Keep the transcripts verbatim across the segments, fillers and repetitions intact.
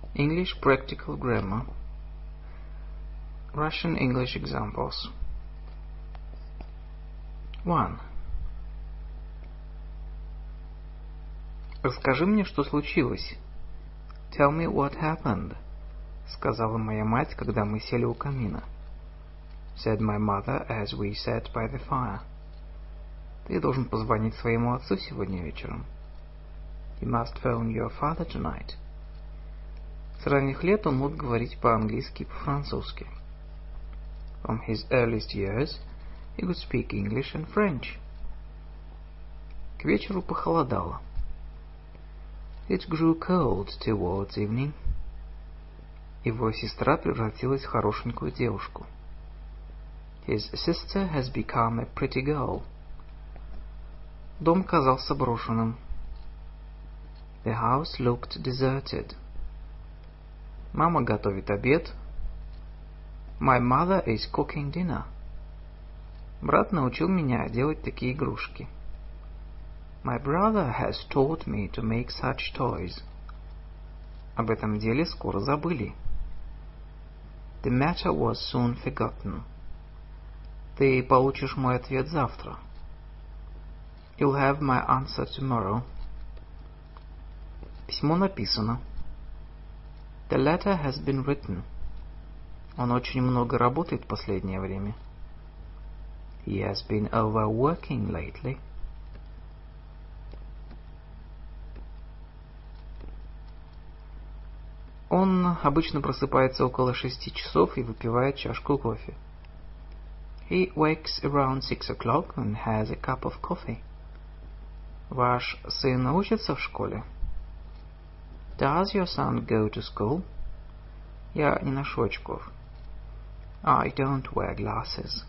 English Practical Grammar. Russian English examples. one. Расскажи мне, что случилось. Tell me what happened, сказала моя мать, когда мы сели у камина. Said my mother as we sat by the fire. Ты должен позвонить своему отцу сегодня вечером. You must phone your father tonight. С ранних лет он мог говорить по-английски и по-французски. From his earliest years, he could speak English and French. К вечеру похолодало. It grew cold towards evening. Его сестра превратилась в хорошенькую девушку. His sister has become a pretty girl. Дом казался брошенным. The house looked deserted. Мама готовит обед. My mother is cooking dinner. Брат научил меня делать такие игрушки. My brother has taught me to make such toys. Об этом деле скоро забыли. The matter was soon forgotten. Ты получишь мой ответ завтра. You'll have my answer tomorrow. Письмо написано. The letter has been written. Он очень много работает в последнее время. He has been overworking lately. Он обычно просыпается около шести часов и выпивает чашку кофе. He wakes around six o'clock and has a cup of coffee. Ваш сын учится в школе? Does your son go to school? Я не ношу очков. I don't wear glasses.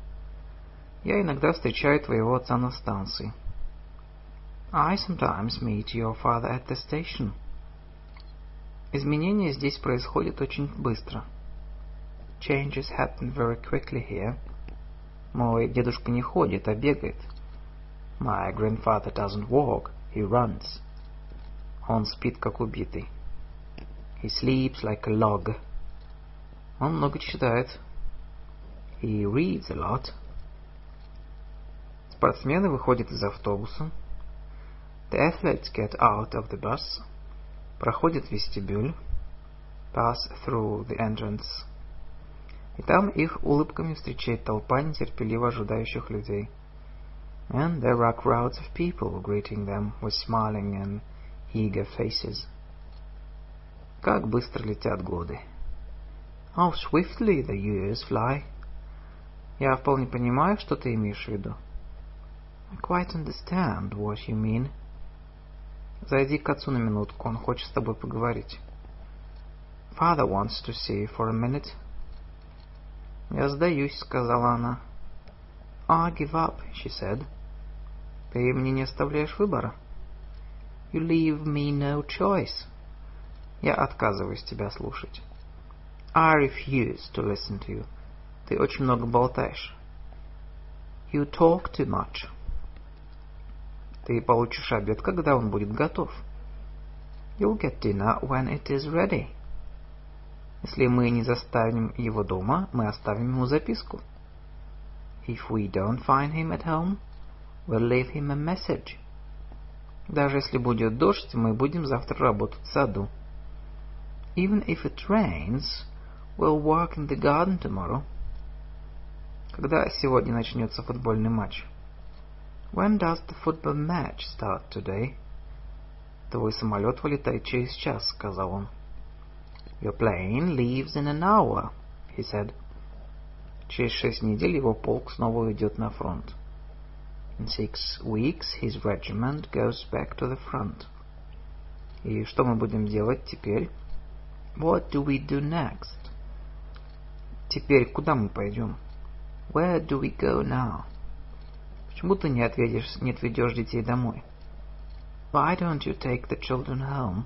Я иногда встречаю твоего отца на станции. I sometimes meet your father at the station. Изменения здесь происходят очень быстро. Changes happen very quickly here. Мой дедушка не ходит, а бегает. My grandfather doesn't walk, he runs. Он спит, как убитый. He sleeps like a log. Он много читает. He reads a lot. Спортсмены выходят из автобуса. The athletes get out of the bus. Проходят вестибюль. Pass through the entrance. И там их улыбками встречает толпа нетерпеливо ожидающих людей. And there are crowds of people greeting them with smiling and eager faces. Как быстро летят годы. How swiftly the years fly. Я вполне понимаю, что ты имеешь в виду. I quite understand what you mean. Зайди к отцу на минутку, он хочет с тобой поговорить. Father wants to see you for a minute. Я сдаюсь, сказала она. I give up, she said. Ты мне не оставляешь выбора. You leave me no choice. Я отказываюсь тебя слушать. I refuse to listen to you. Ты очень много болтаешь. You talk too much. Ты получишь обед, когда он будет готов. You'll get dinner when it is ready. Если мы не заставим его дома, мы оставим ему записку. If we don't find him at home, we'll leave him a message. Даже если будет дождь, мы будем завтра работать в саду. Even if it rains, we'll work in the garden tomorrow. Когда сегодня начнется футбольный матч? When does the football match start today? Твой самолет вылетает через час, сказал он. Your plane leaves in an hour, he said. Через шесть недель его полк снова уйдет на фронт. In six weeks his regiment goes back to the front. И что мы будем делать теперь? What do we do next? Теперь куда мы пойдем? Where do we go now? Почему ты не отведешь, не отведешь детей домой? Why don't you take the children home?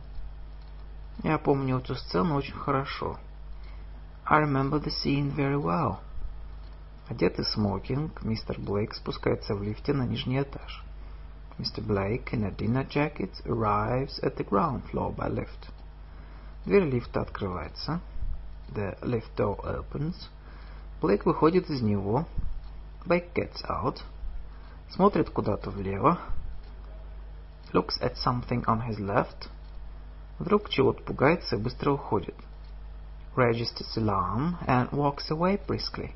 Я помню эту сцену очень хорошо. I remember the scene very well. Одетый смокинг, мистер Блейк спускается в лифте на нижний этаж. Mister Blake, in a dinner jacket, arrives at the ground floor by lift. Дверь лифта открывается. The lift door opens. Блейк выходит из него. Blake gets out. Смотрит куда-то влево. Looks at something on his left. Вдруг чего-то пугается и быстро уходит. Registers alarm and walks away briskly.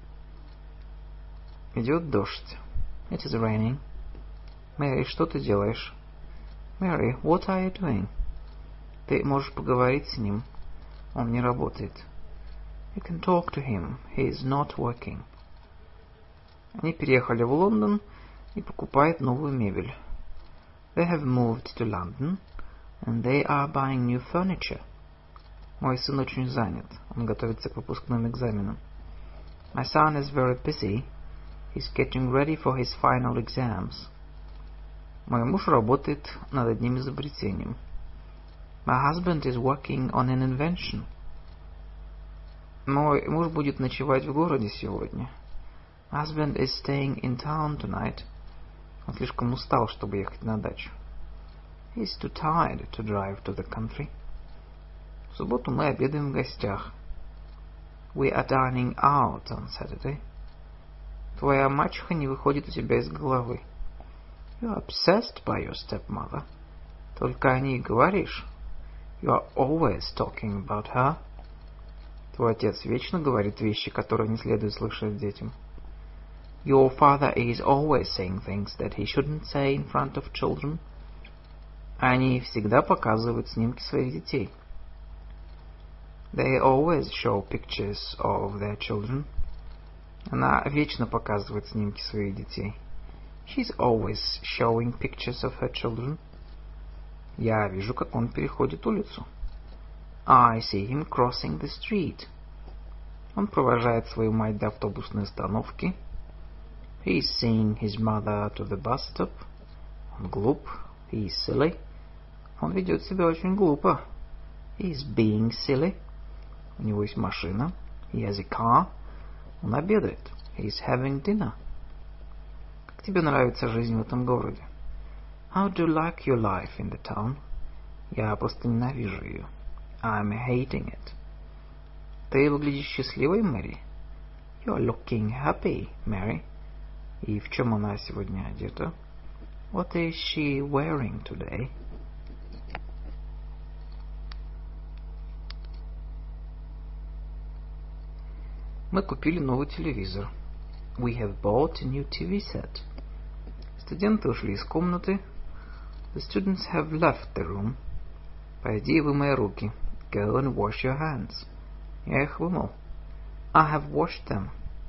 Идет дождь. It is raining. Мэри, что ты делаешь? Mary, what are you doing? Ты можешь поговорить с ним. Он не работает. You can talk to him. He is not working. Они переехали в Лондон и покупают новую мебель. They have moved to London and they are buying new furniture. Мой сын очень занят. Он готовится к выпускным экзаменам. My son is very busy. He's getting ready for his final exams. Мой муж работает над одним изобретением. My husband is working on an invention. Мой муж будет ночевать в городе сегодня. My husband is staying in town tonight. Он слишком устал, чтобы ехать на дачу. He's too tired to drive to the country. В субботу мы обедаем в гостях. We are dining out on Saturday. Твоя мачеха не выходит у тебя из головы. You are obsessed by your stepmother. Только о ней говоришь. You are always talking about her. Твой отец вечно говорит вещи, которые не следует слышать детям. Your father is always saying things that he shouldn't say in front of children. Они всегда показывают снимки своих детей. They always show pictures of their children. Она вечно показывает снимки своих детей. She's always showing pictures of her children. Я вижу, как он переходит улицу. I see him crossing the street. Он провожает свою мать до автобусной остановки. He is seeing his mother to the bus stop. Он глуп. He is silly. Он ведет себя очень глупо. He is being silly. У него есть машина. He has a car. Он обедает. He is having dinner. Как тебе нравится жизнь в этом городе? How do you like your life in the town? Я просто ненавижу ее. I'm hating it. Ты выглядишь счастливой, Мэри? You are looking happy, Mary. И в чем она сегодня одета? What is she wearing today? Мы купили новый телевизор. We have bought a new ти ви set. Студенты ушли из комнаты. The students have left the room. Пойди и вымой руки. Go and wash your hands. Я их вымыл. I have washed them.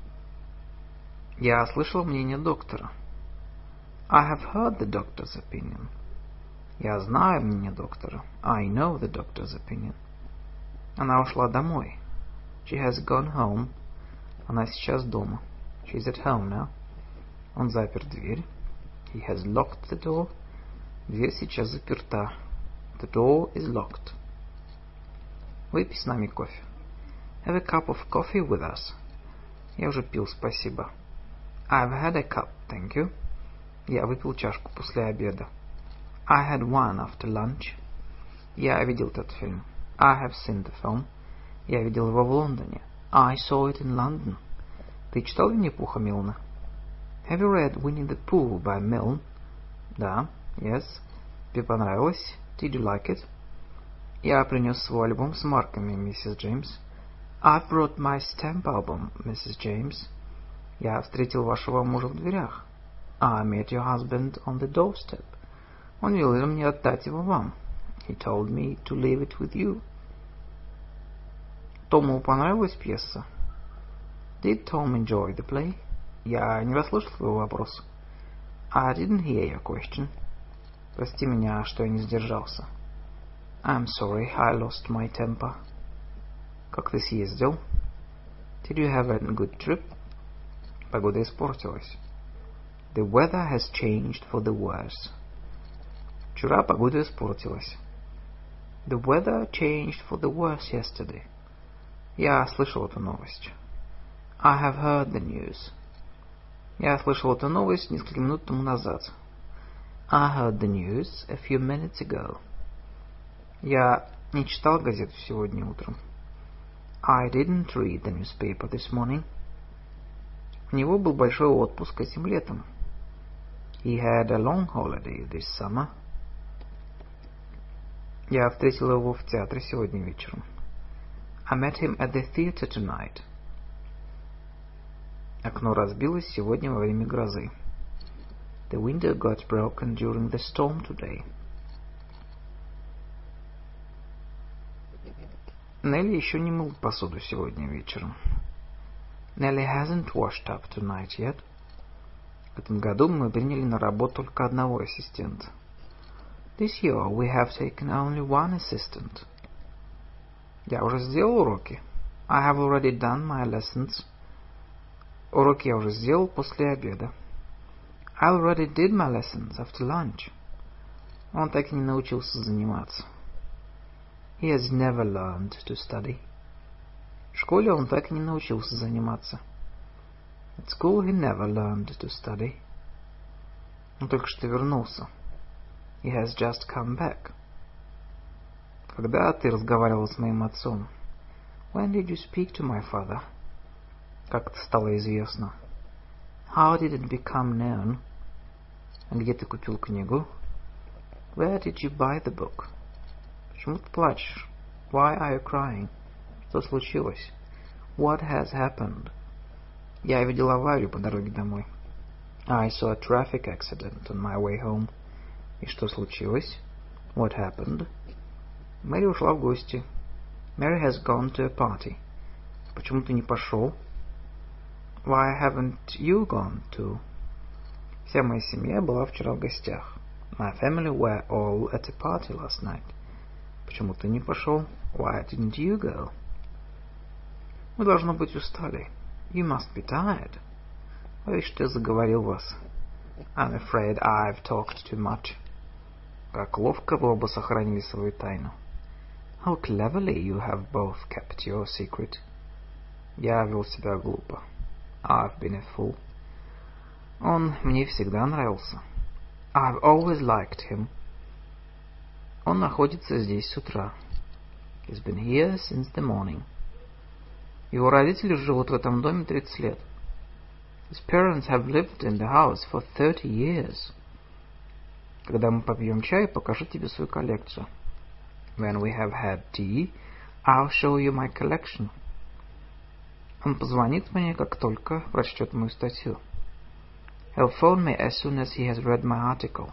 Я слышал мнение доктора. I have heard the doctor's opinion. Я знаю мнение доктора. I know the doctor's opinion. Она ушла домой. She has gone home. Она сейчас дома. She's at home now. Он запер дверь. He has locked the door. Дверь сейчас заперта. The door is locked. Выпей с нами кофе. Have a cup of coffee with us. Я уже пил, спасибо. I've had a cup, thank you. Я выпил чашку после обеда. I had one after lunch. Я видел этот фильм. I have seen the film. Я видел его в Лондоне. I saw it in London. Ты читал Винни-Пуха Милна? Have you read Winnie the Pooh by Milne? Да, yes. Тебе понравилось? Did you like it? Я принес свой альбом с марками, миссис Джеймс. I've brought my stamp album, миссис Джеймс. Я встретил вашего мужа в дверях. I met your husband on the doorstep. Он велел мне отдать его вам. He told me to leave it with you. Тому понравилась пьеса? Did Tom enjoy the play? Я не расслышал твоего вопроса. I didn't hear your question. Прости меня, что я не сдержался. I'm sorry, I lost my temper. Как ты съездил? Did you have a good trip? Погода испортилась. The weather has changed for the worse. Вчера погода испортилась. The weather changed for the worse yesterday. Я слышал эту новость. I have heard the news. Я слышал эту новость несколько минут тому назад. I heard the news a few minutes ago. Я Не читал газету сегодня утром. I didn't read the newspaper this morning. У него был большой отпуск этим летом. He had a long holiday this summer. Я встретил его в театре сегодня вечером. I met him at the theater tonight. Окно разбилось сегодня во время грозы. The window got broken during the storm today. Нелли еще не мыл посуду сегодня вечером. Nelly hasn't washed up tonight yet. В этом году мы приняли на работу только одного ассистента. This year we have taken only one assistant. Я уже сделал уроки. I have already done my lessons. Уроки я уже сделал после обеда. I already did my lessons after lunch. Он так и не научился заниматься. He has never learned to study. В школе он так и не научился заниматься. At school he never learned to study. Он только что вернулся. He has just come back. Когда ты разговаривал с моим отцом? When did you speak to my father? Как это стало известно? How did it become known? А где ты купил книгу? Where did you buy the book? Почему ты плачешь? Why are you crying? Что случилось? What has happened? Я видел аварию по дороге домой. I saw a traffic accident on my way home. И что случилось? What happened? Мэри ушла в гости. Mary has gone to a party. Почему ты не пошел? Why haven't you gone to? Вся моя семья была вчера в гостях. My family were all at a party last night. Почему ты не пошел? Why didn't you go? Вы, должно быть, устали. You must be tired. Боюсь, что я заговорил вас. I'm afraid I've talked too much. Как ловко вы оба сохранили свою тайну. How cleverly you have both kept your secret. Я вел себя глупо. I've been a fool. Он мне всегда нравился. I've always liked him. Он находится здесь с утра. He's been here since the morning. Его родители живут в этом доме тридцать лет. His parents have lived in the house for thirty years. Когда мы попьем чай, покажу тебе свою коллекцию. When we have had tea, I'll show you my collection. Он позвонит мне, как только прочтет мою статью. He'll phone me as soon as he has read my article.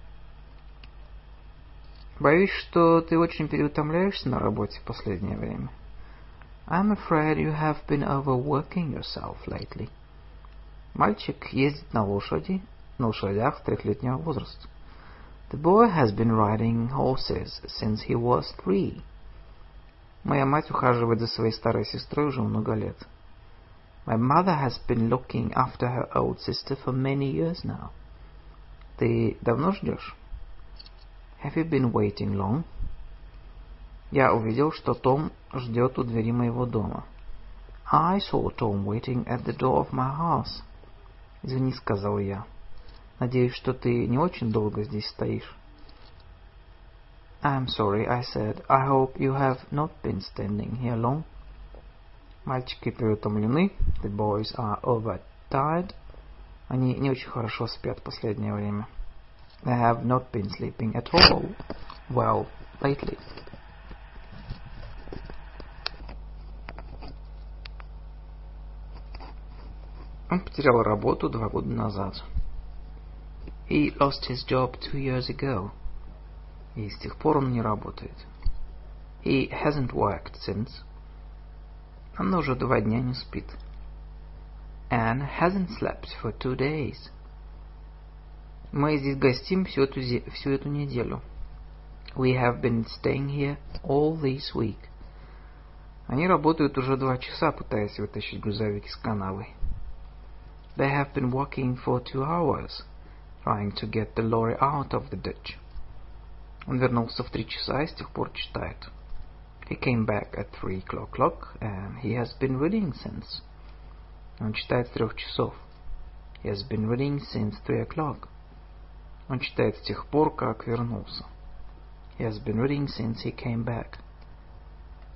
Боюсь, что ты очень переутомляешься на работе в последнее время. I'm afraid you have been overworking yourself lately. Мальчик ездит на лошади, на лошадях трехлетнего возраста. The boy has been riding horses since he was three. Моя мать ухаживает за своей старой сестрой уже много лет. My mother has been looking after her old sister for many years now. Ты давно ждешь? Have you been waiting long? Я увидел, что Том ждет у двери моего дома. I saw Tom waiting at the door of my house. Извини, сказал я. Надеюсь, что ты не очень долго здесь стоишь. I'm sorry, I said. I hope you have not been standing here long. Мальчики переутомлены. The boys are overtired. Они не очень хорошо спят в последнее время. They have not been sleeping at all well lately. Он потерял работу два года назад. He lost his job two years ago. И с тех пор он не работает. He hasn't worked since. Она уже два дня не спит. Anne hasn't slept for two days. Мы здесь гостим всю эту, всю эту неделю. We have been staying here all this week. Они работают уже два часа, пытаясь вытащить грузовик из канавы. They have been working for two hours, trying to get the lorry out of the ditch. Он вернулся в три часа и с тех пор читает. He came back at three o'clock, and he has been reading since. Он читает с трех часов. He has been reading since three o'clock. Он читает с тех пор, как вернулся. He has been reading since he came back.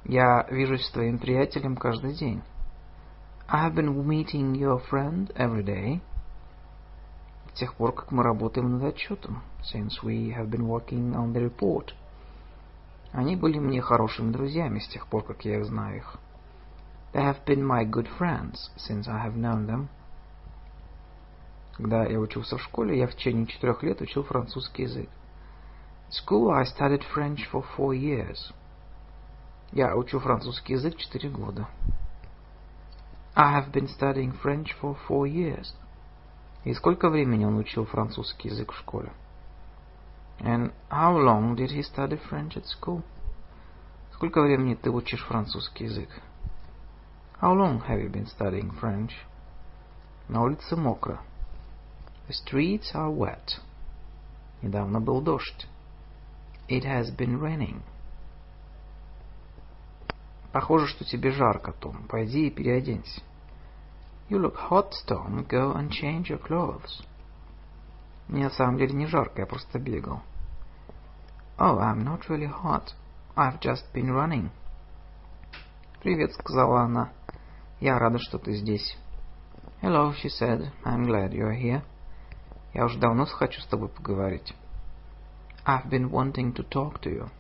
Я вижусь с твоим приятелем каждый день. I have been meeting your friend every day. С тех пор, как мы работаем над отчетом. Since we have been working on the report. Они были мне хорошими друзьями с тех пор, как я их знаю их. They have been my good friends since I have known them. Когда я учился в школе, я в течение четырех лет учил французский язык. At school I studied French for four years. Я учу французский язык четыре года. I have been studying French for four years. И сколько времени он учил французский язык в школе? And how long did he study French at school? Сколько времени ты учишь французский язык? How long have you been studying French? На улице мокро. The streets are wet. Недавно был дождь. It has been raining. Похоже, что тебе жарко, Том. Пойди и переоденься. You look hot, Tom. Go and change your clothes. Мне на самом деле не жарко, я просто бегал. Oh, I'm not really hot. I've just been running. Привет, сказала она. Я рада, что ты здесь. Hello, she said. I'm glad you're here. Я уже давно хочу с тобой поговорить. I've been wanting to talk to you.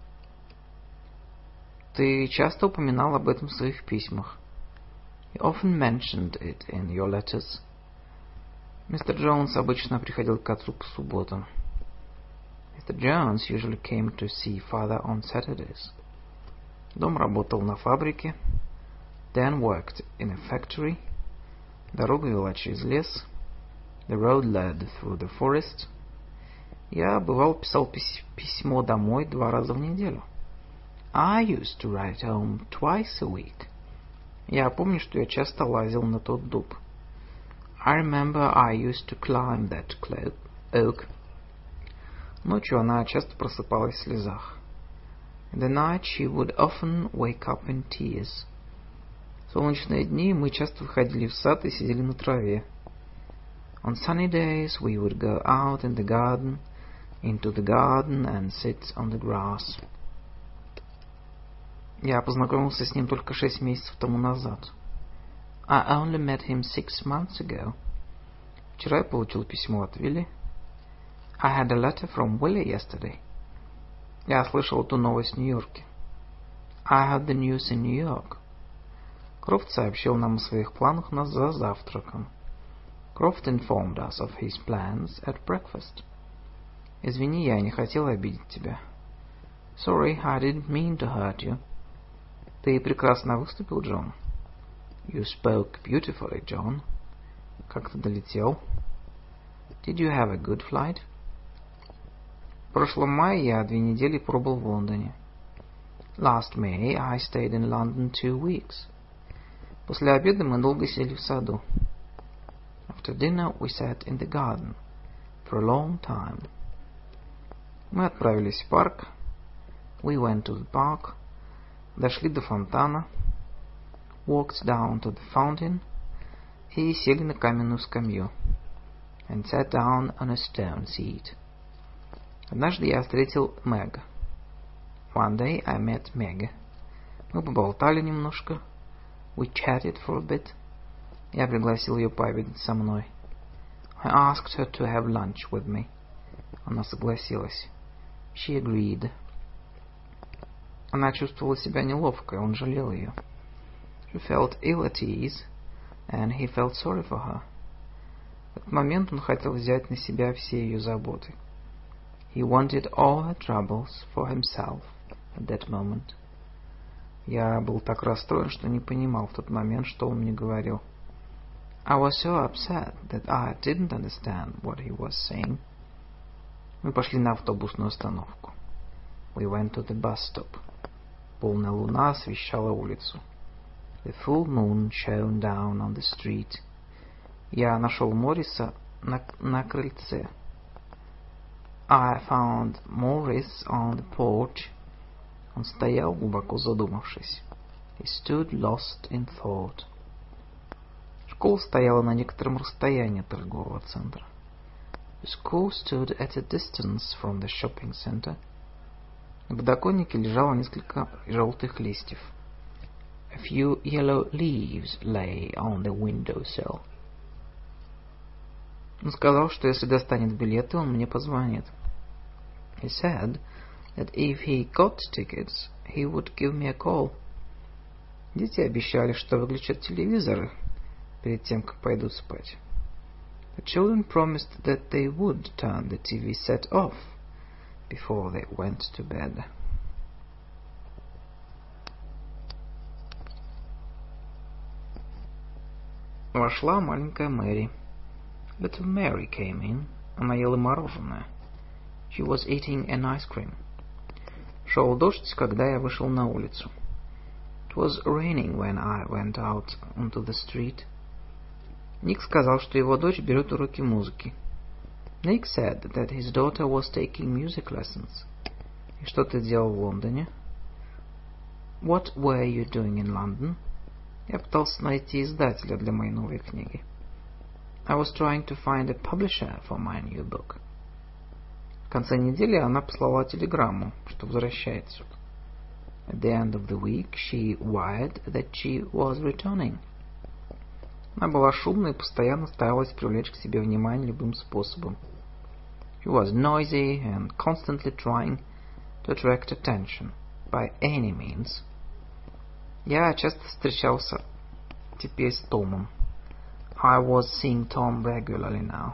Ты часто упоминал об этом в своих письмах. You often mentioned it in your letters. Мистер Джонс обычно приходил к отцу по субботам. Mister Jones usually came to see father on Saturdays. Дом работал на фабрике. Dan worked in a factory. Дорога вела через лес. The road led through the forest. Я, бывал, писал пись- письмо домой два раза в неделю. I used to write home twice a week. Я помню, что я часто лазил на тот дуб. I remember I used to climb that clo- oak. Ночью она часто просыпалась в слезах. In the night she would often wake up in tears. В солнечные дни мы часто выходили в сад и сидели на траве. On sunny days we would go out in the garden, into the garden and sit on the grass. Я познакомился с ним только шесть месяцев тому назад. I only met him six months ago. Вчера я получил письмо от Вилли. I had a letter from Willie yesterday. Я слышал эту новость в Нью-Йорке. I heard the news in New York. Крофт сообщил нам о своих планах на за завтраком. Croft informed us of his plans at breakfast. Извини, я не хотел обидеть тебя. Sorry, I didn't mean to hurt you. Ты прекрасно выступил, Джон. You spoke beautifully, John. Как ты долетел? Did you have a good flight? В прошлом мае я две недели пробыл в Лондоне. Last May I stayed in London two weeks. После обеда мы долго сидели в саду. After dinner we sat in the garden for a long time. Мы отправились в парк. We went to the park. Дошли до фонтана. Walked down to the fountain. И сели на каменную скамью. And sat down on a stone seat. Однажды я встретил Мэг. One day I met Meg. Мы поболтали немножко. We chatted for a bit. Я пригласил ее пообедать со мной. I asked her to have lunch with me. Она согласилась. She agreed. Она чувствовала себя неловко, и он жалел ее. She felt ill at ease, and he felt sorry for her. В этот момент он хотел взять на себя все ее заботы. He wanted all her troubles for himself at that moment. Я был так расстроен, что не понимал в тот момент, что он мне говорил. I was so upset that I didn't understand what he was saying. Мы пошли на автобусную остановку. We went to the bus stop. Полная луна освещала улицу. The full moon shone down on the street. Я нашел Морриса на, на крыльце. I found Morris on the porch. Он стоял, глубоко задумавшись. He stood lost in thought. Школа стояла на некотором расстоянии от торгового центра. The school stood at a distance from the shopping center. На подоконнике лежало несколько желтых листьев. A few yellow leaves lay on the windowsill. Он сказал, что если достанет билеты, он мне позвонит. He said that if he got tickets, he would give me a call. Дети обещали, что выключат телевизоры перед тем, как пойдут спать. The children promised that they would turn the T V set off before they went to bed. Вошла маленькая Мэри. Little Mary came in. Она ела мороженое. She was eating an ice cream. Шел дождь, когда я вышел на улицу. It was raining when I went out onto the street. Ник сказал, что его дочь берет уроки музыки. Nick said that his daughter was taking music lessons. И что ты делал в Лондоне? What were you doing in London? Я пытался найти издателя для моей новой книги. I was trying to find a publisher for my new book. В конце недели она послала телеграмму, что возвращается. At the end of the week, she wired that she was returning. Она была шумной и постоянно старалась привлечь к себе внимание любым способом. She was noisy and constantly trying to attract attention by any means. Я часто встречался теперь с Томом. I was seeing Tom regularly now.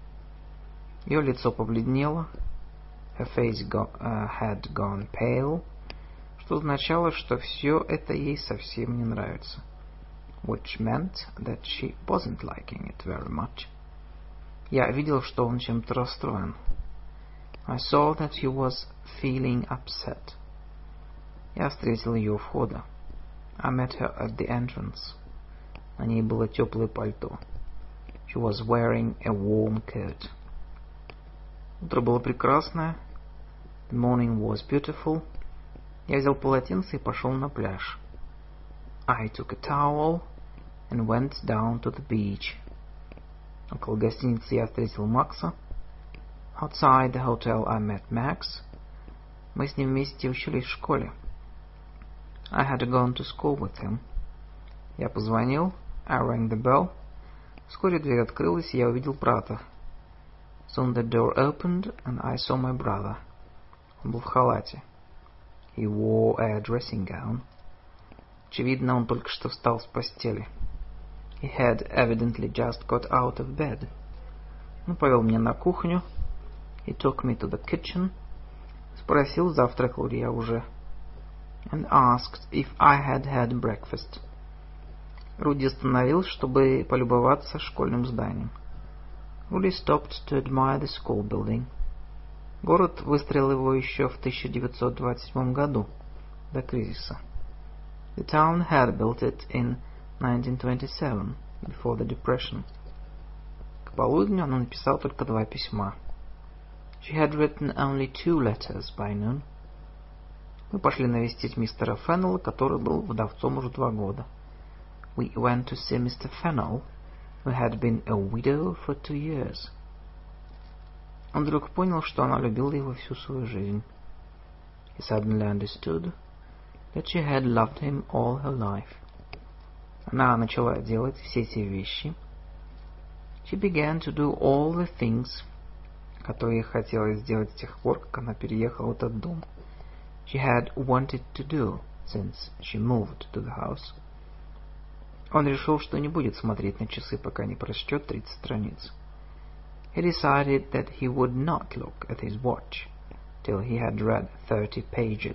Ее лицо побледнело. Her face go, uh, had gone pale, что означало, что все это ей совсем не нравится. Which meant that she wasn't liking it very much. Я видел, что он чем-то расстроен. I saw that he was feeling upset. Я встретил ее у входа. I met her at the entrance. На ней было теплое пальто. She was wearing a warm coat. Утро было прекрасное. The morning was beautiful. Я взял полотенце и пошел на пляж. I took a towel and went down to the beach. Около гостиницы я встретил Макса. Outside the hotel I met Max. Мы с ним вместе учились в школе. I had gone to school with him. Я позвонил. I rang the bell. Вскоре дверь открылась, и я увидел брата. Soon the door opened, and I saw my brother. Он был в халате. He wore a dressing gown. Очевидно, он только что встал с постели. He had evidently just got out of bed. Он повел меня на кухню. He took me to the kitchen. Спросил, завтракал ли я уже. And asked if I had had breakfast. Руди остановился, чтобы полюбоваться школьным зданием. Rudy stopped to admire the school building. Город выстроил его еще в тысяча девятьсот двадцать седьмом году, до кризиса. The town had built it in nineteen twenty-seven, before the depression. К полудню он написал только два письма. She had written only two letters by noon. Мы пошли навестить мистера Феннелла, который был вдовцом уже два года. We went to see Mister Fennell, who had been a widow for two years. Он вдруг понял, что она любила его всю свою жизнь. He suddenly understood that she had loved him all her life. Она начала делать все те вещи. She began to do all the things, которые ей хотелось сделать с тех пор, как она переехала в этот дом. She had wanted to do since she moved to the house. Он решил, что не будет смотреть на часы, пока не прочтет тридцать страниц. He decided that he would not look at his watch till he had read thirty pages.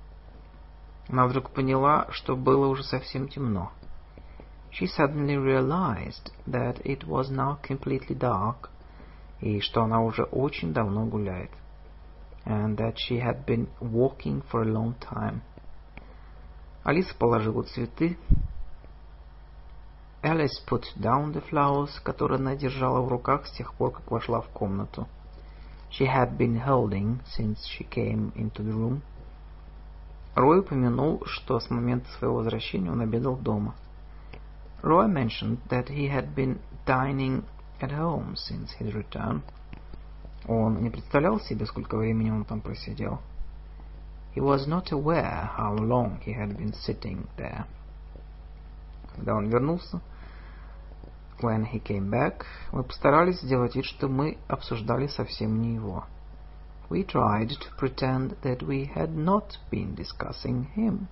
Она вдруг поняла, что было уже совсем темно. She suddenly realized that it was now completely dark, и что она уже очень давно гуляет, and that she had been walking for a long time. Алиса положила цветы. Alice put down the flowers, которые она держала в руках с тех пор, как вошла в комнату. She had been holding since she came into the room. Рой упомянул, что с момента своего возвращения он обедал дома. Roy mentioned that he had been dining at home since his return. Он не представлял себе, сколько времени он там просидел. He was not aware how long he had been sitting there. Когда он вернулся, when he came back, мы постарались сделать вид, что мы обсуждали совсем не его. We tried to pretend that we had not been discussing him.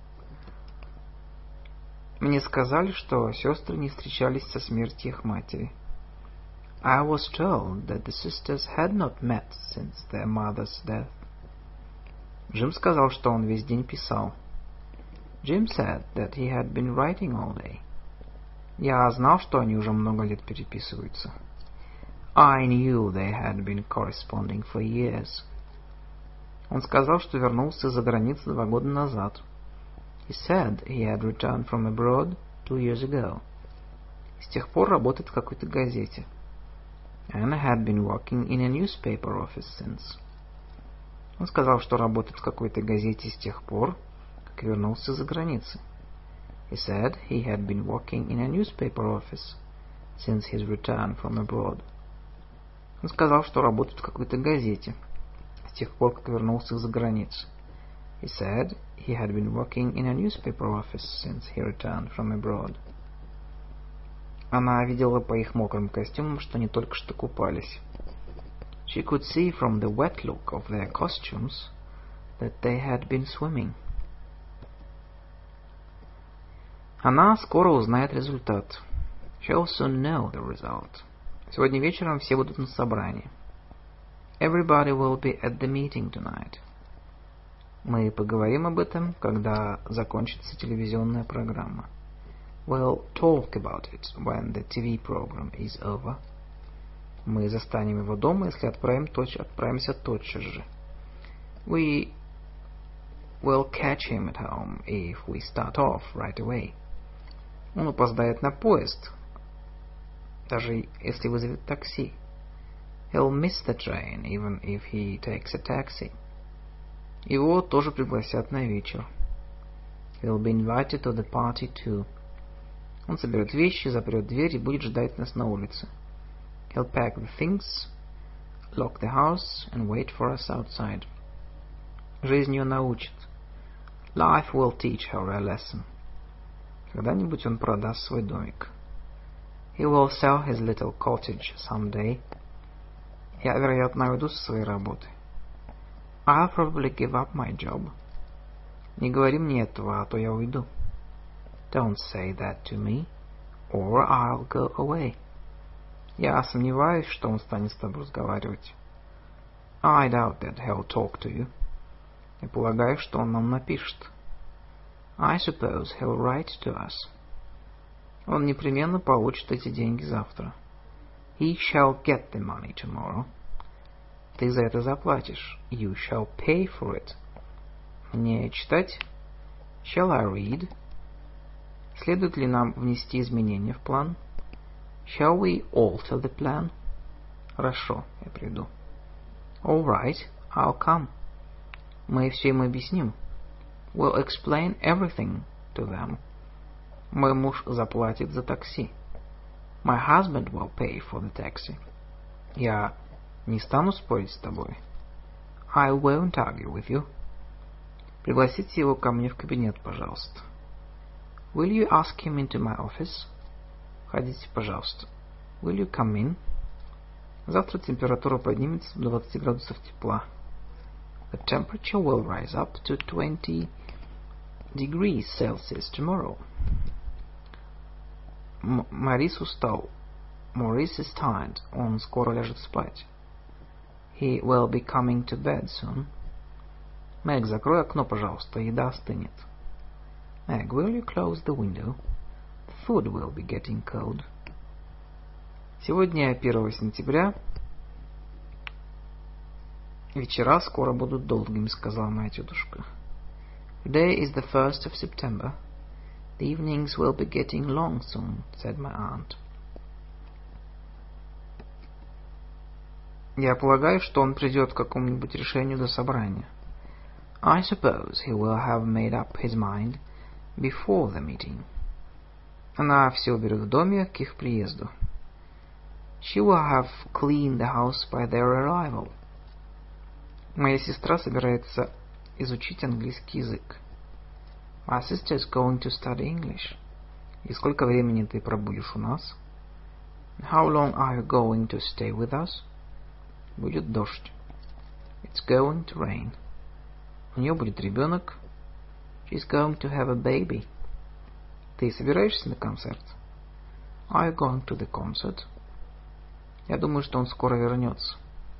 Мне сказали, что сестры не встречались со смертью их матери. I was told that the sisters had not met since their mother's death. Джим сказал, что он весь день писал. Jim said that he had been writing all day. Я знал, что они уже много лет переписываются. I knew they had been corresponding for years. Он сказал, что вернулся из-за границы два года назад. He said he had returned from abroad two years ago. С тех пор работает в какой-то газете. And had been working in a newspaper office since. Он сказал, что работает в какой-то газете с тех пор, как вернулся из-за границы. He said he had been working in a newspaper office since his return from abroad. Он сказал, что работает в какой-то газете с тех пор, как вернулся из-за границы. He said he had been working in a newspaper office since he returned from abroad. Она видела по их мокрым костюмам, что они только что купались. She could see from the wet look of their costumes that they had been swimming. Она скоро узнает результат. She'll soon know the result. Сегодня вечером все будут на собрании. Everybody will be at the meeting tonight. Мы поговорим об этом, когда закончится телевизионная программа. We'll talk about it when the ти ви program is over. Мы застанем его дома, если отправим точ... отправимся тотчас же. We will catch him at home if we start off right away. Он опоздает на поезд, даже если вызовет такси. He'll miss the train, even if he takes a taxi. Его тоже пригласят на вечер. He'll be invited to the party too. Он соберет вещи, запрет дверь и будет ждать нас на улице. He'll pack the things, lock the house, and wait for us outside. Жизнь ее научит. Life will teach her a lesson. Когда-нибудь он продаст свой домик. He will sell his little cottage someday. Я, вероятно, уйду со своей работы. I'll probably give up my job. Не говори мне этого, а то я уйду. Don't say that to me, or I'll go away. Я сомневаюсь, что он станет с тобой разговаривать. I doubt that he'll talk to you. Я полагаю, что он нам напишет. I suppose he'll write to us. Он непременно получит эти деньги завтра. He shall get the money tomorrow. Ты за это заплатишь. You shall pay for it. Мне читать? Shall I read? Следует ли нам внести изменения в план? Shall we alter the plan? Хорошо, я приду. All right, I'll come. Мы все им объясним. We'll explain everything to them. Мой муж заплатит за такси. My husband will pay for the taxi. Я не стану спорить с тобой. I won't argue with you. Пригласите его ко мне в кабинет, пожалуйста. Will you ask him into my office? Входите, пожалуйста. Will you come in? Завтра температура поднимется до двадцати градусов тепла. The temperature will rise up to twenty degrees Celsius tomorrow. М- Морис устал. Maurice is tired. Он скоро ляжет спать. He will be coming to bed soon. Мэг, закрой окно, пожалуйста, еда остынет. Meg, will you close the window? The food will be getting cold. Сегодня первого сентября. Вечера скоро будут долгими, сказала моя тетушка. Today is the first of September. The evenings will be getting long soon, said my aunt. Я полагаю, что он придет к какому-нибудь решению до собрания. I suppose he will have made up his mind before the meeting. Она все уберет в доме к их приезду. She will have cleaned the house by their arrival. Моя сестра собирается изучить английский язык. My sister is going to study English. И сколько времени ты пробудешь у нас? How long are you going to stay with us? Будет дождь. It's going to rain. У нее будет ребенок. She's going to have a baby. Ты собираешься на концерт? Are you going to the concert? Я думаю, что он скоро вернется.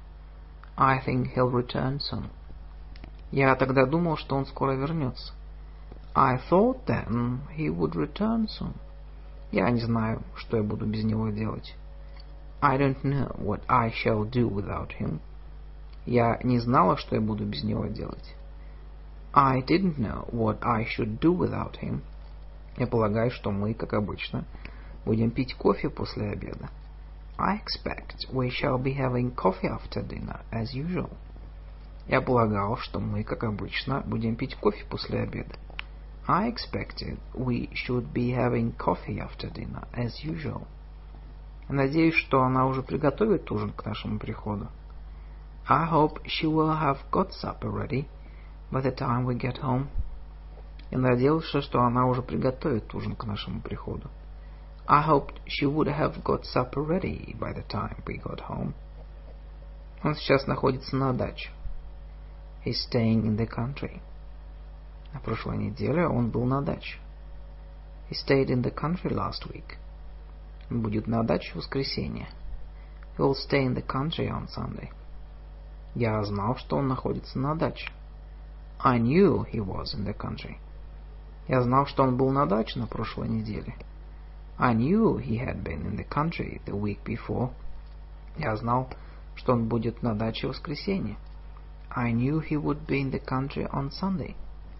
I think he'll return soon. Я тогда думал, что он скоро вернется. I thought then he would return soon. Я не знаю, что я буду без него делать. I don't know what I shall do without him. Я не знала, что я буду без него делать. I didn't know what I should do without him. Я полагаю, что мы, как обычно, будем пить кофе после обеда. I expect we shall be having coffee after dinner, as usual. Я полагал, что мы, как обычно, будем пить кофе после обеда. I expected we should be having coffee after dinner, as usual. Надеюсь, что она уже приготовит ужин к нашему приходу. I hope she will have got supper ready by the time we get home. Я надеялся, что она уже приготовит ужин к нашему приходу. I hoped she would have got supper ready by the time we got home. Он сейчас находится на даче. He's staying in the country. На прошлой неделе он был на даче. He stayed in the country last week. Он будет на даче в воскресенье. He will stay in the country on Sunday. Я знал, что он находится на даче. I knew he was in the country. Я знал, что он был на даче на прошлой неделе. I knew he had been in the country the week before. Я знал, что он будет на даче в воскресенье. I knew he would be in the country on Sunday.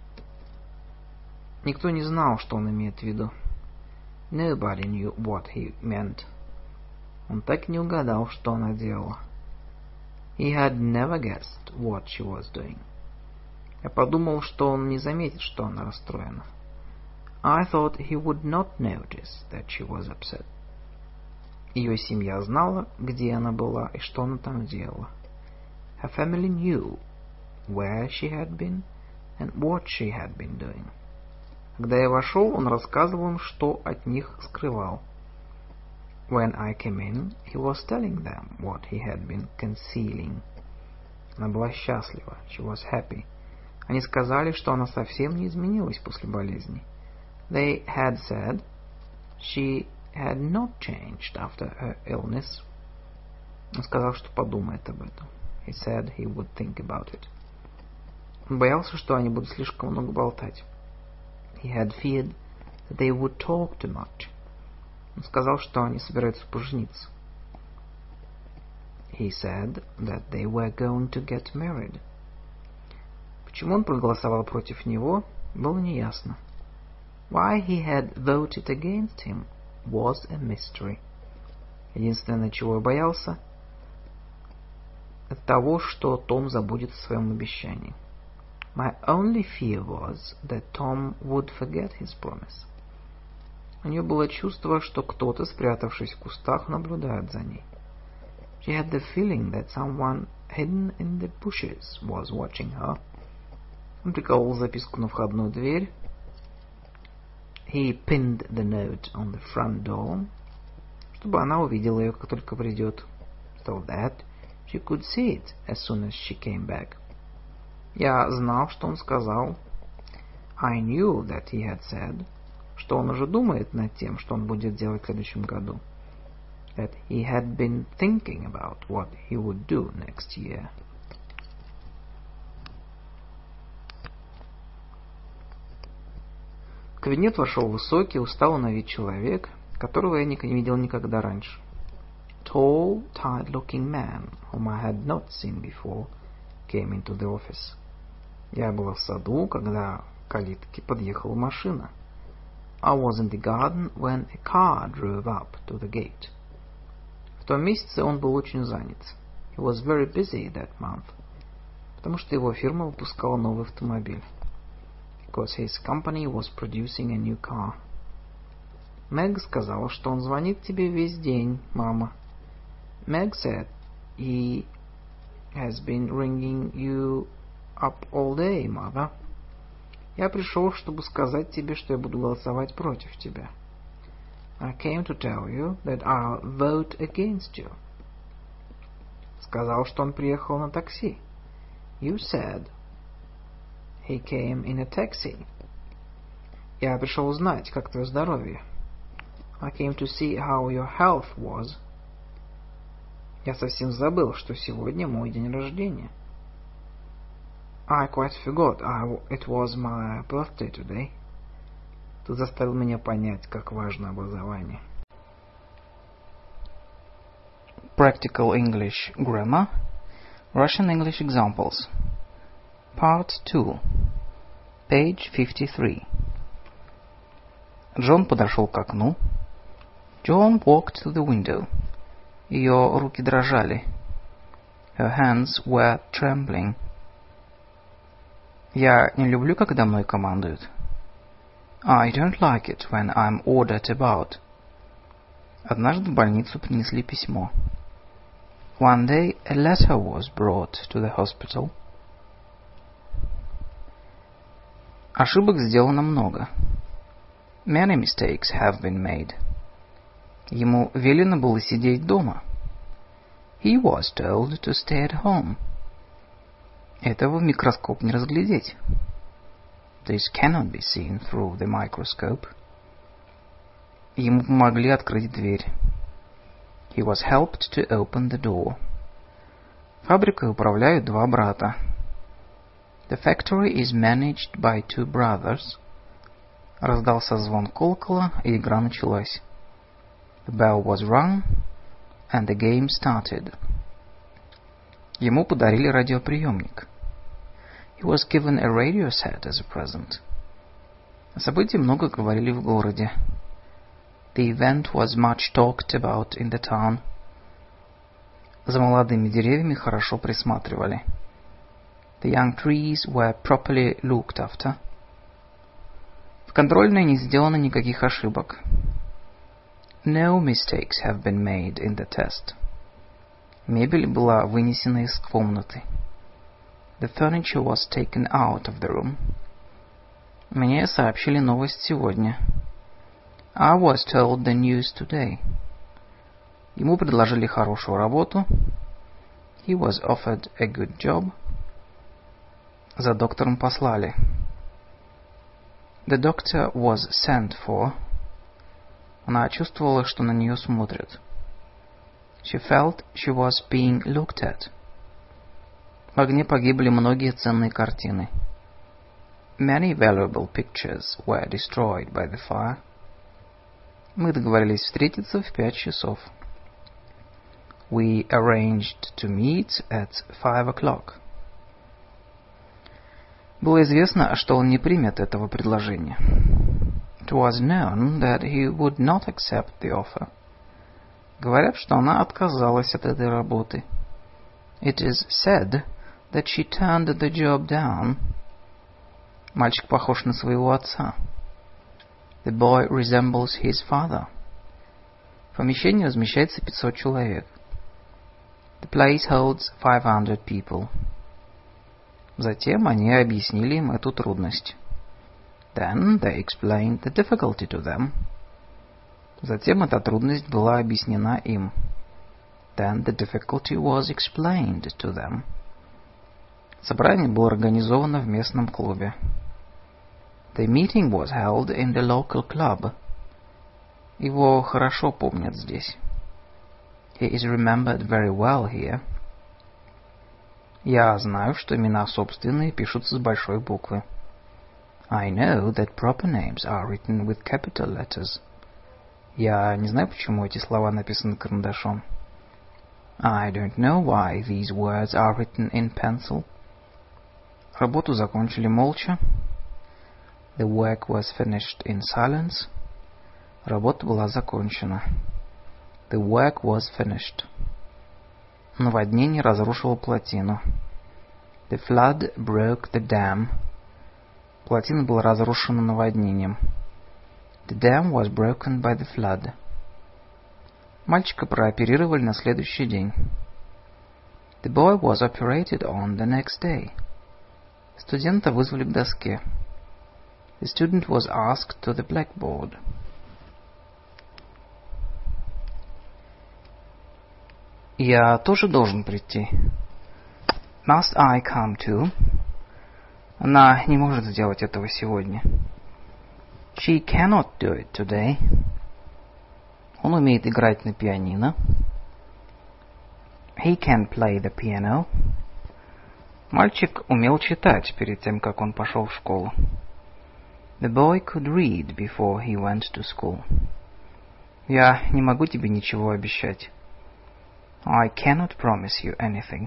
Никто не знал, что он имеет в виду. Nobody knew what he meant. Он так и не угадал, что она делала. He had never guessed what she was doing. Я подумал, что он не заметит, что она расстроена. I thought he would not notice that she was upset. Ее семья знала, где она была и что она там делала. Her family knew where she had been and what she had been doing. Когда я вошел, он рассказывал им, что от них скрывал. When I came in, he was telling them what he had been concealing. Она была счастлива. She was happy. Они сказали, что она совсем не изменилась после болезни. They had said she had not changed after her illness. Он сказал, что подумает об этом. He said he would think about it. Он боялся, что они будут слишком много болтать. He had feared that they would talk too much. Он сказал, что они собираются пожениться. He said that they were going to get married. Почему он проголосовал против него, было неясно. Why he had voted against him was a mystery. Единственное, чего я боялся, это того, что Том забудет о своем обещании. My only fear was that Tom would forget his promise. У нее было чувство, что кто-то, спрятавшись в кустах, наблюдает за ней. She had the feeling that someone hidden in the bushes was watching her. Он приколол записку на входную дверь. He pinned the note on the front door, чтобы она увидела ее, как только придет, so that she could see it as soon as she came back. Я знал, что он сказал. I knew that he had said, что он уже думает над тем, что он будет делать в следующем году. That he had been thinking about what he would do next year. В кабинет вошел высокий, усталый на вид человек, которого я не видел никогда раньше. Tall, tired-looking man, whom I had not seen before, came into the office. Я был в саду, когда к калитке подъехала машина. I was in the garden when a car drove up to the gate. В том месяце он был очень занят. He was very busy that month, потому что его фирма выпускала новый автомобиль. Because his company was producing a new car. Мэг сказала, что он звонит тебе весь день, мама. Meg said he has been ringing you up all day, mother. Я пришел, чтобы сказать тебе, что я буду голосовать против тебя. I came to tell you that I'll vote against you. Сказал, что он приехал на такси. You said he came in a taxi. Я пришел узнать, как твое здоровье. I came to see how your health was. Я совсем забыл, что сегодня мой день рождения. I quite forgot I, it was my birthday today. Ты заставил меня понять, как важно образование. Practical English Grammar. Russian English Examples. Part two. Page fifty-three. Джон подошел к окну. John walked to the window. Ее руки дрожали. Her hands were trembling. Я не люблю, когда мной командуют. I don't like it when I'm ordered about. Однажды в больницу принесли письмо. One day a letter was brought to the hospital. Ошибок сделано много. Many mistakes have been made. Ему велено было сидеть дома. He was told to stay at home. Этого в микроскоп не разглядеть. This cannot be seen through the microscope. Ему помогли открыть дверь. He was helped to open the door. Фабрикой управляют два брата. The factory is managed by two brothers. Раздался звон колокола, и игра началась. The bell was rung, and the game started. Ему подарили радиоприемник. He was given a radio set as a present. О событии много говорили в городе. The event was much talked about in the town. За молодыми деревьями хорошо присматривали. The young trees were properly looked after. В контрольной не сделано никаких ошибок. No mistakes have been made in the test. Мебель была вынесена из комнаты. The furniture was taken out of the room. Мне сообщили новость сегодня. I was told the news today. Ему предложили хорошую работу. He was offered a good job. За доктором послали. The doctor was sent for. Она чувствовала, что на нее смотрят. She felt she was being looked at. В огне погибли многие ценные картины. Many valuable pictures were destroyed by the fire. Мы договорились встретиться в пять часов. We arranged to meet at five o'clock. Было известно, что он не примет этого предложения. It was known that he would not accept the offer. Говорят, что она отказалась от этой работы. It is said that she turned the job down. Мальчик похож на своего отца. The boy resembles his father. В помещении размещается пятьсот человек. The place holds five hundred people. Затем они объяснили им эту трудность. Then they explained the difficulty to them. Затем эта трудность была объяснена им. Then the difficulty was explained to them. Собрание было организовано в местном клубе. The meeting was held in the local club. Его хорошо помнят здесь. He is remembered very well here. Я знаю, что имена собственные пишутся с большой буквы. I know that proper names are written with capital letters. Я не знаю, почему эти слова написаны карандашом. I don't know why these words are written in pencil. Работу закончили молча. The work was finished in silence. Работа была закончена. The work was finished. Наводнение разрушило плотину. The flood broke the dam. Плотина была разрушена наводнением. The dam was broken by the flood. Мальчика прооперировали на следующий день. The boy was operated on the next day. Студента вызвали к доске. The student was asked to the blackboard. Я тоже должен прийти. Must I come too? Она не может сделать этого сегодня. She cannot do it today. Он умеет играть на пианино. He can play the piano. Мальчик умел читать перед тем, как он пошел в школу. The boy could read before he went to school. Я не могу тебе ничего обещать. I cannot promise you anything.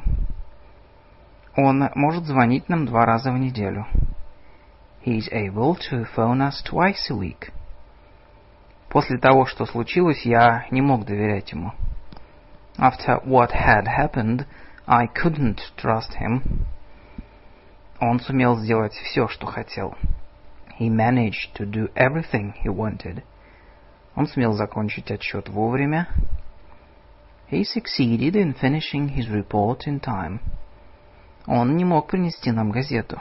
Он может звонить нам два раза в неделю. He is able to phone us twice a week. После того, что случилось, я не мог доверять ему. After what had happened, I couldn't trust him. Он сумел сделать все, что хотел. He managed to do everything he wanted. Он сумел закончить отчет вовремя. He succeeded in finishing his report in time. Он не мог принести нам газету.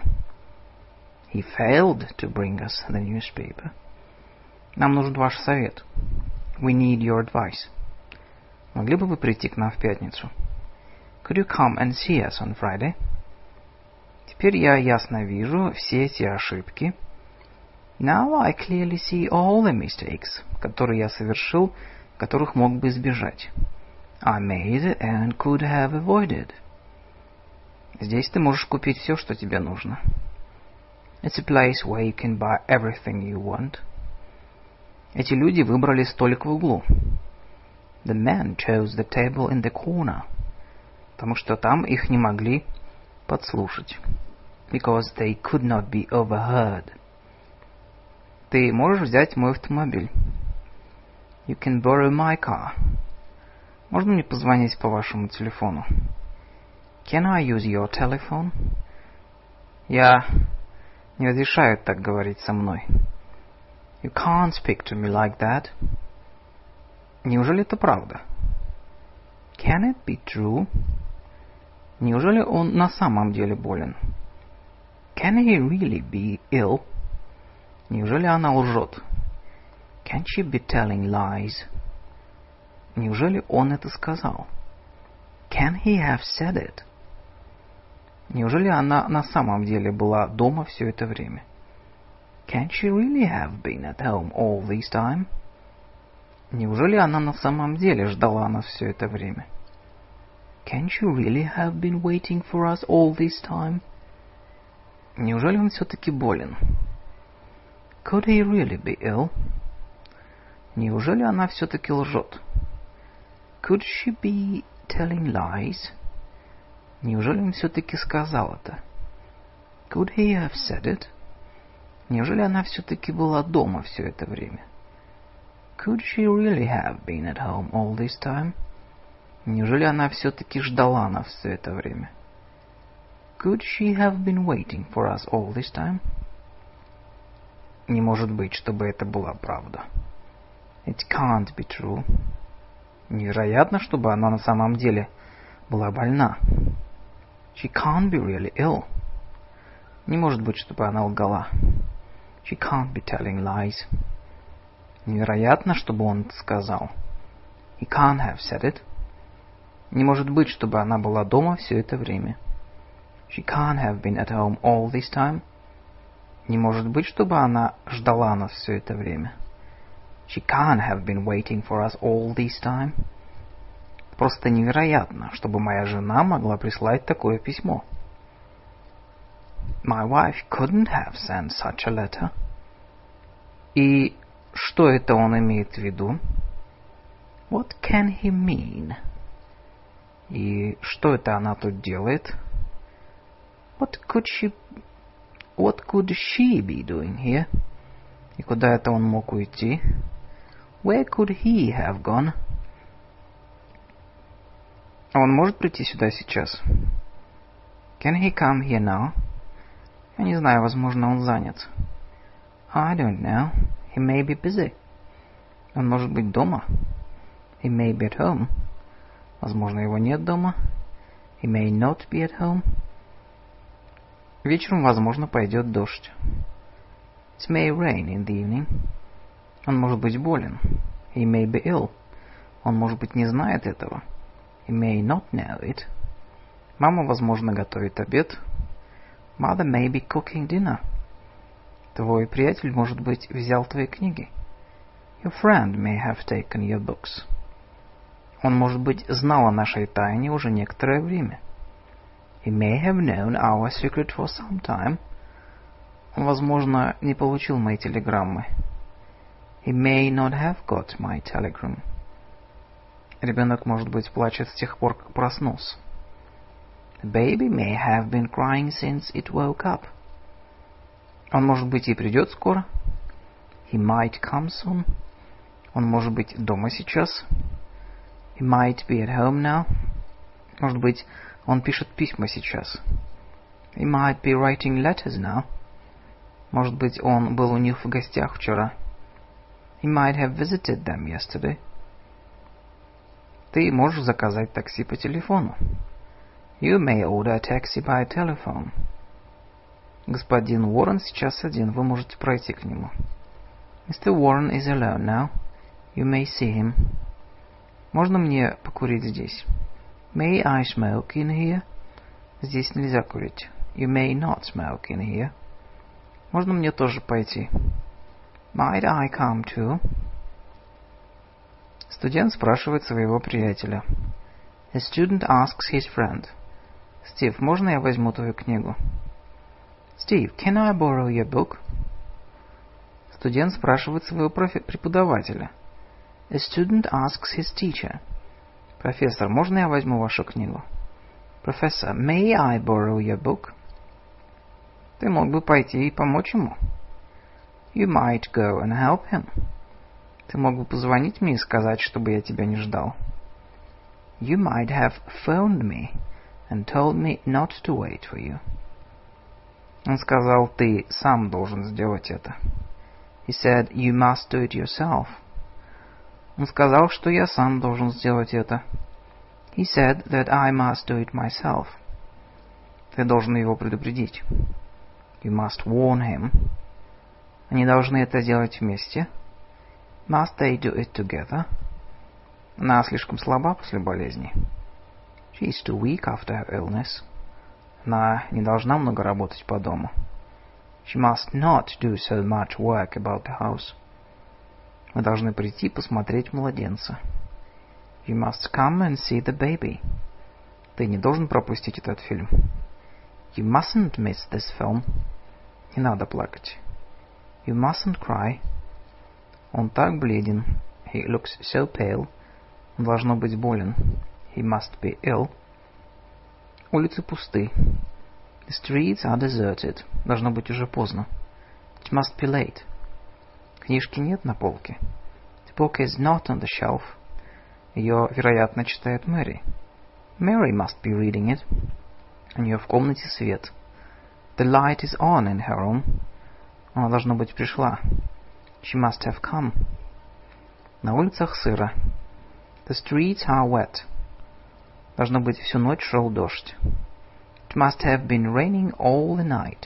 He failed to bring us the newspaper. Нам нужен ваш совет. We need your advice. Могли бы вы прийти к нам в пятницу? Could you come and see us on Friday? Теперь я ясно вижу все эти ошибки. Now I clearly see all the mistakes, которые я совершил, которых мог бы избежать. I made and could have avoided. Здесь ты можешь купить все, что тебе нужно. It's a place where you can buy everything you want. Эти люди выбрали столик в углу. The men chose the table in the corner. Потому что там их не могли подслушать. Because they could not be overheard. Ты можешь взять мой автомобиль. You can borrow my car. Можно мне позвонить по вашему телефону? Can I use your telephone? Я не разрешаю так говорить со мной. You can't speak to me like that. Неужели это правда? Can it be true? Неужели он на самом деле болен? Can he really be ill? Неужели она лжет? Can she be telling lies? Неужели он это сказал? Can he have said it? Неужели она на самом деле была дома все это время? Can she really have been at home all this time? Неужели она на самом деле ждала нас все это время? Can she really have been waiting for us all this time? Неужели он все-таки болен? Could he really be ill? Неужели она все-таки лжет? Could she be telling lies? Неужели он все-таки сказал это? Could he have said it? Неужели она все-таки была дома все это время? Could she really have been at home all this time? Неужели она все-таки ждала нас все это время? Could she have been waiting for us all this time? Не может быть, чтобы это была правда. It can't be true. Невероятно, чтобы она на самом деле была больна. She can't be really ill. Не может быть, чтобы она лгала. She can't be telling lies. Невероятно, чтобы он это сказал. He can't have said it. Не может быть, чтобы она была дома все это время. She can't have been at home all this time. Не может быть, чтобы она ждала нас все это время. She can't have been waiting for us all this time. Просто невероятно, чтобы моя жена могла прислать такое письмо. My wife couldn't have sent such a letter. И что это он имеет в виду? What can he mean? И что это она тут делает? What could she... What could she be doing here? И куда это он мог уйти? Where could he have gone? Он может прийти сюда сейчас? Can he come here now? Я не знаю, возможно, он занят. I don't know. He may be busy. Он может быть дома. He may be at home. Возможно, его нет дома. He may not be at home. Вечером, возможно, пойдет дождь. It may rain in the evening. Он может быть болен. He may be ill. Он, может быть, не знает этого. He may not know it. Мама, возможно, готовит обед. Mother may be cooking dinner. Твой приятель, может быть, взял твои книги. Your friend may have taken your books. Он, может быть, знал о нашей тайне уже некоторое время. He may have known our secret for some time. Он, возможно, не получил мои телеграммы. He may not have got my telegram. Ребенок, может быть, плачет с тех пор, как проснулся. The baby may have been crying since it woke up. Он, может быть, и придет скоро. He might come soon. Он, может быть, дома сейчас. He might be at home now. Может быть, он пишет письма сейчас. He might be writing letters now. Может быть, он был у них в гостях вчера. He might have visited them yesterday. Ты можешь заказать такси по телефону. You may order a taxi by telephone. Господин Уоррен сейчас один, вы можете пройти к нему. Mister Warren is alone now. You may see him. Можно мне покурить здесь? May I smoke in here? Здесь нельзя курить. You may not smoke in here. Можно мне тоже пойти? Might I come too? Студент спрашивает своего приятеля. A student asks his friend. Стив, можно я возьму твою книгу? Steve, can I borrow your book? Студент спрашивает своего преподавателя. A student asks his teacher. Профессор, можно я возьму вашу книгу? Professor, may I borrow your book? Ты мог бы пойти и помочь ему. You might go and help him. Ты мог бы позвонить мне и сказать, чтобы я тебя не ждал. You might have phoned me and told me not to wait for you. Он сказал, ты сам должен сделать это. He said, you must do it yourself. Он сказал, что я сам должен сделать это. He said that I must do it myself. Ты должен его предупредить. You must warn him. Они должны это делать вместе. Must they do it together? Она слишком слаба после болезни. She is too weak after her illness. Она не должна много работать по дому. She must not do so much work about the house. Вы должны прийти посмотреть младенца. You must come and see the baby. Ты не должен пропустить этот фильм. You mustn't miss this film. Не надо плакать. You mustn't cry. Он так бледен. He looks so pale. Он должно быть болен. He must be ill. Улицы пусты. The streets are deserted. Должно быть уже поздно. It must be late. Книжки нет на полке. The book is not on the shelf. Ее, вероятно, читает Мэри. Mary must be reading it. У нее в комнате свет. The light is on in her room. Она, должно быть, пришла. She must have come. На улицах сыро. The streets are wet. Должно быть, всю ночь шел дождь. It must have been raining all the night.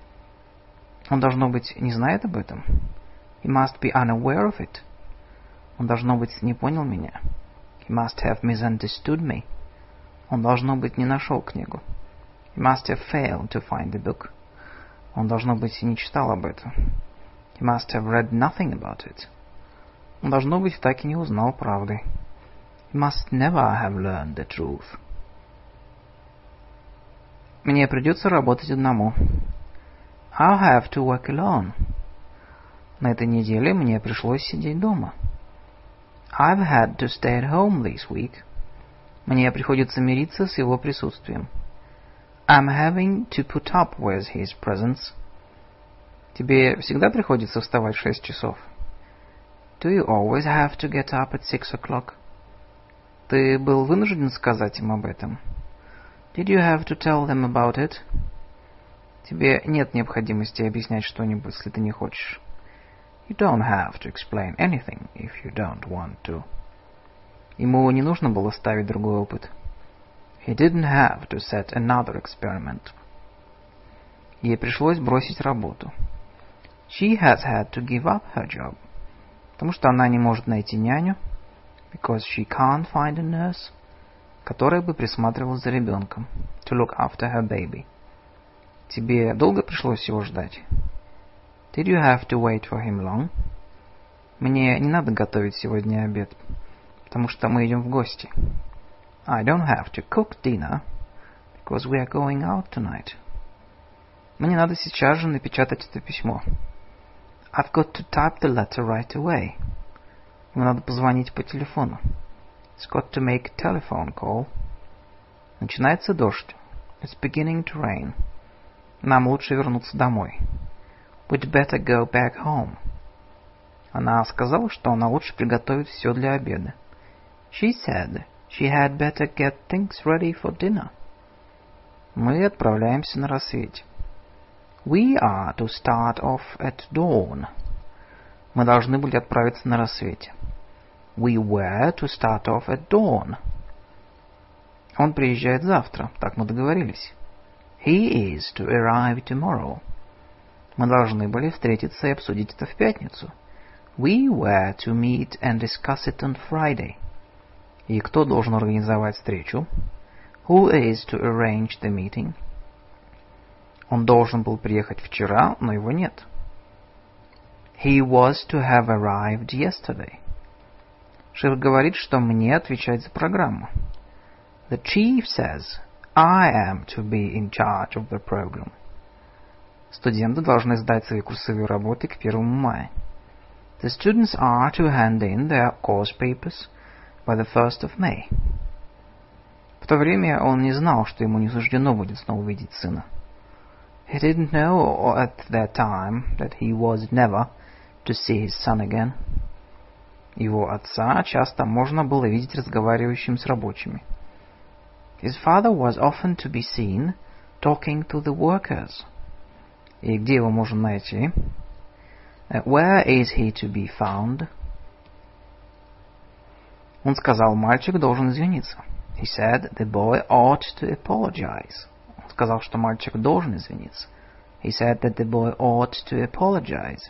Он, должно быть, не знает об этом. He must be unaware of it. Он, должно быть, не понял меня. He must have misunderstood me. Он, должно быть, не нашел книгу. He must have failed to find the book. Он, должно быть, не читал об этом. He must have read nothing about it. Он, должно быть, так и не узнал правды. He must never have learned the truth. Мне придется работать одному. I'll have to work alone. На этой неделе мне пришлось сидеть дома. I've had to stay at home this week. Мне приходится мириться с его присутствием. I'm having to put up with his presence. Тебе всегда приходится вставать в шесть часов? Do you always have to get up at six o'clock? Ты был вынужден сказать им об этом? Did you have to tell them about it? Тебе нет необходимости объяснять что-нибудь, если ты не хочешь. You don't have to explain anything if you don't want to. Ему не нужно было ставить другой опыт. He didn't have to set another experiment. Ей пришлось бросить работу. She has had to give up her job. Потому что она не может найти няню. Because she can't find a nurse. Которая бы присматривала за ребенком. To look after her baby. Тебе долго пришлось его ждать? Did you have to wait for him long? Мне не надо готовить сегодня обед, потому что мы идем в гости. I don't have to cook dinner, because we are going out tonight. Мне надо сейчас же напечатать это письмо. I've got to type the letter right away. Мне надо позвонить по телефону. It's got to make a telephone call. Начинается дождь. It's beginning to rain. Нам лучше вернуться домой. We'd better go back home. Она сказала, что она лучше приготовит все для обеда. She said she had better get things ready for dinner. Мы отправляемся на рассвете. We are to start off at dawn. Мы должны были отправиться на рассвете. We were to start off at dawn. Он приезжает завтра, так мы договорились. He is to arrive tomorrow. Мы должны были встретиться и обсудить это в пятницу. We were to meet and discuss it on Friday. И кто должен организовать встречу? Who is to arrange the meeting? Он должен был приехать вчера, но его нет. He was to have arrived yesterday. Шеф говорит, что мне отвечать за программу. The chief says I am to be in charge of the program. Студенты должны сдать свои курсовые работы к первому мая. The students are to hand in their course papers by the first of May. В то время он не знал, что ему не суждено будет снова видеть сына. He didn't know at that time that he was never to see his son again. Его отца часто можно было видеть разговаривающим с рабочими. His father was often to be seen talking to the workers. И где его можно найти? Uh, where is he to be found? Он сказал, мальчик должен извиниться. He said the boy ought to apologize. Он сказал, что мальчик должен извиниться. He said that the boy ought to apologize.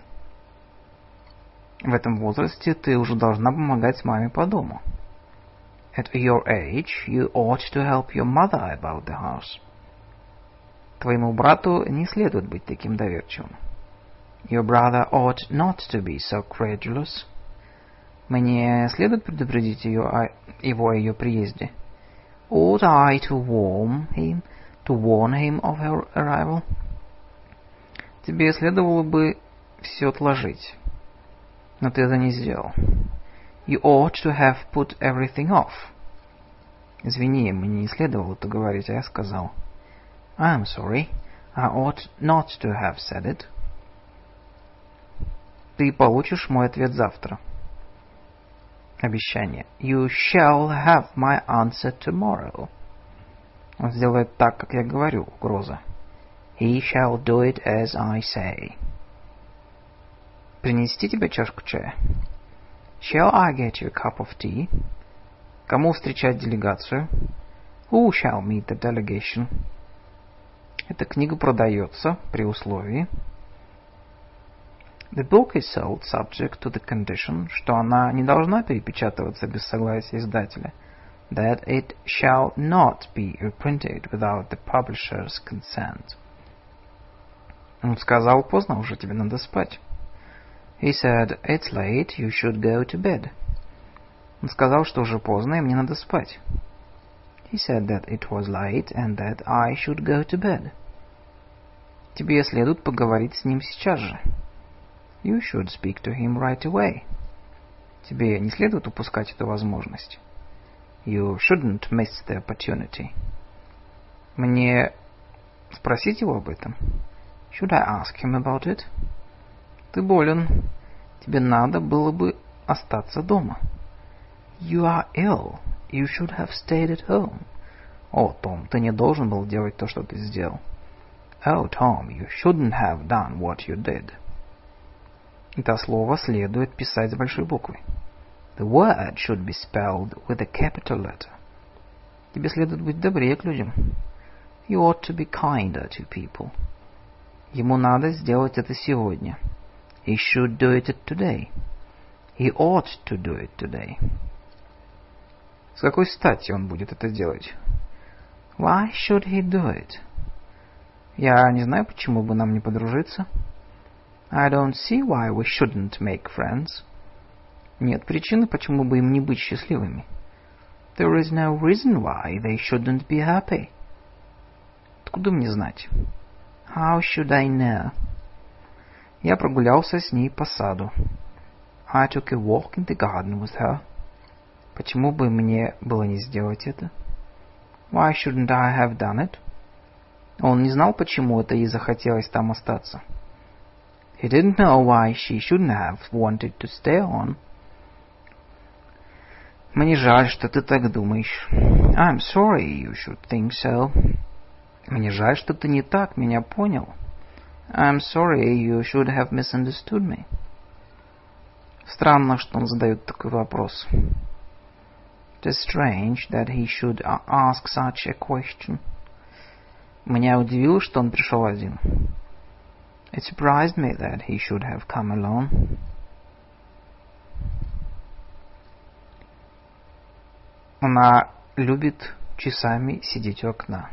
В этом возрасте ты уже должна помогать маме по дому. At your age, you ought to help your mother about the house. Твоему брату не следует быть таким доверчивым. Your brother ought not to be so credulous. Мне следует предупредить ее о, его о ее приезде. Ought I to warn him, to warn him of her arrival? Тебе следовало бы все отложить, но ты это не сделал. You ought to have put everything off. Извини, мне не следовало это говорить, а я сказал. I'm sorry, I ought not to have said it. Ты получишь мой ответ завтра. Обещание. You shall have my answer tomorrow. Он сделает так, как я говорю, угроза. He shall do it as I say. Принести тебе чашку чая? Shall I get you a cup of tea? Кому встречать делегацию? Who shall meet the delegation? Эта книга продается при условии. The book is sold subject to the condition, что она не должна перепечатываться без согласия издателя. That it shall not be reprinted without the publisher's consent. Он сказал, поздно уже, тебе надо спать. He said, it's late, you should go to bed. Он сказал, что уже поздно, и мне надо спать. He said that it was late and that I should go to bed. Тебе следует поговорить с ним сейчас же. You should speak to him right away. Тебе не следует упускать эту возможность. You shouldn't miss the opportunity. Мне спросить его об этом? Should I ask him about it? Ты болен. Тебе надо было бы остаться дома. You are ill. You should have stayed at home. О, Том, ты не должен был делать то, что ты сделал. Oh, Tom, you shouldn't have done what you did. Это слово следует писать с большой буквы. The word should be spelled with a capital letter. Тебе следует быть добрее к людям. You ought to be kinder to people. Ему надо сделать это сегодня. He should do it today. He ought to do it today. С какой стати он будет это делать? Why should he do it? Я не знаю, почему бы нам не подружиться. I don't see why we shouldn't make friends. Нет причины, почему бы им не быть счастливыми. There is no reason why they shouldn't be happy. Откуда мне знать? How should I know? Я прогулялся с ней по саду. I took a walk in the garden with her. Почему бы мне было не сделать это? Why shouldn't I have done it? Он не знал, почему это ей захотелось там остаться. He didn't know why she shouldn't have wanted to stay on. Мне жаль, что ты так думаешь. I'm sorry you should think so. Мне жаль, что ты не так меня понял. I'm sorry you should have misunderstood me. Странно, что он задает такой вопрос. It is strange that he should ask such a question. Меня удивило, что он пришел один. It surprised me that he should have come alone. Она любит часами сидеть у окна.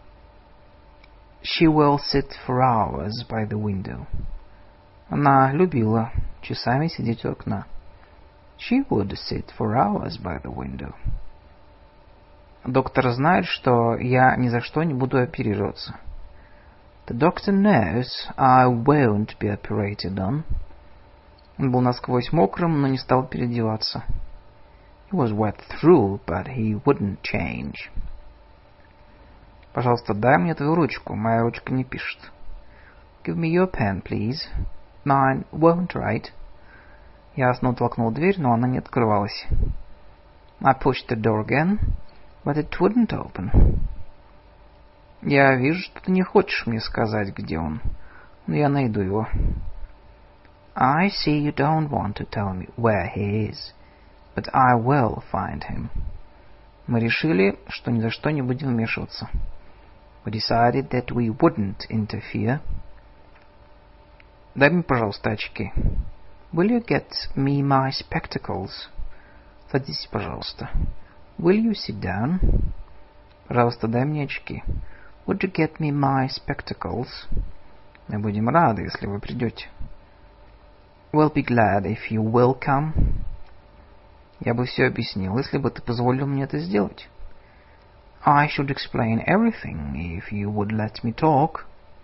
She will sit for hours by the window. Она любила часами сидеть у окна. She would sit for hours by the window. Доктор знает, что я ни за что не буду оперироваться. The doctor knows I won't be operated on. Он был насквозь мокрым, но не стал переодеваться. He was wet through, but he wouldn't change. Пожалуйста, дай мне твою ручку. Моя ручка не пишет. Give me your pen, please. Mine won't write. Я снова толкнул дверь, но она не открывалась. I pushed the door again, but it wouldn't open. Я вижу, что ты не хочешь мне сказать, где он. Но я найду его. I see you don't want to tell me where he is, but I will find him. Мы решили, что ни за что не будем вмешиваться. We decided that we wouldn't interfere. Дай мне, пожалуйста, очки. Will you get me my spectacles? Садись, пожалуйста. Will you sit down? Пожалуйста, дай мне очки. Would you get me my spectacles? Мы будем рады, если вы придете. We'll be glad if you will come. Я бы все объяснил, если бы ты позволил мне это сделать. I should explain everything if you would let me talk.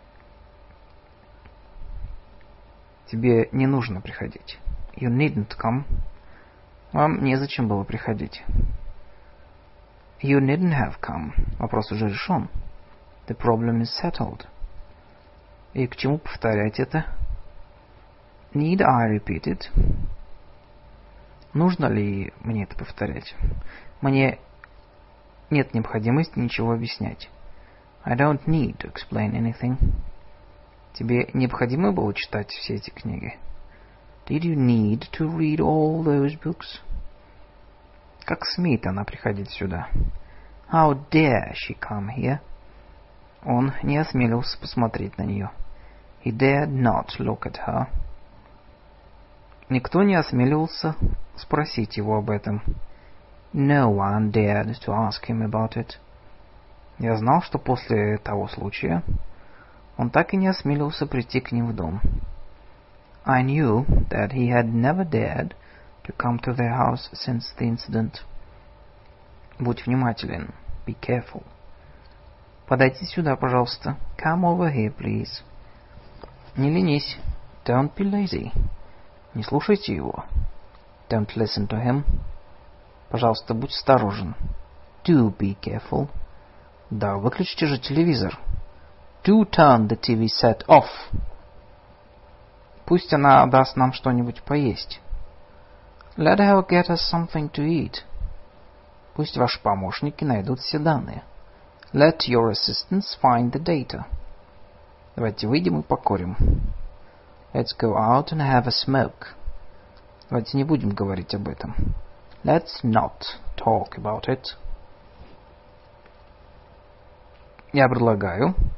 Тебе не нужно приходить. You needn't come. Вам незачем было приходить. You needn't have come. Вопрос уже решен. The problem is settled. И к чему повторять это? Need I repeat it? Нужно ли мне это повторять? Мне нет необходимости ничего объяснять. I don't need to explain anything. Тебе необходимо было читать все эти книги? Did you need to read all those books? Как смеет она приходить сюда? How dare she come here? Он не осмелился посмотреть на нее. He dared not look at her. Никто не осмеливался спросить его об этом. No one dared to ask him about it. Я знал, что после того случая он так и не осмелился прийти к ним в дом. I knew that he had never dared to come to their house since the incident. Будь внимателен. Be careful. Подойди сюда, пожалуйста. Come over here, please. Не ленись. Don't be lazy. Не слушайте его. Don't listen to him. Пожалуйста, будь осторожен. Do be careful. Да, выключите же телевизор. Do turn the ти ви set off. Пусть она даст нам что-нибудь поесть. Let her get us something to eat. Пусть ваши помощники найдут все данные. Let your assistants find the data. Давайте выйдем и покурим. Let's go out and have a smoke. Давайте не будем говорить об этом. Let's not talk about it. Я предлагаю,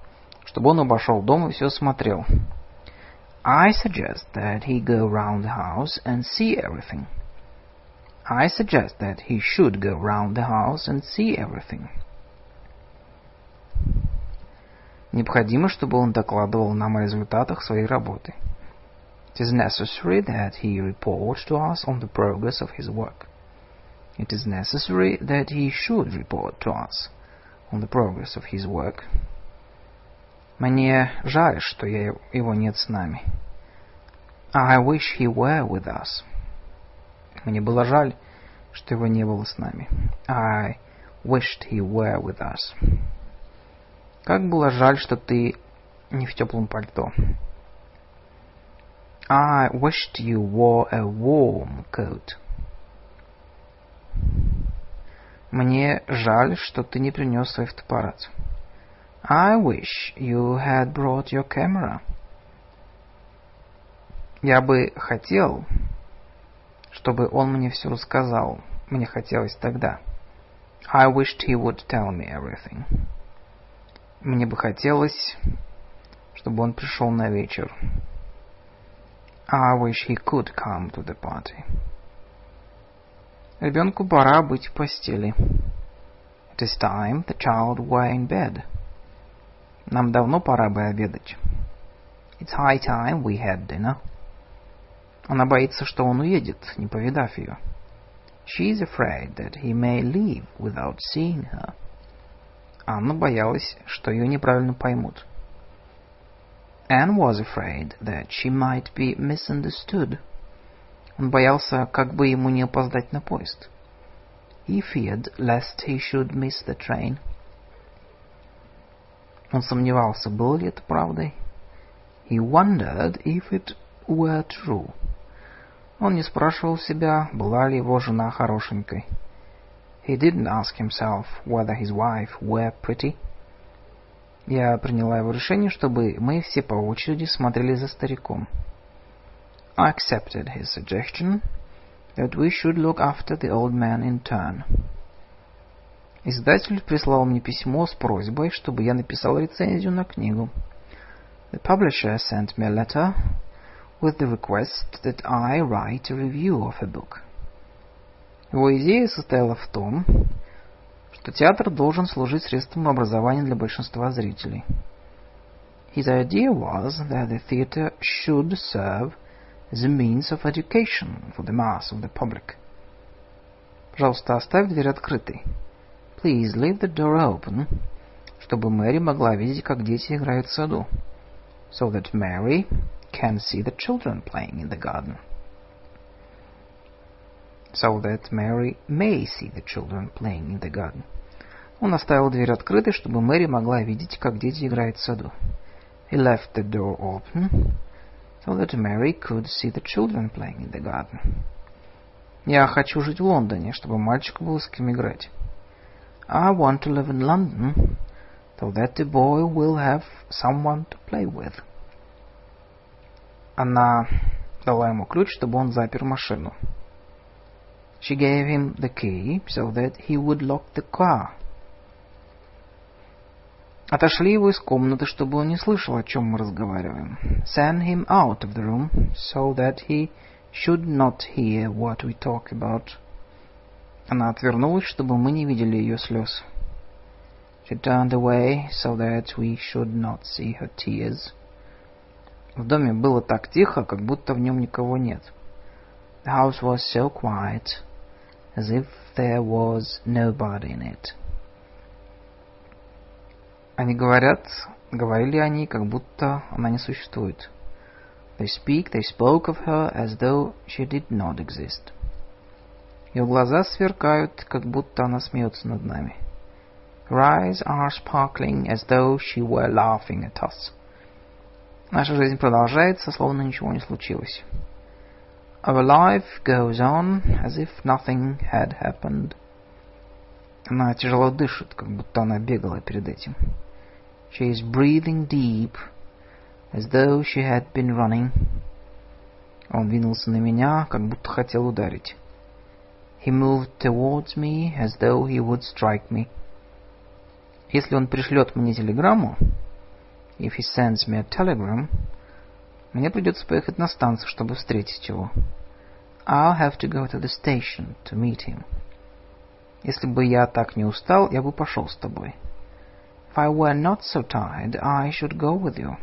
чтобы он обошел дом и все смотрел. I suggest that he go round the house and see everything. I suggest that he should go round the house and see everything. Необходимо, чтобы он докладывал нам о результатах своей работы. It is necessary that he report to us on the progress of his work. It is necessary that he should report to us on the progress of his work. Мне жаль, что я, его нет с нами. I wish he were with us. Мне было жаль, что его не было с нами. I wished he were with us. Как было жаль, что ты не в теплом пальто. I wished you wore a warm coat. Мне жаль, что ты не принес свой фотоаппарат. I wish you had brought your camera. Я бы хотел, чтобы он мне все рассказал. Мне хотелось тогда. I wished he would tell me everything. Мне бы хотелось, чтобы он пришел на вечер. I wish he could come to the party. Ребенку пора быть в постели. It is time the child were in bed. Нам давно пора бы обедать. It's high time we had dinner. Она боится, что он уедет, не повидав ее. She is afraid that he may leave without seeing her. Анна боялась, что ее неправильно поймут. Anne was afraid that she might be misunderstood. Он боялся, как бы ему не опоздать на поезд. He feared lest he should miss the train. Он сомневался, было ли это правдой. He wondered if it were true. Он не спрашивал себя, была ли его жена хорошенькой. He didn't ask himself whether his wife were pretty. Я приняла его решение, чтобы мы все по очереди смотрели за стариком. I accepted his suggestion that we should look after the old man in turn. Издатель прислал мне письмо с просьбой, чтобы я написал рецензию на книгу. The publisher sent me a letter with the request that I write a review of a book. Его идея состояла в том, что театр должен служить средством образования для большинства зрителей. His idea was that the theater should serve as a means of education for the mass of the public. Пожалуйста, оставь дверь открытой. Please leave the door open, чтобы Мэри могла видеть, как дети играют в саду. So that Mary can see the children playing in the garden. So that Mary may see the children playing in the garden. Он оставил дверь открытой, чтобы Мэри могла видеть, как дети играют в саду. He left the door open, so that Mary could see the children playing in the garden. Я хочу жить в Лондоне, чтобы мальчику было с кем играть. I want to live in London, so that the boy will have someone to play with. Она дала ему ключ, чтобы он запер машину. She gave him the key, so that he would lock the car. Отошли его из комнаты, чтобы он не слышал, о чем мы разговариваем. Send him out of the room, so that he should not hear what we talk about. Она отвернулась, чтобы мы не видели ее слез. She turned away, so that we should not see her tears. В доме было так тихо, как будто в нем никого нет. The house was so quiet, as if there was nobody in it. Они говорят, говорили они, как будто она не существует. They speak, they spoke of her as though she did not exist. Ее глаза сверкают, как будто она смеется над нами. Her eyes are sparkling, as though she were laughing at us. Наша жизнь продолжается, словно ничего не случилось. Our life goes on, as if nothing had happened. Она тяжело дышит, как будто она бегала перед этим. She is breathing deep, as though she had been running. Он двинулся на меня, как будто хотел ударить. He moved towards me, as though he would strike me. Если он пришлет мне телеграмму, If he sends me a telegram, мне придется поехать на станцию, чтобы встретить его. I'll have to go to the station to meet him. Если бы я так не устал, я бы пошел с тобой. If I were not so tired, I should go with you.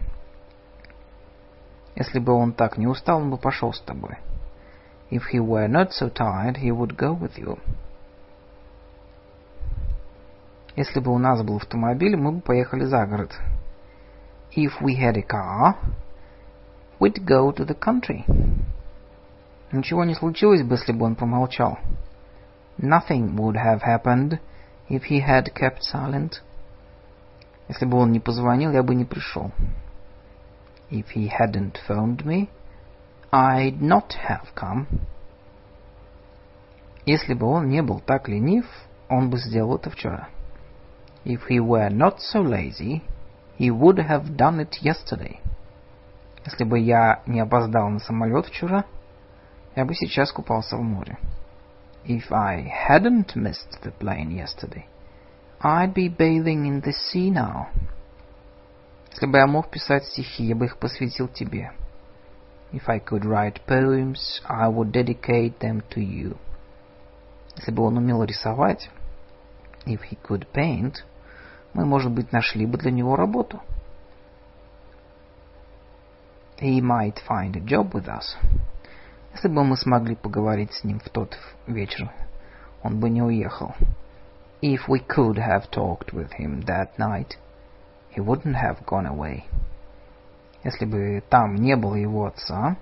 Если бы он так не устал, он бы пошел с тобой. If he were not so tired, he would go with you. Если бы у нас был автомобиль, мы бы поехали за город. If we had a car, we'd go to the country. Ничего не случилось бы, если бы он помолчал. Nothing would have happened if he had kept silent. Если бы он не позвонил, я бы не пришел. If he hadn't phoned me, I'd not have come. Если бы он не был так ленив, он бы сделал это вчера. If he were not so lazy, he would have done it yesterday. Если бы я не опоздал на самолет вчера, я бы сейчас купался в море. If I hadn't missed the plane yesterday, I'd be bathing in the sea now. Если бы я мог писать стихи, я бы их посвятил тебе. If I could write poems, I would dedicate them to you. Если бы он умел рисовать, if he could paint, мы, может быть, нашли бы для него работу. He might find a job with us. Если бы мы смогли поговорить с ним в тот вечер, он бы не уехал. If we could have talked with him that night, he wouldn't have gone away. Если бы там не было его отца,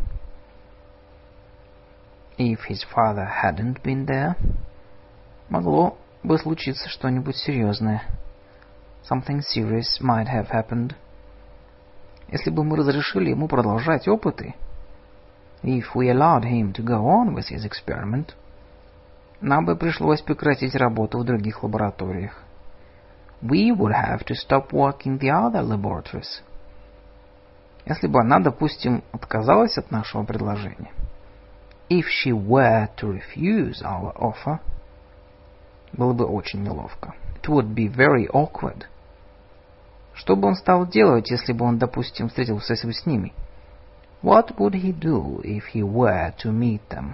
if his father hadn't been there, могло бы случиться что-нибудь серьезное. Something serious might have happened. Если бы мы разрешили ему продолжать опыты, if we allowed him to go on with his experiment, нам бы пришлось прекратить работу в других лабораториях. We would have to stop work in the other laboratories. Если бы она, допустим, отказалась от нашего предложения, if she were to refuse our offer, было бы очень неловко. It would be very awkward. Что бы он стал делать, если бы он, допустим, встретился с ними? What would he do if he were to meet them?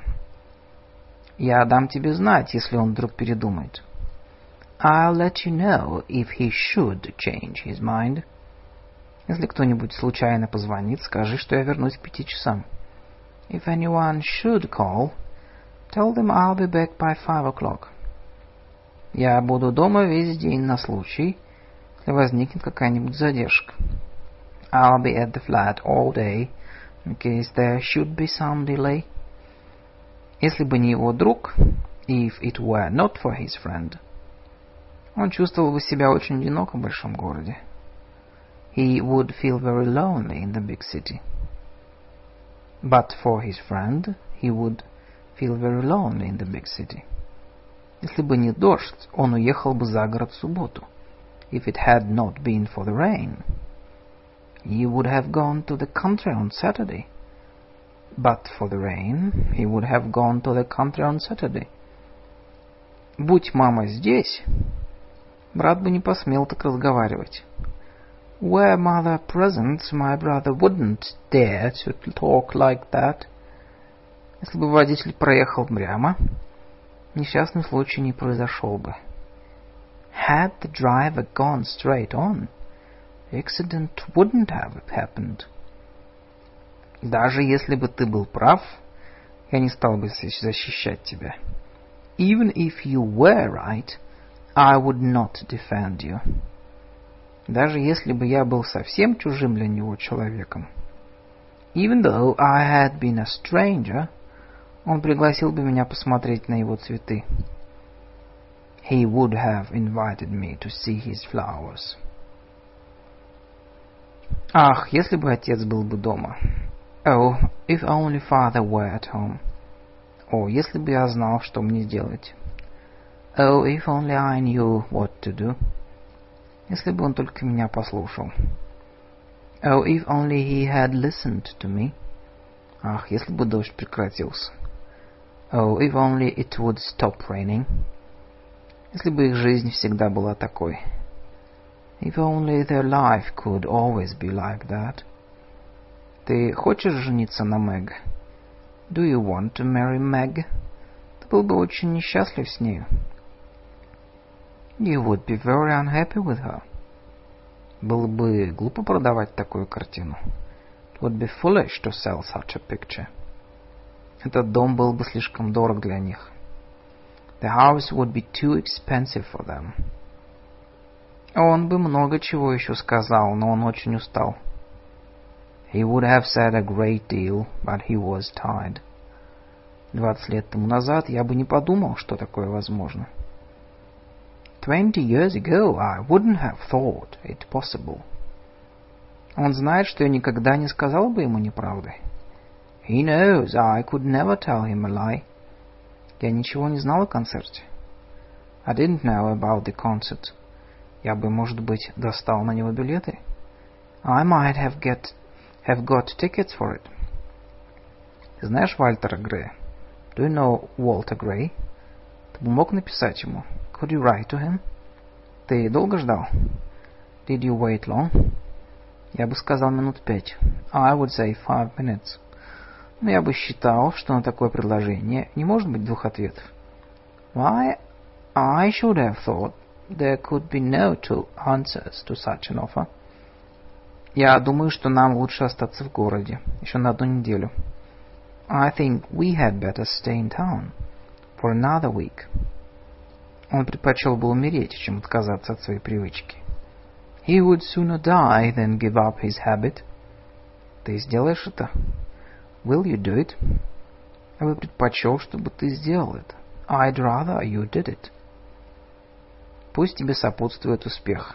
Я дам тебе знать, если он вдруг передумает. I'll let you know if he should change his mind. Если кто-нибудь случайно позвонит, скажи, что я вернусь к пяти часам. If anyone should call, tell them I'll be back by five o'clock. Я буду дома весь день на случай, если возникнет какая-нибудь задержка. I'll be at the flat all day, in case there should be some delay. Если бы не его друг, if it were not for his friend, он чувствовал бы себя очень одиноко в большом городе. He would feel very lonely in the big city. But for his friend, he would feel very lonely in the big city. Если бы не дождь, он уехал бы за город в субботу. If it had not been for the rain, he would have gone to the country on Saturday. But for the rain, he would have gone to the country on Saturday. Будь мама здесь, брат бы не посмел так разговаривать. Were mother present, my brother wouldn't dare to talk like that. Если бы водитель проехал прямо, несчастный случай не произошел бы. Had the driver gone straight on, the accident wouldn't have happened. Даже если бы ты был прав, я не стал бы защищать тебя. Even if you were right, I would not defend you. Даже если бы я был совсем чужим для него человеком. Even though I had been a stranger, он пригласил бы меня посмотреть на его цветы. He would have invited me to see his flowers. Ах, если бы отец был бы дома. Oh, if only father were at home. О, если бы я знал, что мне делать. Oh, if only I knew what to do. Если бы он только меня послушал. Oh, if only he had listened to me. Ах, если бы дождь прекратился. Oh, if only it would stop raining. Если бы их жизнь всегда была такой. If only their life could always be like that. Ты хочешь жениться на Мэг? Do you want to marry Meg? Ты был бы очень несчастлив с нею. You would be very unhappy with her. Было бы глупо продавать такую картину. It would be foolish to sell such a picture. Этот дом был бы слишком дорог для них. The house would be too expensive for them. Он бы много чего еще сказал, но он очень устал. He would have said a great deal, but he was tired. Двадцать лет тому назад я бы не подумал, что такое возможно. Twenty years ago I wouldn't have thought it possible. Он знает, что я никогда не сказал бы ему неправды. He knows I could never tell him a lie. Я ничего не знал о концерте. I didn't know about the concert. Я бы, может быть, достал на него билеты. I might have get have got tickets for it. Ты знаешь Вальтера Грея? Do you know Walter Gray? Ты бы мог написать ему? Could you write to him? Ты долго ждал? Did you wait long? Я бы сказал минут пять. I would say five minutes. Но я бы считал, что на такое предложение не может быть двух ответов. Why, I should have thought there could be no two answers to such an offer. Я думаю, что нам лучше остаться в городе еще на одну неделю. I think we had better stay in town for another week. Он предпочел бы умереть, чем отказаться от своей привычки. He would sooner die than give up his habit. Ты сделаешь это? Will you do it? Я бы предпочел, чтобы ты сделал это. I'd rather you did it. Пусть тебе сопутствует успех.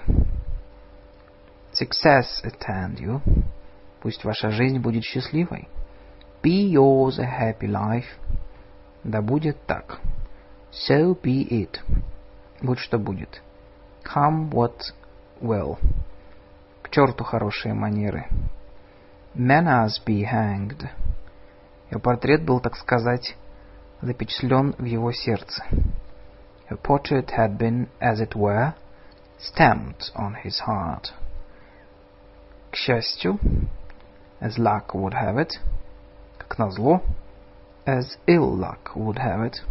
Success attend you. Пусть ваша жизнь будет счастливой. Be yours a happy life. Да будет так. So be it. Будь что будет. Come what will. К черту хорошие манеры. Manners be hanged. Его портрет был, так сказать, запечатлен в его сердце. Her portrait had been, as it were, stamped on his heart. К счастью, as luck would have it, как назло, as ill luck would have it.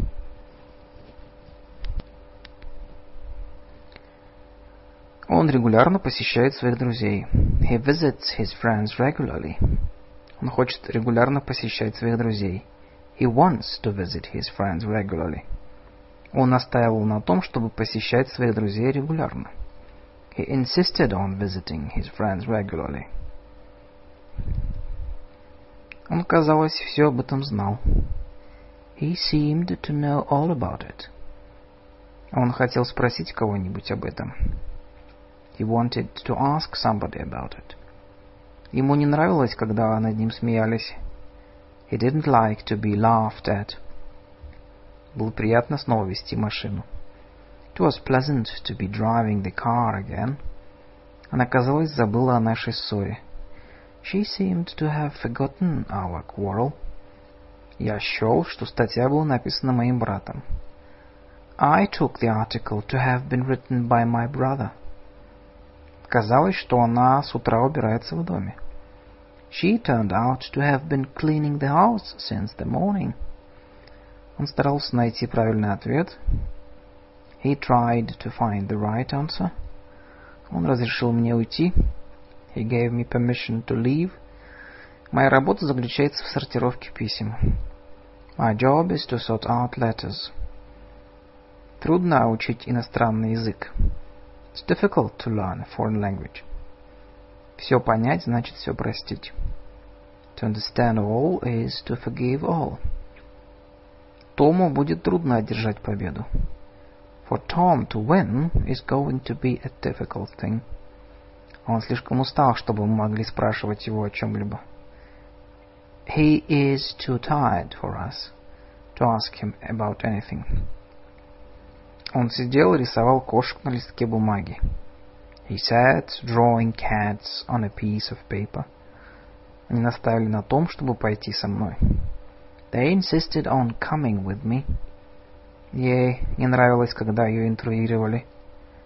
Он регулярно посещает своих друзей. He visits his friends regularly. Он хочет регулярно посещать своих друзей. He wants to visit his friends regularly. Он настаивал на том, чтобы посещать своих друзей регулярно. He insisted on visiting his friends regularly. Он, казалось, все об этом знал. He seemed to know all about it. Он хотел спросить кого-нибудь об этом. He wanted to ask somebody about it. Ему не нравилось, когда над ним смеялись. He didn't like to be laughed at. Было приятно снова вести машину. It was pleasant to be driving the car again. Она, казалось, забыла о нашей ссоре. She seemed to have forgotten our quarrel. Я счел, что статья была написана моим братом. I took the article to have been written by my brother. Казалось, что она с утра убирается в доме. She turned out to have been cleaning the house since the morning. Он старался найти правильный ответ. He tried to find the right answer. Он разрешил мне уйти. He gave me permission to leave. Моя работа заключается в сортировке писем. My job is to sort out letters. Трудно учить иностранный язык. It's difficult to learn a foreign language. Все понять значит все простить. To understand all is to forgive all. Тому будет трудно одержать победу. For Tom to win is going to be a difficult thing. Он слишком устал, чтобы мы могли спрашивать его о чем-либо. He is too tired for us to ask him about anything. Он сидел и рисовал кошек на листке бумаги. He sat drawing cats on a piece of paper. Они наставили на том, чтобы пойти со мной. They insisted on coming with me. Ей не нравилось, когда ее интруировали.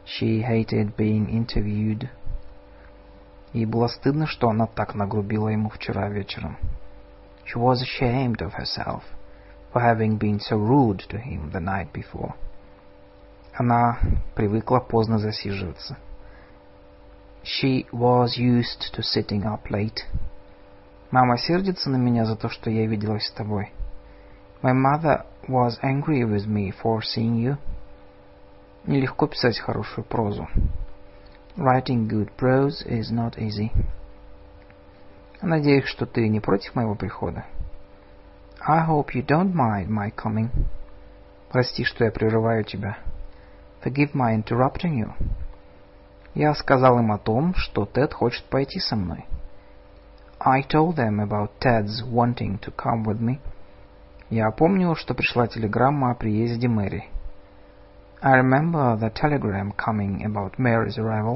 She hated being interviewed. Ей было стыдно, что она так нагрубила ему вчера вечером. She was ashamed of herself for having been so rude to him the night before. Она привыкла поздно засиживаться. She was used to sitting up late. Мама сердится на меня за то, что я виделась с тобой. My mother was angry with me for seeing you. Нелегко писать хорошую прозу. Writing good prose is not easy. Надеюсь, что ты не против моего прихода. I hope you don't mind my coming. Прости, что я прерываю тебя. Forgive my interrupting you. Я сказал им о том, что Тед хочет пойти со мной. I told them about Ted's wanting to come with me. Я помню, что пришла телеграмма о приезде Мэри. I remember the telegram coming about Mary's arrival.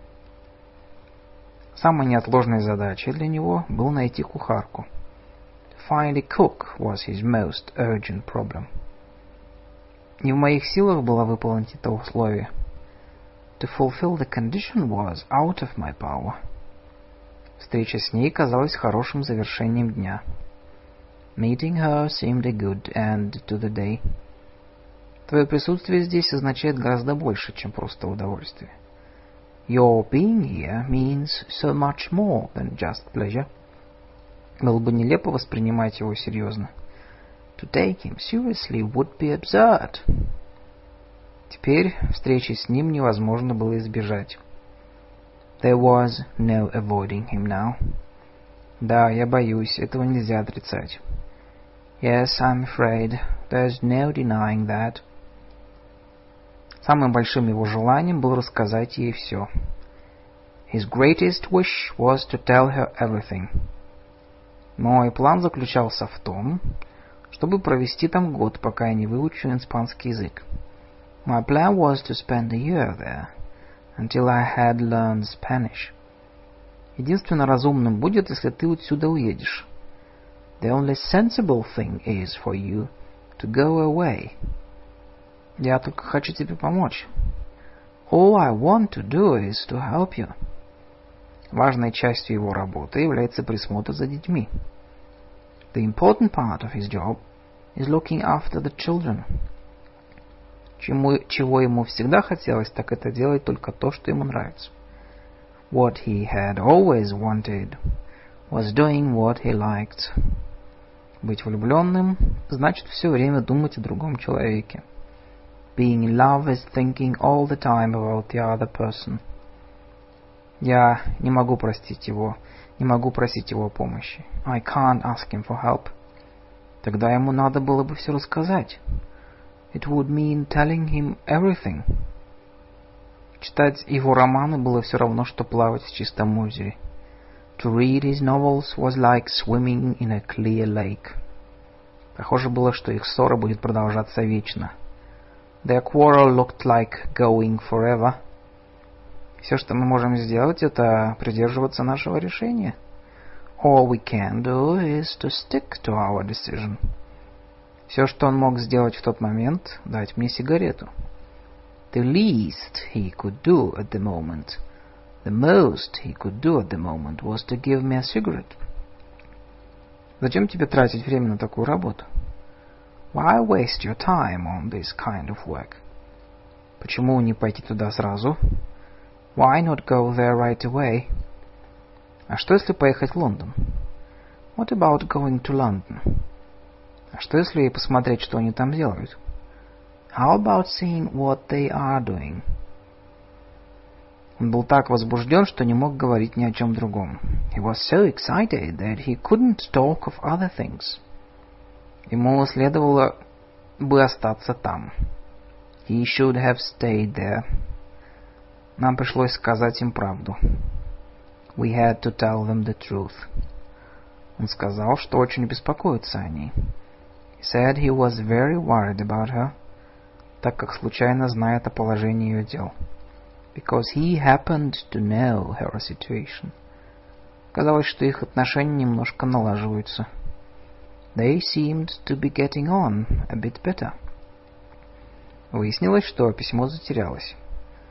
Самой неотложной задачей для него было найти кухарку. To find a cook was his most urgent problem. Не в моих силах было выполнить это условие. To fulfill the condition was out of my power. Встреча с ней казалась хорошим завершением дня. Meeting her seemed a good end to the day. Твое присутствие здесь означает гораздо больше, чем просто удовольствие. Your being here means so much more than just pleasure. Было бы нелепо воспринимать его серьезно. To take him seriously would be absurd. Теперь встречи с ним невозможно было избежать. There was no avoiding him now. Да, я боюсь, этого нельзя отрицать. Yes, I'm afraid. There's no denying that. Самым большим его желанием было рассказать ей все. His greatest wish was to tell her everything. Мой план заключался в том, чтобы провести там год, пока я не выучу испанский язык. My plan was to spend a year there, until I had learned Spanish. Единственно разумным будет, если ты отсюда уедешь. The only sensible thing is for you to go away. Я только хочу тебе помочь. All I want to do is to help you. Важной частью его работы является присмотр за детьми. The important part of his job is looking after the children. Чему, чего ему всегда хотелось, так это делать только то, что ему нравится. What he had always wanted was doing what he liked. Быть влюбленным значит все время думать о другом человеке. Being in love is thinking all the time about the other person. Я не могу простить его, не могу просить его о помощи. I can't ask him for help. Тогда ему надо было бы все рассказать. It would mean telling him everything. Читать его романы было все равно, что плавать в чистом озере. To read his novels was like swimming in a clear lake. Похоже было, что их ссора будет продолжаться вечно. Their quarrel looked like going forever. Все, что мы можем сделать, это придерживаться нашего решения. All we can do is to stick to our decision. Все, что он мог сделать в тот момент, дать мне сигарету. The least he could do at the moment, the most he could do at the moment was to give me a cigarette. Зачем тебе тратить время на такую работу? Why waste your time on this kind of work? Почему не пойти туда сразу? Why not go there right away? А что если поехать в Лондон? What about going to London? А что если посмотреть, что они там делают? How about seeing what they are doing? Он был так возбужден, что не мог говорить ни о чем другом. He was so excited that he couldn't talk of other things. Ему следовало бы остаться там. He should have stayed there. Нам пришлось сказать им правду. We had to tell them the truth. Он сказал, что очень беспокоится о ней. He said he was very worried about her, так как случайно знает о положении ее дел. Because he happened to know her situation. Казалось, что их отношения немножко налаживаются. They seemed to be getting on a bit better. Выяснилось, что письмо затерялось.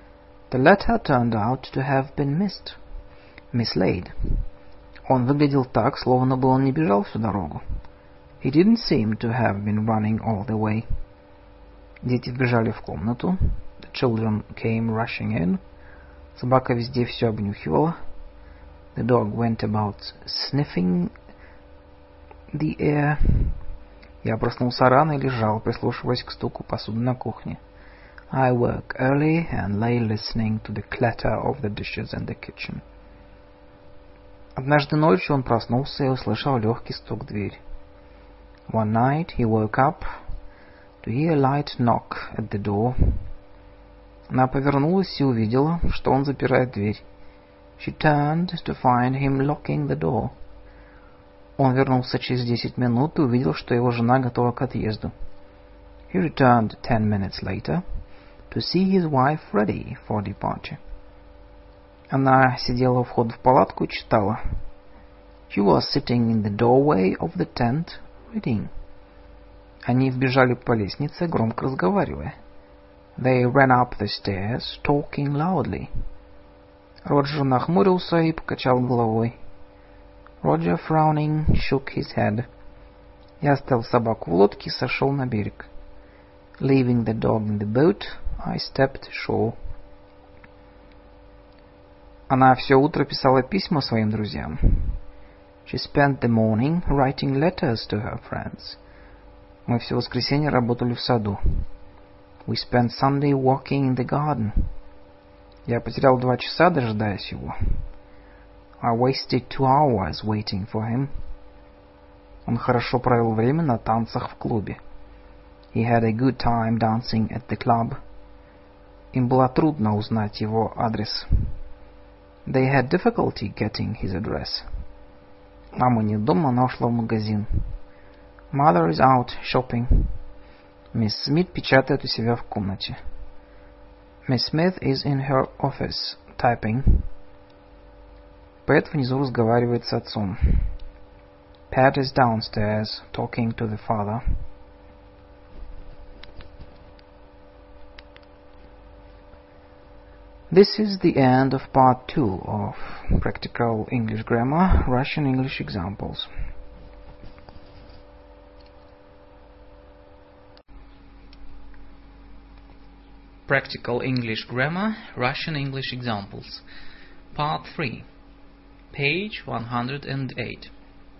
The letter turned out to have been missed, mislaid. Он выглядел так, словно бы он не бежал всю дорогу. He didn't seem to have been running all the way. Дети вбежали в комнату. The children came rushing in. Собака везде все обнюхивала. The dog went about sniffing the air. Я проснулся рано и лежал, прислушиваясь к стуку посуды на кухне. I woke early and lay listening to the clatter of the dishes in the kitchen. Однажды ночью он проснулся и услышал легкий стук в дверь. One night he woke up to hear a light knock at the door. Она повернулась и увидела, что он запирает дверь. She turned to find him locking the door. Он вернулся через десять минут и увидел, что его жена готова к отъезду. He returned ten minutes later to see his wife ready for departure. Она сидела у входа в палатку и читала. She was sitting in the doorway of the tent, reading. Они вбежали по лестнице, громко разговаривая. They ran up the stairs, talking loudly. Роджер нахмурился и покачал головой. Roger, frowning, shook his head. Я оставил собаку в лодке и сошел на берег. Leaving the dog in the boat, I stepped ashore. Она все утро писала письма своим друзьям. She spent the morning writing letters to her friends. Мы все воскресенье работали в саду. We spent Sunday walking in the garden. Я потерял два часа, дожидаясь его. I wasted two hours waiting for him. Он хорошо провел время на танцах в клубе. He had a good time dancing at the club. Им было трудно узнать его адрес. They had difficulty getting his address. Мама не дома, она ушла в магазин. Mother is out shopping. Мисс Смит печатает у себя в комнате. Miss Smith is in her office, typing. Пэт внизу разговаривает с отцом. Pat is downstairs, talking to the father. This is the end of part two of Practical English Grammar, Russian English Examples. Practical English Grammar, Russian English Examples. Part three. Page one hundred eight.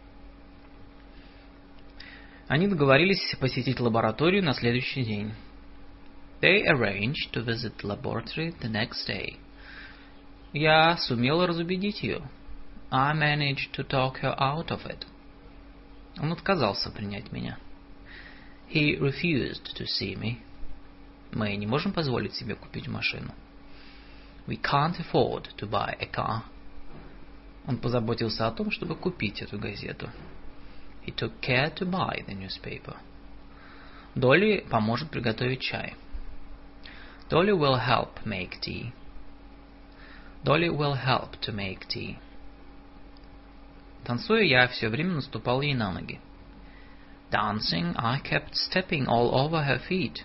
Они договорились посетить лабораторию на следующий день. They arranged to visit the laboratory the next day. Я сумел разубедить ее. I managed to talk her out of it. Он отказался принять меня. He refused to see me. Мы не можем позволить себе купить машину. We can't afford to buy a car. Он позаботился о том, чтобы купить эту газету. He took care to buy the newspaper. Долли поможет приготовить чай. Dolly will help make tea. Dolly will help to make tea. Танцуя, я все время наступал ей на ноги. Dancing, I kept stepping all over her feet.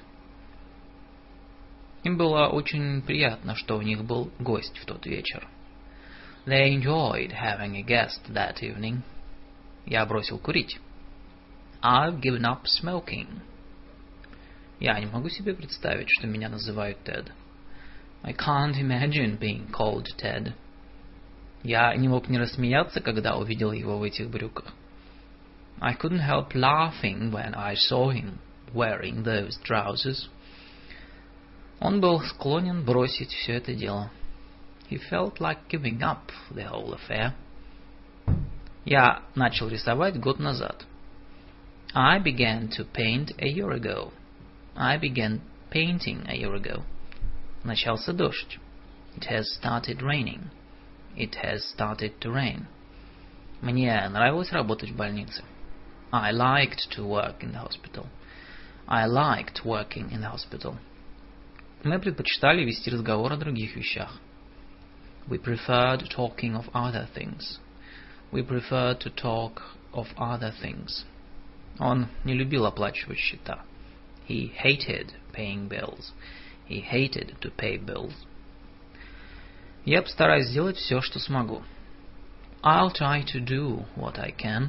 Им было очень приятно, что у них был гость в тот вечер. They enjoyed having a guest that evening. Я бросил курить. I've given up smoking. Я не могу себе представить, что меня называют Тед. I can't imagine being called Ted. Я не мог не рассмеяться, когда увидел его в этих брюках. I couldn't help laughing when I saw him wearing those trousers. Он был склонен бросить все это дело. He felt like giving up the whole affair. Я начал рисовать год назад. I began to paint a year ago. I began painting a year ago. Начался дождь. It has started raining. It has started to rain. Мне нравилось работать в больнице. I liked to work in the hospital. I liked working in the hospital. Мы предпочитали вести разговор о других вещах. We preferred talking of other things. We preferred to talk of other things. Он не любил оплачивать счета. He hated paying bills. He hated to pay bills. Я постараюсь сделать все, что смогу. I'll try to do what I can.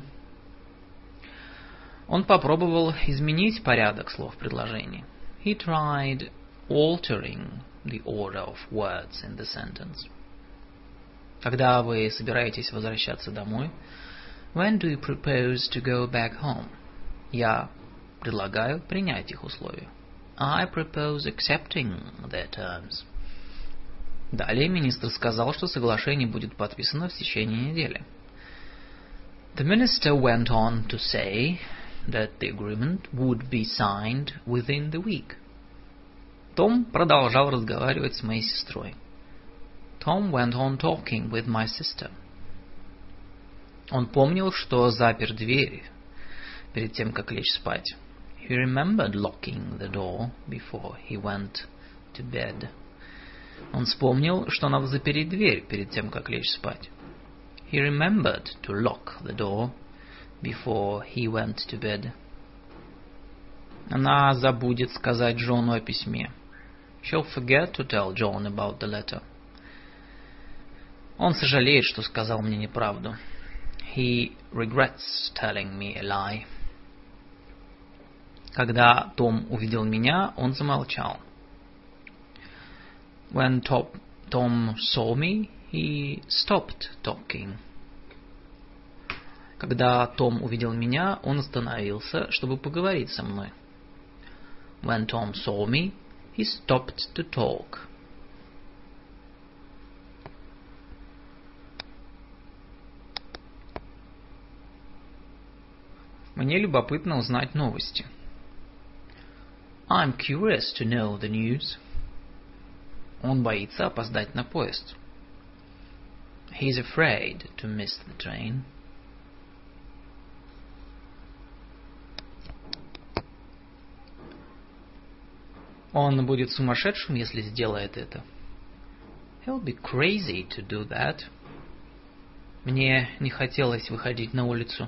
Он попробовал изменить порядок слов в предложении. He tried altering the order of words in the sentence. Когда вы собираетесь возвращаться домой? When do you propose to go back home? Я предлагаю принять их условия. I propose accepting their terms. Далее министр сказал, что соглашение будет подписано в течение недели. The minister went on to say that the agreement would be signed within the week. Том продолжал разговаривать с моей сестрой. Tom went on talking with my sister. Он помнил, что запер дверь перед тем, как лечь спать. He remembered locking the door before he went to bed. Он вспомнил, что надо запереть дверь перед тем, как лечь спать. He remembered to lock the door before he went to bed. Она забудет сказать Джону о письме. She'll forget to tell John about the letter. Он сожалеет, что сказал мне неправду. He regrets telling me a lie. Когда Том увидел меня, он замолчал. When Tom, Tom saw me, he stopped talking. Когда Том увидел меня, он остановился, чтобы поговорить со мной. When Tom saw me, he stopped to talk. Мне любопытно узнать новости. I'm curious to know the news. Он боится опоздать на поезд. He's afraid to miss the train. Он будет сумасшедшим, если сделает это. He'll be crazy to do that. Мне не хотелось выходить на улицу.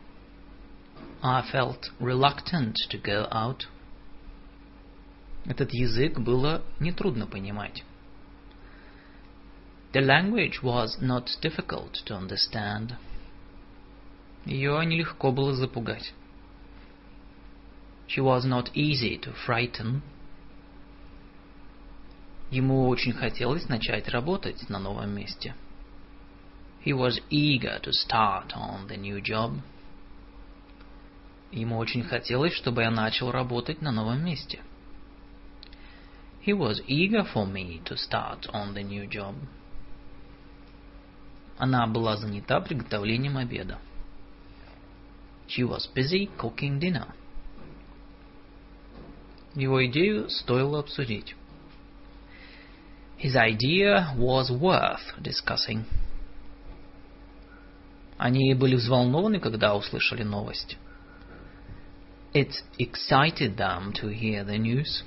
I felt reluctant to go out. Этот язык было нетрудно понимать. The language was not difficult to understand. Ее нелегко было запугать. She was not easy to frighten. Ему очень хотелось начать работать на новом месте. He was eager to start on the new job. Ему очень хотелось, чтобы я начал работать на новом месте. He was eager for me to start on the new job. Она была занята приготовлением обеда. She was busy cooking dinner. Его идею стоило обсудить. His idea was worth discussing. Они были взволнованы, когда услышали новость. It excited them to hear the news.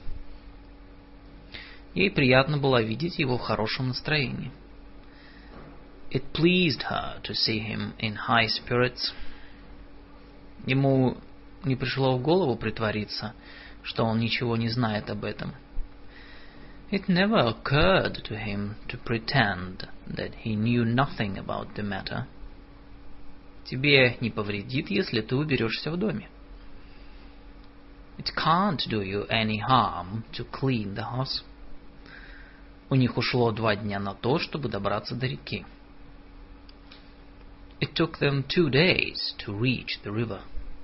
Ей приятно было видеть его в хорошем настроении. It pleased her to see him in high spirits. Ему не пришло в голову притвориться, что он ничего не знает об этом. It never occurred to him to pretend that he knew nothing about the matter. Тебе не повредит, если ты уберешься в доме. It can't do you any harm to clean the house. У них ушло два дня на то, чтобы добраться до реки. It took them two days to reach the river.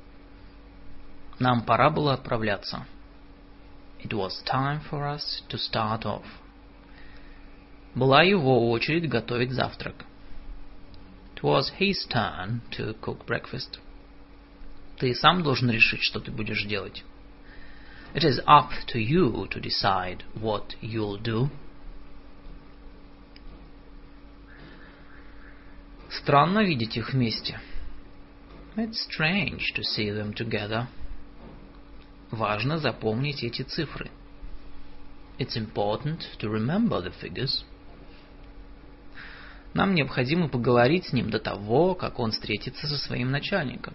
Нам пора было отправляться. It was time for us to start off. Была его очередь готовить завтрак. It was his turn to cook breakfast. Ты сам должен решить, что ты будешь делать. It is up to you to decide what you'll do. Странно видеть их вместе. It's strange to see them together. Важно запомнить эти цифры. It's important to remember the figures. Нам необходимо поговорить с ним до того, как он встретится со своим начальником.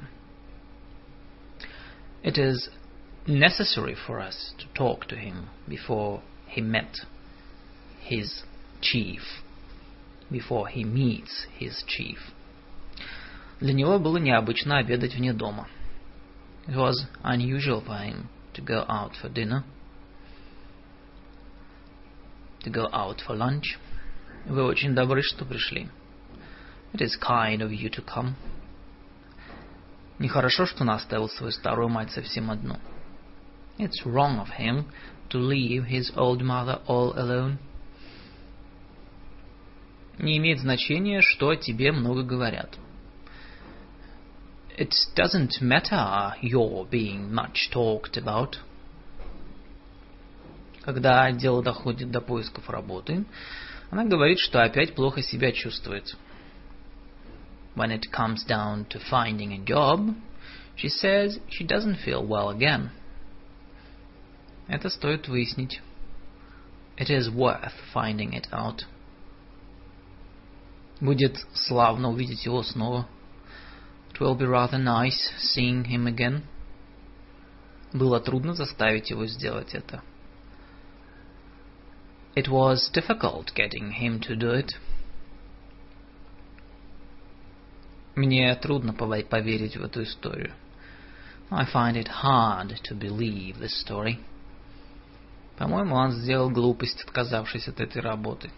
It is necessary for us to talk to him before he met his chief. before he meets his chief. Для него было необычно обедать вне дома. It was unusual for him to go out for dinner, to go out for lunch. Вы очень добры, что пришли. It is kind of you to come. Нехорошо, что он оставил свою старую мать совсем одну. It's wrong of him to leave his old mother all alone. Не имеет значения, что о тебе много говорят. It doesn't matter your being much talked about. Когда дело доходит до поисков работы, она говорит, что опять плохо себя чувствует. When it comes down to finding a job, she says she doesn't feel well again. Это стоит выяснить. It is worth finding it out. Будет славно увидеть его снова. It will be rather nice seeing him again. Было трудно заставить его сделать это. It was difficult getting him to do it. Мне трудно поверить в эту историю. I find it hard to believe this story. По-моему, он сделал глупость, отказавшись от этой работы.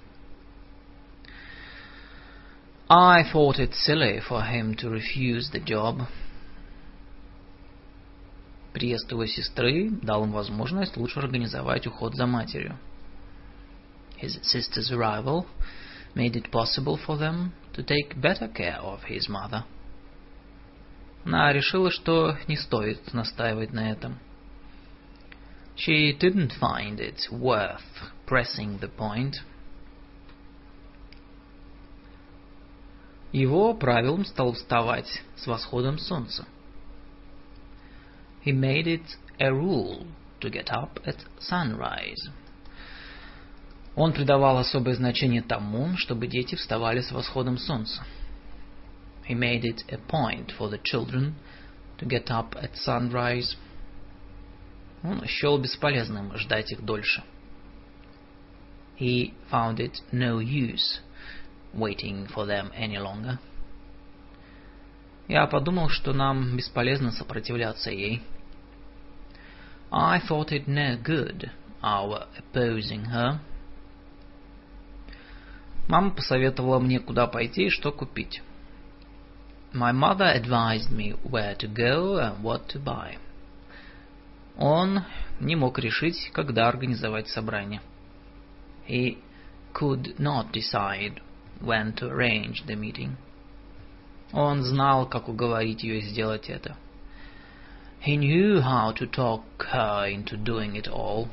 I thought it silly for him to refuse the job. Приезд его сестры дал им возможность лучше организовать уход за матерью. His sister's arrival made it possible for them to take better care of his mother. Она решила, что не стоит настаивать на этом. She didn't find it worth pressing the point. Его правилом стало вставать с восходом солнца. He made it a rule to get up at sunrise. Он придавал особое значение тому, чтобы дети вставали с восходом солнца. He made it a point for the children to get up at sunrise. Он счел бесполезным ждать их дольше. He found it no use waiting for them any longer. Я подумал, что нам бесполезно сопротивляться ей. I thought it no good our opposing her. Мама посоветовала мне, куда пойти и что купить. My mother advised me where to go and what to buy. Он не мог решить, когда организовать собрание. He could not decide when to arrange the meeting. Он знал, как уговорить ее сделать это. He knew how to talk her into doing it all.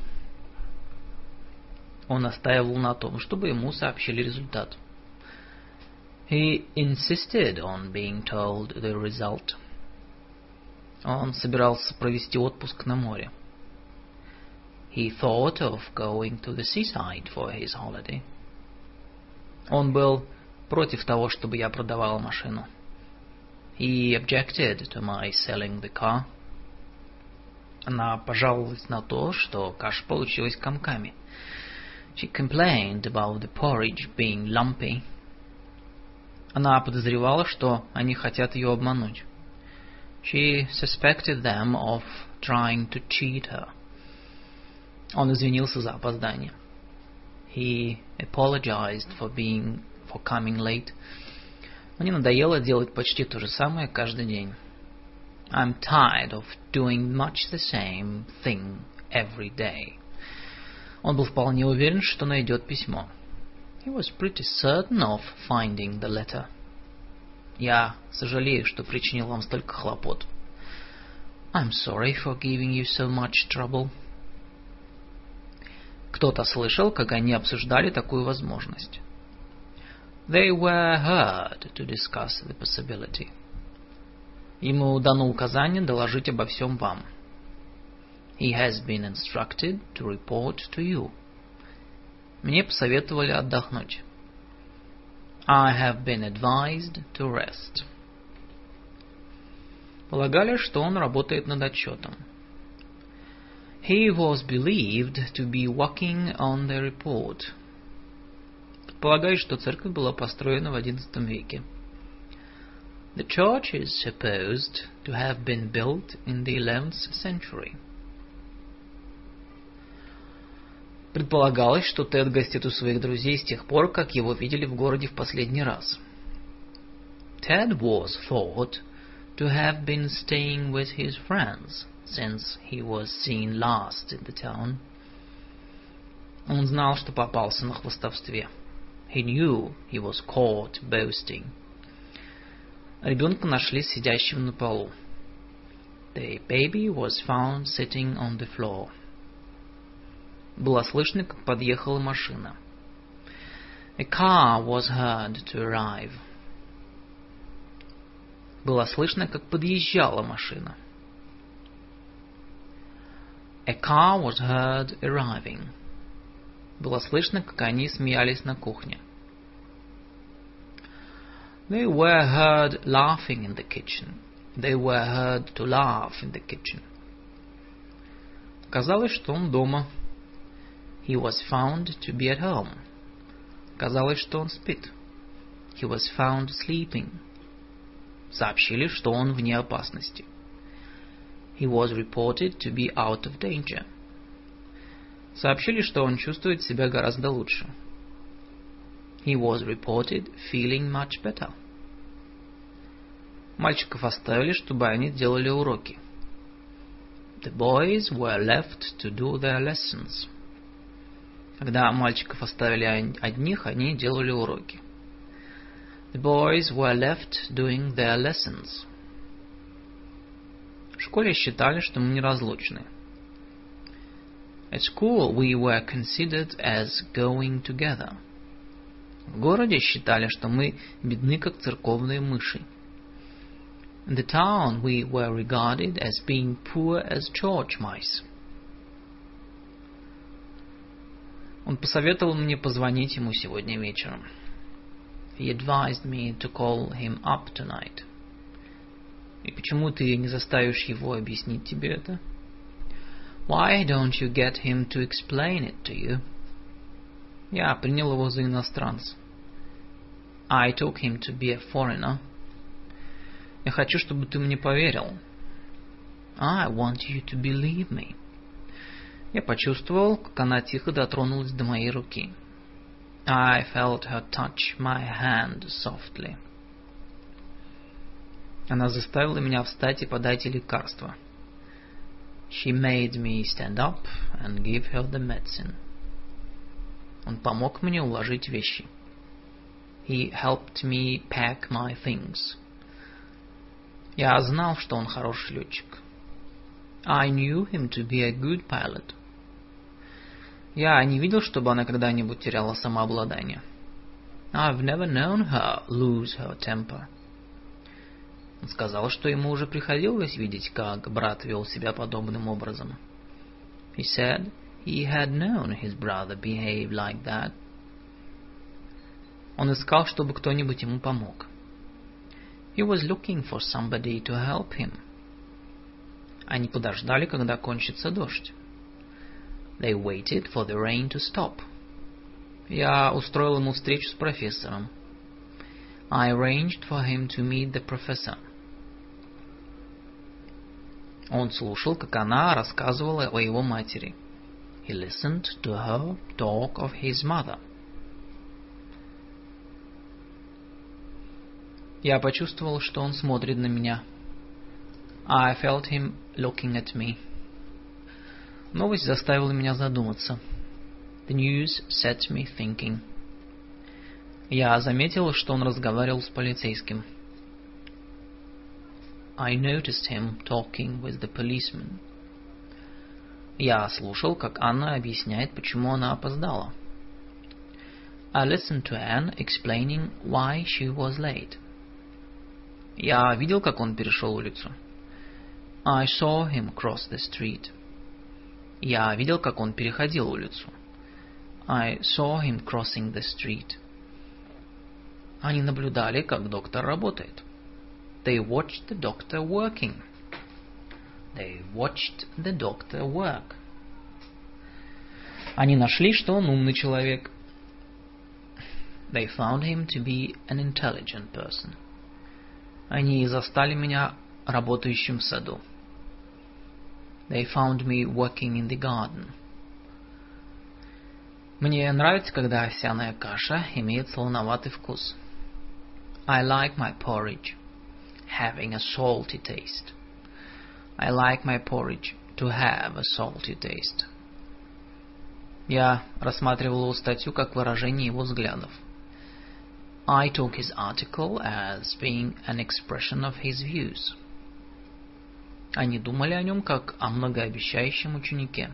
Он настаивал на том, чтобы ему сообщили результат. He insisted on being told the result. Он собирался провести отпуск на море. He thought of going to the seaside for his holiday. Он был против того, чтобы я продавала машину. He objected to my selling the car. Она пожаловалась на то, что каша получилась комками. She complained about the porridge being lumpy. Она подозревала, что они хотят ее обмануть. She suspected them of trying to cheat her. Он извинился за опоздание. He apologized for being for coming late. Мне надоело делать почти то же самое каждый день. I'm tired of doing much the same thing every day. Он был вполне уверен, что найдет письмо. He was pretty certain of finding the letter. Я сожалею, что причинил вам столько хлопот. I'm sorry for giving you so much trouble. Кто-то слышал, как они обсуждали такую возможность. They were heard to discuss the possibility. Ему дано указание доложить обо всем вам. He has been instructed to report to you. Мне посоветовали отдохнуть. I have been advised to rest. Полагали, что он работает над отчетом. He was believed to be working on the report. предполагает, что церковь была построена в одиннадцатом веке. The church is supposed to have been built in the eleventh century. Предполагалось, что Тед гостит у своих друзей с тех пор, как его видели в городе в последний раз. Ted was thought to have been staying with his friends since he was seen last in the town. Он знал, что попался на хвастовстве. He knew he was caught boasting. Ребенка нашли сидящим на полу. The baby was found sitting on the floor. Было слышно, как подъехала машина. A car was heard to arrive. Было слышно, как подъезжала машина. A car was heard arriving. Было слышно, как они смеялись на кухне. They were heard laughing in the kitchen. They were heard to laugh in the kitchen. Казалось, что он дома. He was found to be at home. Казалось, что он спит. He was found sleeping. Сообщили, что он вне опасности. He was reported to be out of danger. Сообщили, что он чувствует себя гораздо лучше. He was reported feeling much better. Мальчиков оставили, чтобы они делали уроки. The boys were left to do their lessons. Когда мальчиков оставили одних, они делали уроки. The boys were left doing their lessons. В школе считали, что мы неразлучны. At school we were considered as going together. В городе считали, что мы бедны, как церковные мыши. In the town we were regarded as being poor as church mice. Он посоветовал мне позвонить ему сегодня вечером. He advised me to call him up tonight. И почему ты не заставишь его объяснить тебе это? Why don't you get him to explain it to you? Я принял его за иностранца. I took him to be a foreigner. Я хочу, чтобы ты мне поверил. I want you to believe me. Я почувствовал, как она тихо дотронулась до моей руки. I felt her touch my hand softly. Она заставила меня встать и подать ей лекарство. She made me stand up and give her the medicine. Он помог мне уложить вещи. He helped me pack my things. Я знал, что он хороший летчик. I knew him to be a good pilot. Я не видел, чтобы она когда-нибудь теряла самообладание. I've never known her lose her temper. Он сказал, что ему уже приходилось видеть, как брат вел себя подобным образом. He said he had known his brother behave like that. Он искал, чтобы кто-нибудь ему помог. He was looking for somebody to help him. Они подождали, когда кончится дождь. They waited for the rain to stop. Я устроил ему встречу с профессором. I arranged for him to meet the professor. Он слушал, как она рассказывала о его матери. He listened to her talk of his mother. Я почувствовал, что он смотрит на меня. I felt him looking at me. Новость заставила меня задуматься. The news set me thinking. Я заметил, что он разговаривал с полицейским. I noticed him talking with the policeman. Я слушал, как Анна объясняет, почему она опоздала. I listened to Anne explaining why she was late. Я видел, как он перешел улицу. I saw him cross the street. Я видел, как он переходил улицу. I saw him crossing the street. Они наблюдали, как доктор работает. They watched the doctor working. They watched the doctor work. Они нашли, что он умный человек. They found him to be an intelligent person. Они застали меня работающим в саду. They found me working in the garden. Мне нравится, когда овсяная каша имеет солоноватый вкус. I like my porridge having a salty taste. I like my porridge to have a salty taste. Я рассматривал его статью как выражение его взглядов. I took his article as being an expression of his views. Они думали о нем как о многообещающем ученике.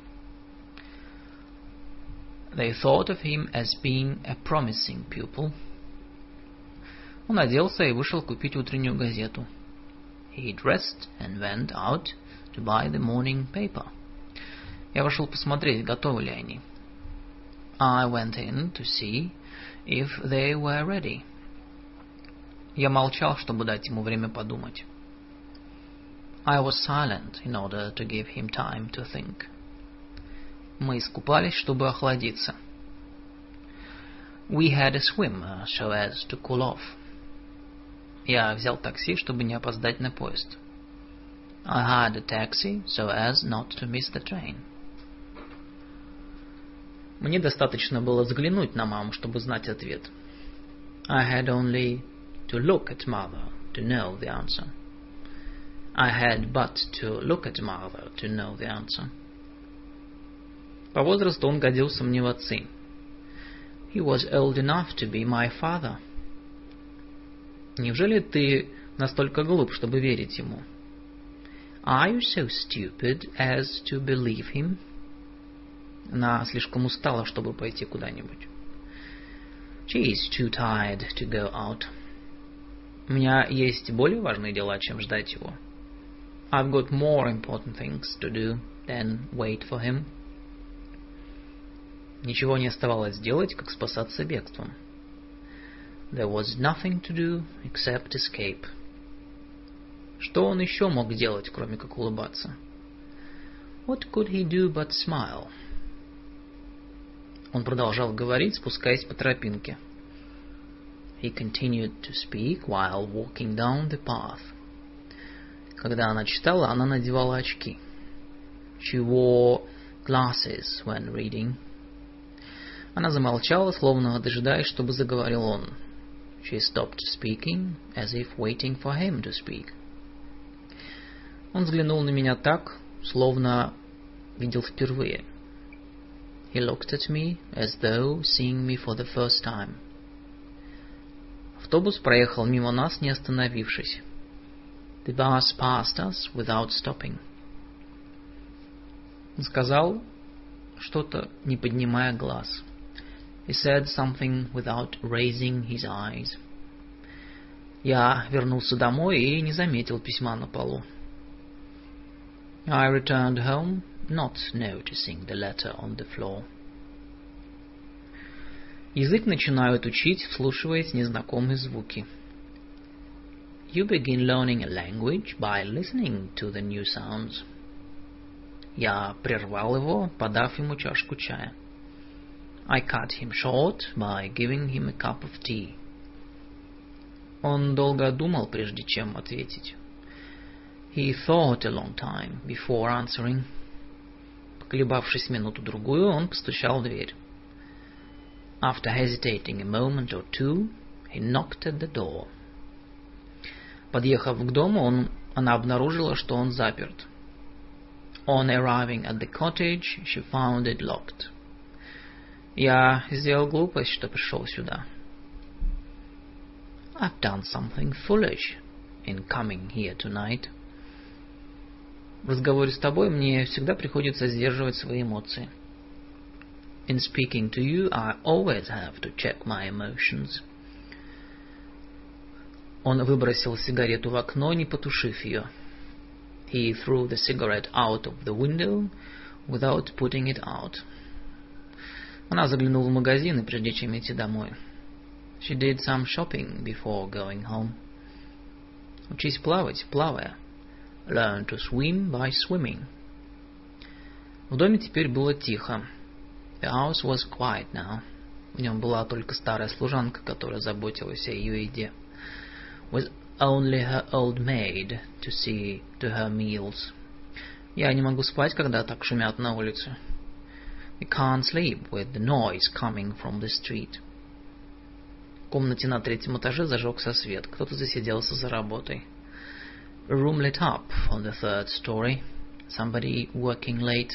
They thought of him as being a promising pupil. Он оделся и вышел купить утреннюю газету. He dressed and went out to buy the morning paper. Я вошел посмотреть, готовы ли они. I went in to see if they were ready. Я молчал, чтобы дать ему время подумать. I was silent in order to give him time to think. Мы искупались, чтобы охладиться. We had a swim so as to cool off. Я взял такси, чтобы не опоздать на поезд. I had a taxi so as not to miss the train. Мне достаточно было взглянуть на маму, чтобы знать ответ. I had only to look at mother to know the answer. I had but to look at mother to know the answer. По возрасту он годился мне в отцы. He was old enough to be my father. Неужели ты настолько глуп, чтобы верить ему? Are you so stupid as to believe him? Она слишком устала, чтобы пойти куда-нибудь. She is too tired to go out. У меня есть более важные дела, чем ждать его. I've got more important things to do than wait for him. Ничего не оставалось делать, как спасаться бегством. There was nothing to do except escape. Что он еще мог делать, кроме как улыбаться? What could he do but smile? Он продолжал говорить, спускаясь по тропинке. He continued to speak while walking down the path. Когда она читала, она надевала очки. She wore glasses when reading. Она замолчала, словно дожидаясь, чтобы заговорил он. She stopped speaking, as if waiting for him to speak. Он взглянул на меня так, словно видел впервые. He looked at me, as though seeing me for the first time. Автобус проехал мимо нас, не остановившись. The bus passed us without stopping. Он сказал что-то, не поднимая глаз. He said something without raising his eyes. Я вернулся домой и не заметил письма на полу. I returned home, not noticing the letter on the floor. Язык начинают учить, вслушиваясь в незнакомые звуки. You begin learning a language by listening to the new sounds. Я прервал его, подав ему чашку чая. I cut him short by giving him a cup of tea. Он долго думал, прежде чем ответить. He thought a long time before answering. Поколебавшись минуту-другую, он постучал в дверь. After hesitating a moment or two, he knocked at the door. Подъехав к дому, он, она обнаружила, что он заперт. On arriving at the cottage, she found it locked. Я сделал глупость, что пришел сюда. I've done something foolish in coming here tonight. В разговоре с тобой мне всегда приходится сдерживать свои эмоции. In speaking to you, I always have to check my emotions. Он выбросил сигарету в окно, не потушив ее. He threw the cigarette out of the window without putting it out. Она заглянула в магазин, прежде чем идти домой. She did some shopping before going home. Учись плавать, плавая. Learn to swim by swimming. В доме теперь было тихо. The house was quiet now. В нем была только старая служанка, которая заботилась о ее еде. With only her old maid to see to her meals. Я не могу спать, когда так шумят на улице. I can't sleep with the noise coming from the street. В комнате на третьем этаже зажегся свет. Кто-то засиделся за работой. A room lit up on the third story. Somebody working late.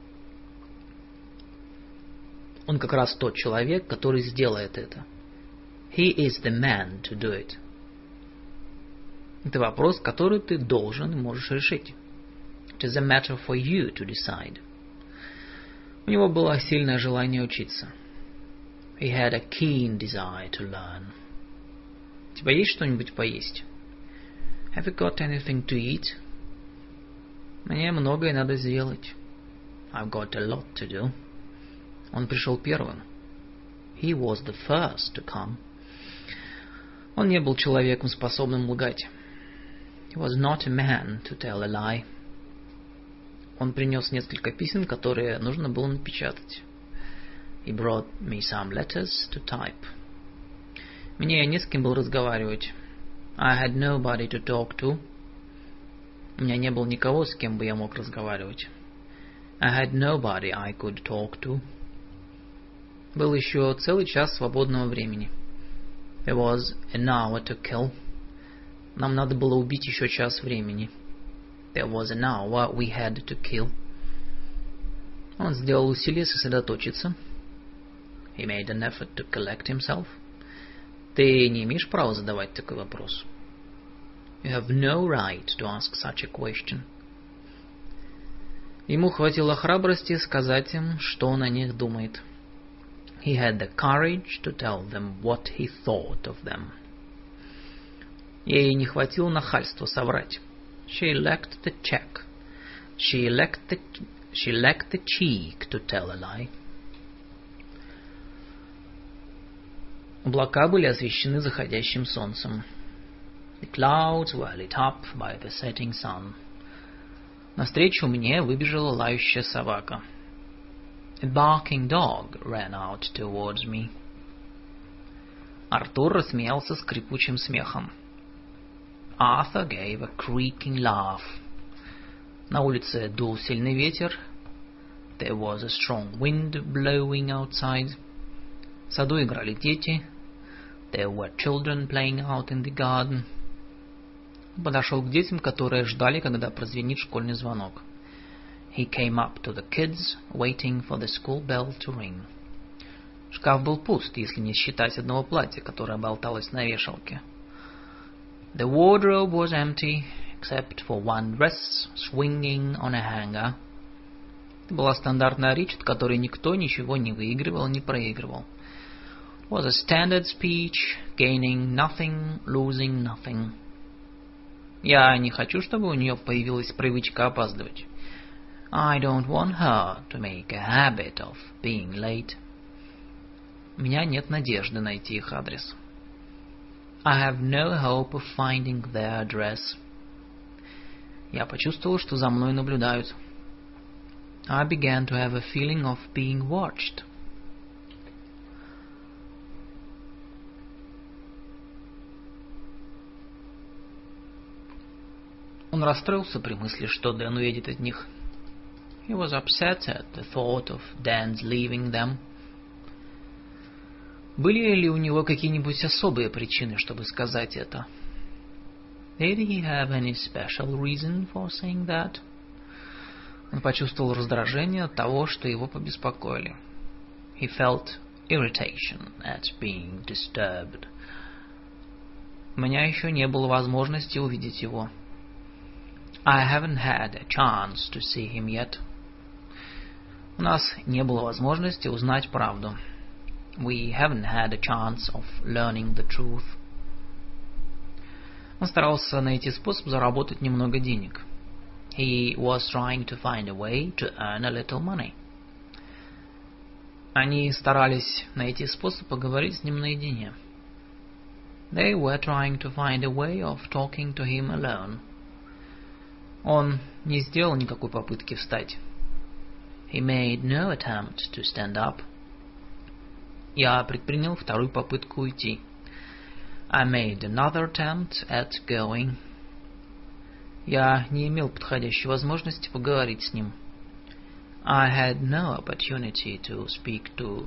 Он как раз тот человек, который сделает это. He is the man to do it. Это вопрос, который ты должен и можешь решить. It is a matter for you to decide. У него было сильное желание учиться. He had a keen desire to learn. У тебя есть что-нибудь поесть? Have you got anything to eat? Мне многое надо сделать. I've got a lot to do. Он пришел первым. He was the first to come. Он не был человеком, способным лгать. He was not a man to tell a lie. Он принес несколько писем, которые нужно было напечатать. He brought me some letters to type. Мне не с кем было разговаривать. I had nobody to talk to. У меня не было никого, с кем бы я мог разговаривать. I had nobody I could talk to. Был еще целый час свободного времени. There was an hour to kill. Нам надо было убить еще час времени. There was an hour we had to kill. Он сделал усилие сосредоточиться. He made an effort to collect himself. Ты не имеешь права задавать такой вопрос. You have no right to ask such a question. Ему хватило храбрости сказать им, что он о них думает. He had the courage to tell them what he thought of them. Ей не хватило нахальства соврать. She lacked the check. She lacked the, she lacked the cheek to tell a lie. Облака были освещены заходящим солнцем. The clouds were lit up by the setting sun. Навстречу мне выбежала лающая собака. A barking dog ran out towards me. Артур рассмеялся скрипучим смехом. Arthur gave a creaking laugh. На улице дул сильный ветер. There was a strong wind blowing outside. В саду играли дети. There were children playing out in the garden. Он подошел к детям, которые ждали, когда прозвенит школьный звонок. He came up to the kids, waiting for the school bell to ring. Шкаф был пуст, если не считать одного платья, которое болталось на вешалке. The wardrobe was empty, except for one dress swinging on a hanger. Это была стандартная речь, от которой никто ничего не выигрывал, не проигрывал. It was a standard speech, gaining nothing, losing nothing. Я не хочу, чтобы у нее появилась привычка опаздывать. I don't want her to make a habit of being late. У меня нет надежды найти их адрес. I have no hope of finding their address. Я почувствовал, что за мной наблюдают. I began to have a feeling of being watched. Он расстроился при мысли, что Дэн уедет от них. He was upset at the thought of Dan's leaving them. Были ли у него какие-нибудь особые причины, чтобы сказать это? Did he have any special reason for saying that? Он почувствовал раздражение от того, что его побеспокоили. He felt irritation at being disturbed. У меня еще не было возможности увидеть его. I haven't had a chance to see him yet. У нас не было возможности узнать правду. We haven't had a chance of learning the truth. Он старался найти способ заработать немного денег. He was trying to find a way to earn a little money. Они старались найти способ поговорить с ним наедине. They were trying to find a way of talking to him alone. Он не сделал никакой попытки встать. He made no attempt to stand up. Я предпринял вторую попытку уйти. I made another attempt at going. Я не имел подходящей возможности поговорить с ним. I had no opportunity to speak to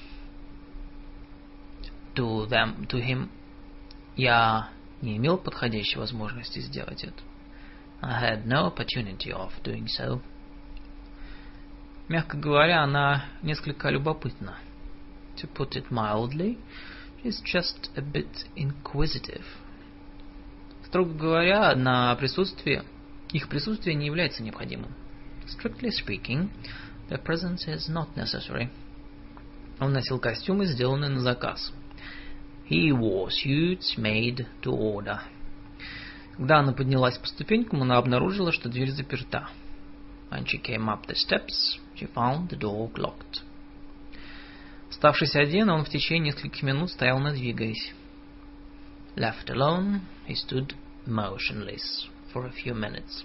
to them, to him. Я не имел подходящей возможности сделать это. I had no opportunity of doing so. Мягко говоря, она несколько любопытна. To put it mildly, she's just a bit inquisitive. Строго говоря, на присутствие, их присутствие не является необходимым. Strictly speaking, their presence is not necessary. Он носил костюмы, сделанные на заказ. He wore suits made to order. Когда она поднялась по ступенькам, она обнаружила, что дверь заперта. When she came up the steps, she found the door locked. Оставшись один, он в течение нескольких минут стоял, не двигаясь. Left alone, he stood motionless for a few minutes.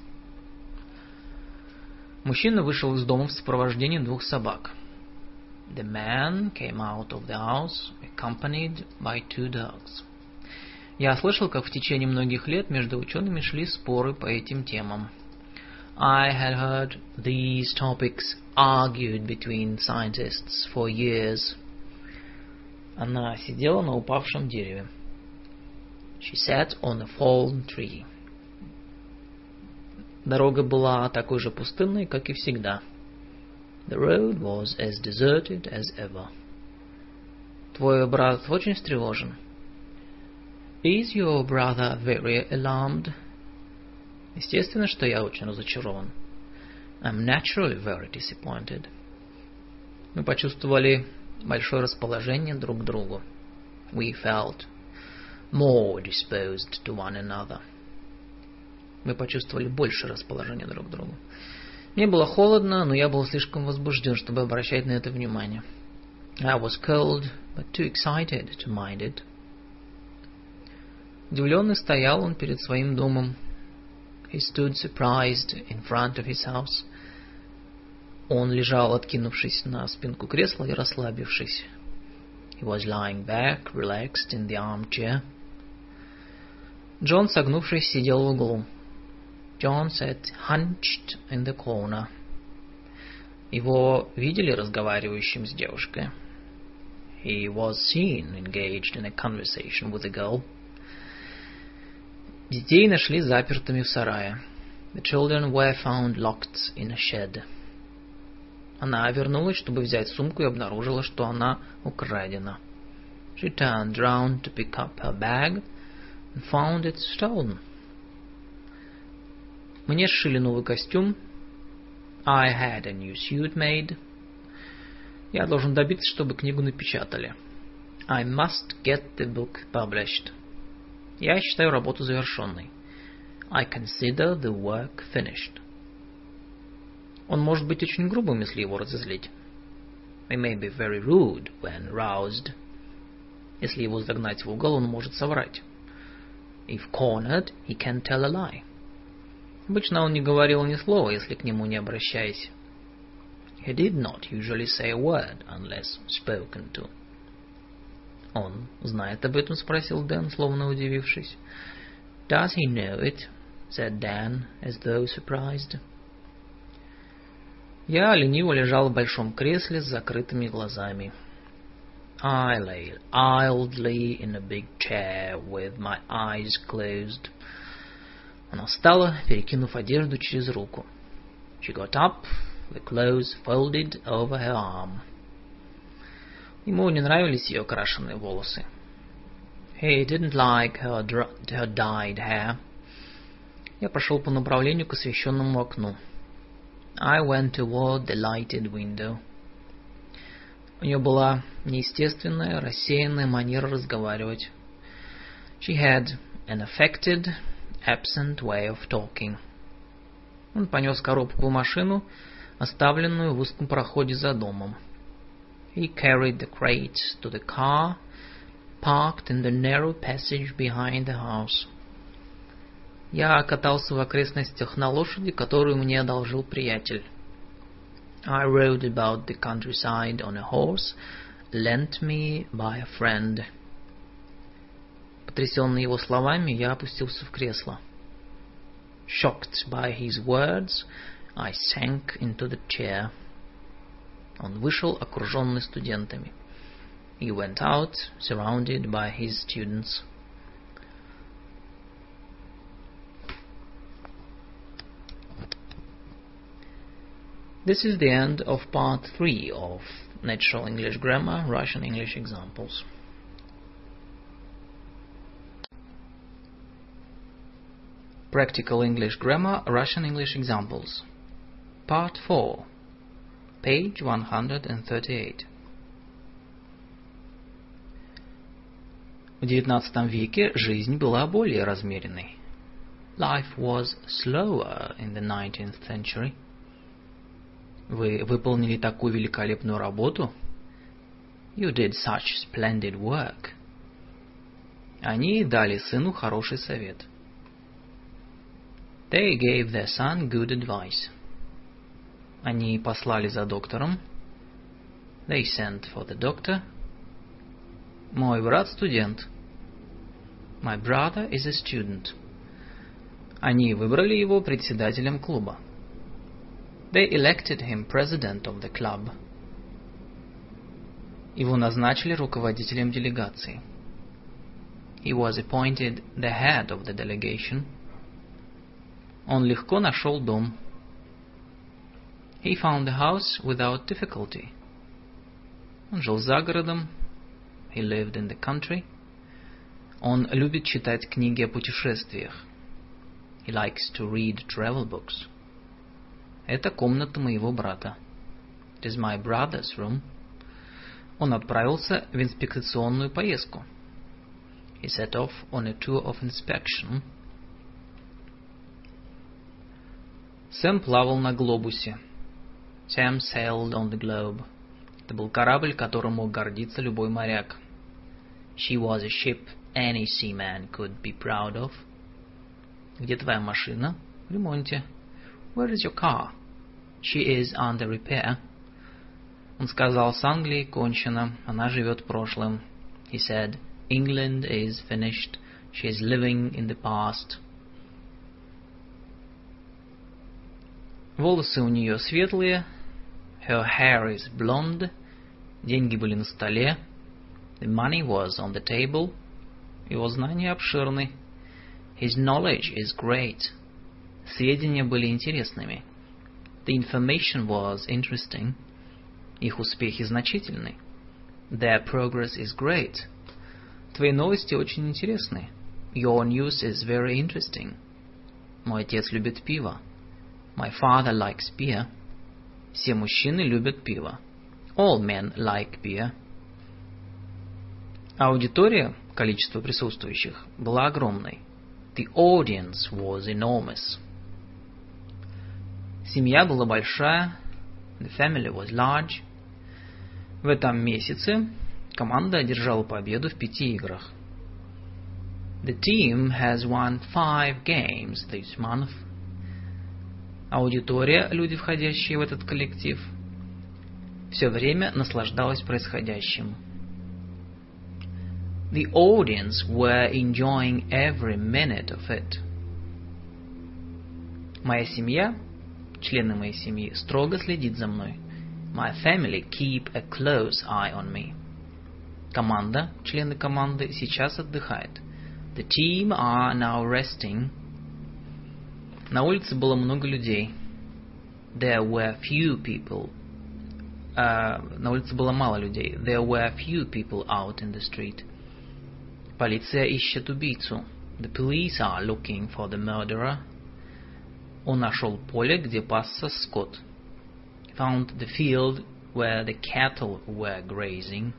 Мужчина вышел из дома в сопровождении двух собак. The man came out of the house, accompanied by two dogs. Я слышал, как в течение многих лет между учеными шли споры по этим темам. I had heard these topics argued between scientists for years. Она сидела на упавшем дереве. She sat on a fallen tree. Дорога была такой же пустынной, как и всегда. The road was as deserted as ever. Твой брат очень встревожен. Is your brother very alarmed? Естественно, что я очень разочарован. I'm naturally very disappointed. Мы почувствовали большое расположение друг к другу. We felt more disposed to one another. Мы почувствовали больше расположения друг к другу. Мне было холодно, но я был слишком возбужден, чтобы обращать на это внимание. I was cold, but too excited to mind it. Удивленный стоял он перед своим домом. He stood surprised in front of his house. Он лежал, откинувшись на спинку кресла и расслабившись. He was lying back, relaxed in the armchair. Джон, согнувшись, сидел в углу. John sat hunched in the corner. Его видели разговаривающим с девушкой. He was seen engaged in a conversation with a girl. Детей нашли запертыми в сарае. The children were found locked in a shed. Она вернулась, чтобы взять сумку, и обнаружила, что она украдена. She turned round to pick up her bag and found it stolen. Мне сшили новый костюм. I had a new suit made. Я должен добиться, чтобы книгу напечатали. I must get the book published. Я считаю работу завершенной. I consider the work finished. Он может быть очень грубым, если его разозлить. He may be very rude when roused. Если его загнать в угол, он может соврать. If cornered, he can tell a lie. Обычно он не говорил ни слова, если к нему не обращаясь. He did not usually say a word unless spoken to. Он знает об этом? Спросил Дэн, словно удивившись. Does he know it? Said Dan, as though surprised. Я лениво лежал в большом кресле с закрытыми глазами. I lay idly in a big chair with my eyes closed. Она встала, перекинув одежду через руку. She got up, the clothes folded over her arm. Ему не нравились ее крашеные волосы. He didn't like her, her dyed hair. Я пошел по направлению к освещенному окну. I went toward the lighted window. У нее была неестественная, рассеянная манера разговаривать. She had an affected, absent way of talking. Он понес коробку в машину, оставленную в узком проходе за домом. He carried the crate to the car, parked in the narrow passage behind the house. Я катался в окрестностях на лошади, которую мне одолжил приятель. I rode about the countryside on a horse lent me by a friend. Потрясенный его словами, я опустился в кресло. Shocked by his words, I sank into the chair. Он вышел, окруженный студентами. He went out, surrounded by his students. This is the end of part three of Natural English Grammar, Russian English Examples. Practical English Grammar, Russian English Examples. Part four, page one hundred thirty-eight. В девятнадцатом веке жизнь была более размеренной. Life was slower in the nineteenth century. Вы выполнили такую великолепную работу? You did such splendid work. Они дали сыну хороший совет. They gave their son good advice. Они послали за доктором. They sent for the doctor. Мой брат студент. My brother is a student. Они выбрали его председателем клуба. They elected him president of the club. Его назначили руководителем делегации. He was appointed the head of the delegation. Он легко нашел дом. He found the house without difficulty. Он жил за городом. He lived in the country. Он любит читать книги о путешествиях. He likes to read travel books. Это комната моего брата. It is my brother's room. Он отправился в инспекционную поездку. He set off on a tour of inspection. Сэм плавал на глобусе. Sam sailed on the globe. Это был корабль, которым мог гордиться любой моряк. She was a ship any seaman could be proud of. Где твоя машина? В ремонте. Where is your car? She is under repair. Он сказал, с Англией кончено, она живет прошлым. He said, England is finished, she is living in the past. Волосы у нее светлые. Her hair is blonde. Деньги были на столе. The money was on the table. Его знания обширны. His knowledge is great. Сведения были интересными. The information was interesting. Их успехи значительны. Their progress is great. Твои новости очень интересны. Your news is very interesting. Мой отец любит пиво. My father likes beer. Все мужчины любят пиво. All men like beer. Аудитория, количество присутствующих, была огромной. The audience was enormous. Семья была большая. The family was large. В этом месяце команда одержала победу в пяти играх. The team has won five games this month. Аудитория, люди, входящие в этот коллектив, все время наслаждалась происходящим. The audience were enjoying every minute of it. Моя семья, члены моей семьи, строго следит за мной. My family keep a close eye on me. Команда, члены команды, сейчас отдыхает. The team are now resting. На улице было много людей. There were few people. Uh, на улице было мало людей. There were few people out in the street. Полиция ищет убийцу. The police are looking for the murderer. Он нашел поле, где пасся скот. He found the field where the cattle were grazing.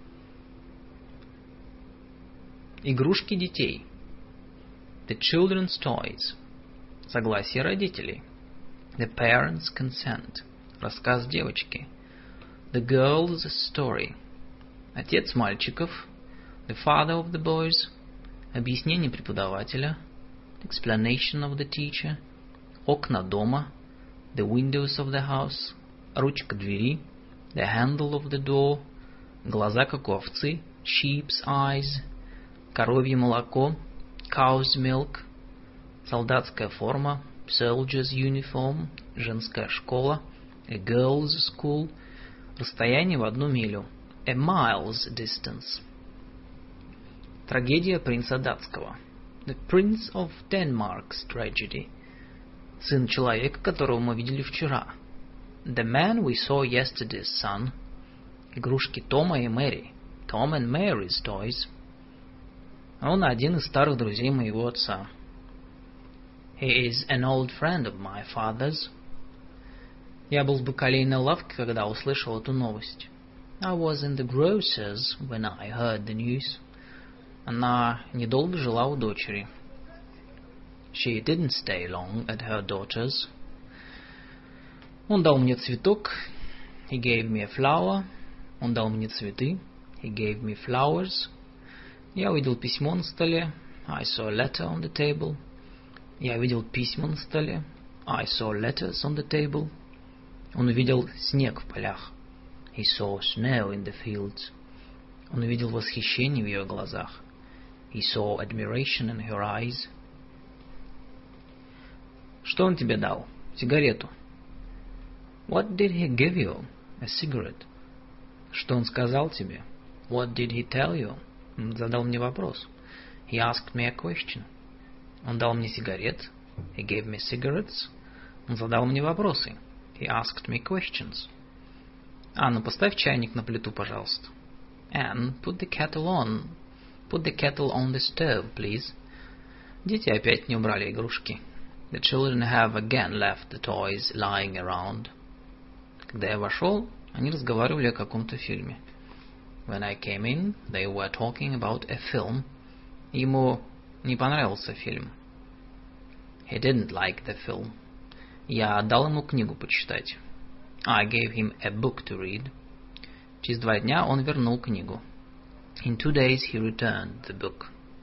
Игрушки детей. The children's toys. Согласие родителей. The parents' consent. Рассказ девочки. The girl's story. Отец мальчиков. The father of the boys. Объяснение преподавателя. Explanation of the teacher. Окна дома. The windows of the house. Ручка двери. The handle of the door. глаза как у овцы, sheep's eyes, коровье молоко, cow's milk, солдатская форма, soldier's uniform, женская школа, a girl's school, расстояние в одну милю, a mile's distance. Трагедия принца датского, the Prince of Denmark's tragedy, сын человека, которого мы видели вчера, the man we saw yesterday's son, игрушки Тома и Мэри, Tom and Mary's toys. Он один из старых друзей моего отца. He is an old friend of my father's. Я был в бакалейной лавке, когда услышал эту новость. I was in the grocer's when I heard the news. Она недолго жила у дочери. She didn't stay long at her daughter's. Он дал мне цветок. He gave me a flower. Он дал мне цветы. He gave me flowers. Я увидел письмо на столе. I saw a letter on the table. Я увидел письма на столе. I saw letters on the table. Он увидел снег в полях. He saw snow in the fields. Он увидел восхищение в ее глазах. He saw admiration in her eyes. Что он тебе дал? Сигарету. What did he give you? A cigarette. Что он сказал тебе? What did he tell you? Он задал мне вопрос. He asked me a question. Он дал мне сигарет. He gave me cigarettes. Он задал мне вопросы. He asked me questions. Анна, поставь чайник на плиту, пожалуйста. Anne, put the kettle on. Put the kettle on the stove, please. Дети опять не убрали игрушки. The children have again left the toys lying around. Когда я вошел, они разговаривали о каком-то фильме. When I came in, they were talking about a film. Ему не понравился фильм. He didn't like the film. Я дал ему книгу почитать. I gave him a book to read. Через два дня он вернул книгу. In two days he returned the book.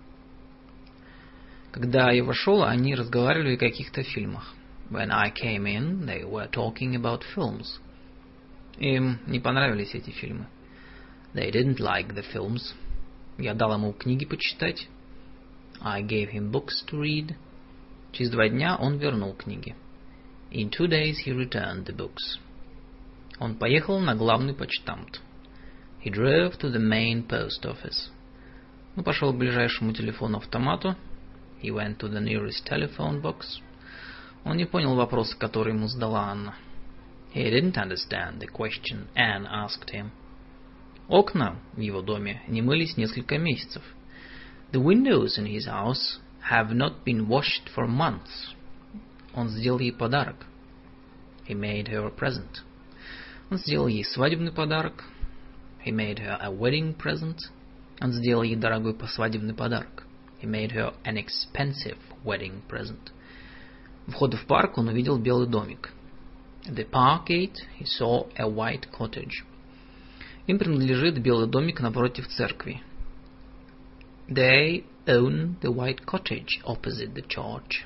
Когда я вошел, они разговаривали о каких-то фильмах. When I came in, they were talking about films. Им не понравились эти фильмы. They didn't like the films. Я дал ему книги почитать. I gave him books to read. Через два дня он вернул книги. In two days he returned the books. Он поехал на главный почтамт. He drove to the main post office. Он пошел к ближайшему телефону-автомату. He went to the nearest telephone box. Он не понял вопроса, который ему задала Анна. He didn't understand the question Anne asked him. Окна в его доме не мылись несколько месяцев. The windows in his house have not been washed for months. Он сделал ей подарок. He made her a present. Он сделал ей свадебный подарок. He made her a wedding present. Он сделал ей дорогой свадебный подарок. He made her an expensive wedding present. У входа в парк он увидел белый домик. At the park gate he saw a white cottage. Им принадлежит белый домик напротив церкви. They own the white cottage opposite the church.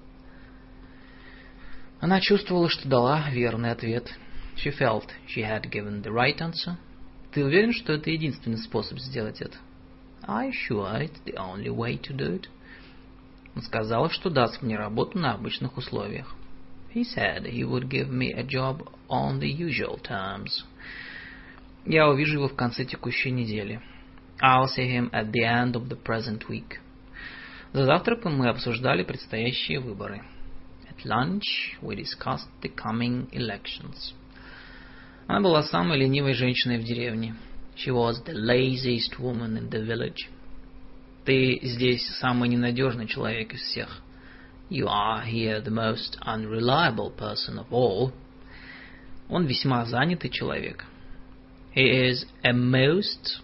Она чувствовала, что дала верный ответ. She felt she had given the right answer. Ты уверен, что это единственный способ сделать это? Are you sure it's the only way to do it? Он сказал, что даст мне работу на обычных условиях. He said he would give me a job on the usual terms. Я увижу его в конце текущей недели. I'll see him at the end of the present week. За завтраком мы обсуждали предстоящие выборы. At lunch we discussed the coming elections. Она была самой ленивой женщиной в деревне. She was the laziest woman in the village. Ты здесь самый ненадежный человек из всех. You are here the most unreliable person of all. Он весьма занятый человек. He is a most...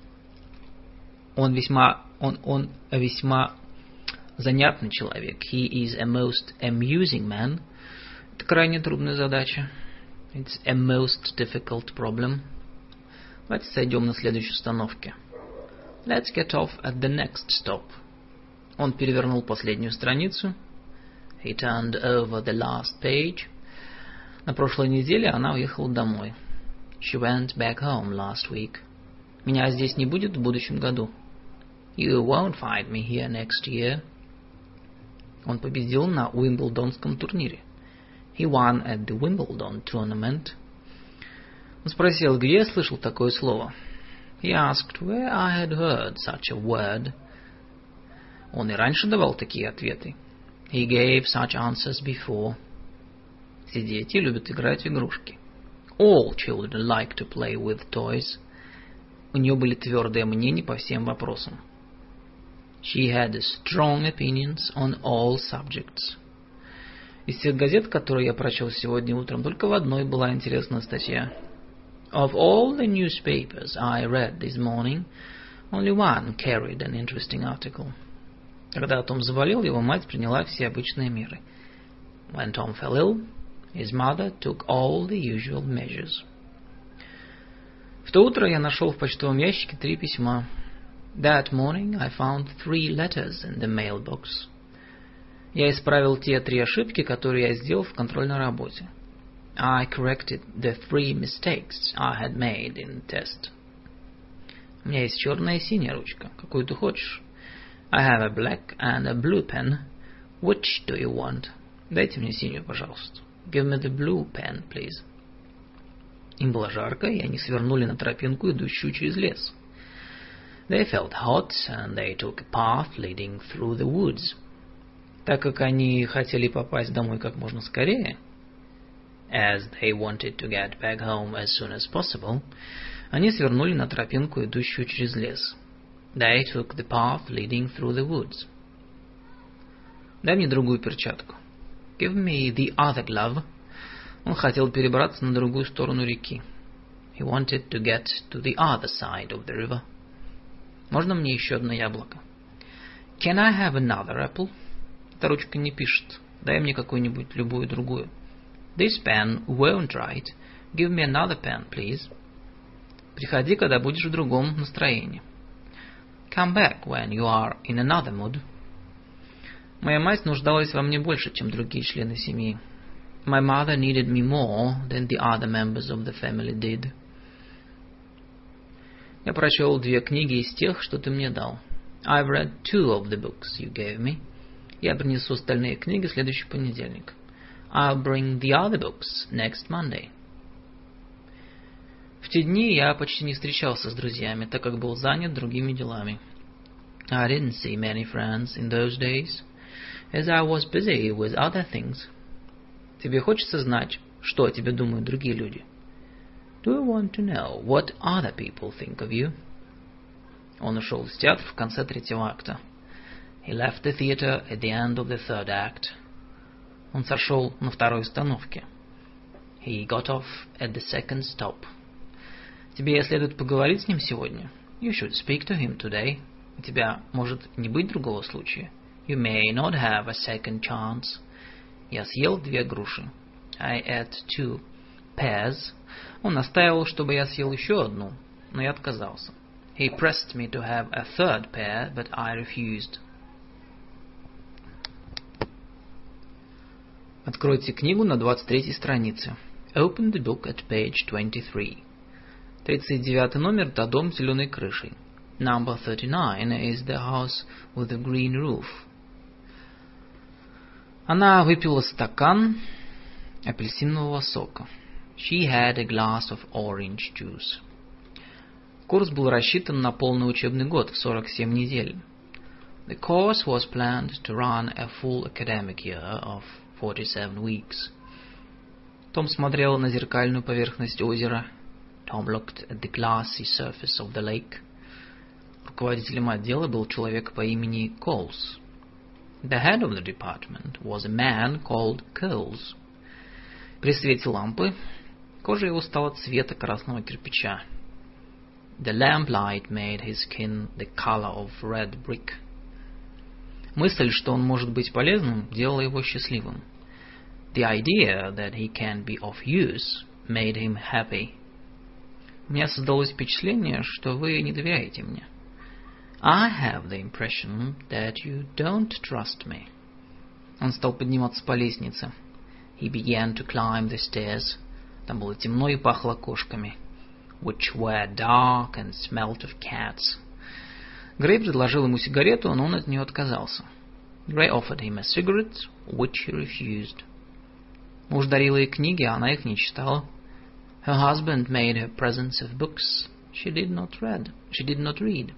Он весьма... Он, он весьма занятный человек. He is a most amusing man. Это крайне трудная задача. It's a most difficult problem. Давайте сойдем на следующей остановке. Let's get off at the next stop. Он перевернул последнюю страницу. He turned over the last page. На прошлой неделе она уехала домой. She went back home last week. Меня здесь не будет в будущем году. You won't find me here next year. Он победил на Уимблдонском турнире. He won at the Wimbledon tournament. Он спросил, где я слышал такое слово. He asked where I had heard such a word. Он и раньше давал такие ответы. He gave such answers before. Все дети любят играть в игрушки. All children like to play with toys. У нее были твердые мнения по всем вопросам. She had strong opinions on all subjects. Из всех газет, которые я прочел сегодня утром, только в одной была интересная статья. Of all the newspapers I read this morning, only one carried an interesting article. Когда Том заболел, его мать приняла все обычные меры. When Tom fell ill, his mother took all the usual measures. В то утро я нашел в почтовом ящике три письма. That morning I found three letters in the mailbox. Я исправил те три ошибки, которые я сделал в контрольной работе. I corrected the three mistakes I had made in test. У меня есть черная и синяя ручка. Какую ты хочешь? I have a black and a blue pen. Which do you want? Дайте мне синюю, пожалуйста. Give me the blue pen, please. Им было жарко, и они свернули на тропинку, идущую через лес. They felt hot, and they took a path leading through the woods. Так как они хотели попасть домой как можно скорее, as they wanted to get back home as soon as possible, они свернули на тропинку, идущую через лес. They took the path leading through the woods. Дай мне другую перчатку. Give me the other glove. Он хотел перебраться на другую сторону реки. He wanted to get to the other side of the river. Можно мне еще одно яблоко? Can I have another apple? Эта ручка не пишет. Дай мне какую-нибудь, любую другую. This pen won't write. Give me another pen, please. Приходи, когда будешь в другом настроении. Come back when you are in another mood. Моя мать нуждалась во мне больше, чем другие члены семьи. My mother needed me more than the other members of the family did. Я прочел две книги из тех, что ты мне дал. I've read two of the books you gave me. Я принесу остальные книги в следующий понедельник. I'll bring the other books next Monday. В те дни я почти не встречался с друзьями, так как был занят другими делами. I didn't see many friends in those days, as I was busy with other things. Тебе хочется знать, что о тебе думают другие люди? Do you want to know what other people think of you? Он ушел из театра в конце третьего акта. He left the theater at the end of the third act. Он сошел на второй остановке. He got off at the second stop. Тебе следует поговорить с ним сегодня. You should speak to him today. У тебя может не быть другого случая. You may not have a second chance. Я съел две груши. I ate two pears. Он настаивал, чтобы я съел еще одну, но я отказался. He pressed me to have a third pear, but I refused. Откройте книгу на двадцать третьей странице. Open the book at page twenty-three. тридцать девятый номер – это дом с зеленой крышей. Number thirty-nine is the house with the green roof. Она выпила стакан апельсинового сока. She had a glass of orange juice. Курс был рассчитан на полный учебный год в сорок семь недель. The course was planned to run a full academic year of forty-seven weeks. Том смотрел на зеркальную поверхность озера. Tom looked at the glassy surface of the lake. Руководителем отдела был человек по имени Coles. The head of the department was a man called Coles. При свете лампы кожа его стала цвета красного кирпича. The lamplight made his skin the color of red brick. Мысль, что он может быть полезным, делала его счастливым. The idea that he can be of use made him happy. У меня создалось впечатление, что вы не доверяете мне. I have the impression that you don't trust me. Он стал подниматься по лестнице. He began to climb the stairs. Там было темно и пахло кошками. which were dark and smelt of cats. Грей предложил ему сигарету, но он от нее отказался. Gray offered him a cigarette, which he refused. Муж дарил ей книги, а она их не читала. Her husband made her presents of books. She did not read. She did not read.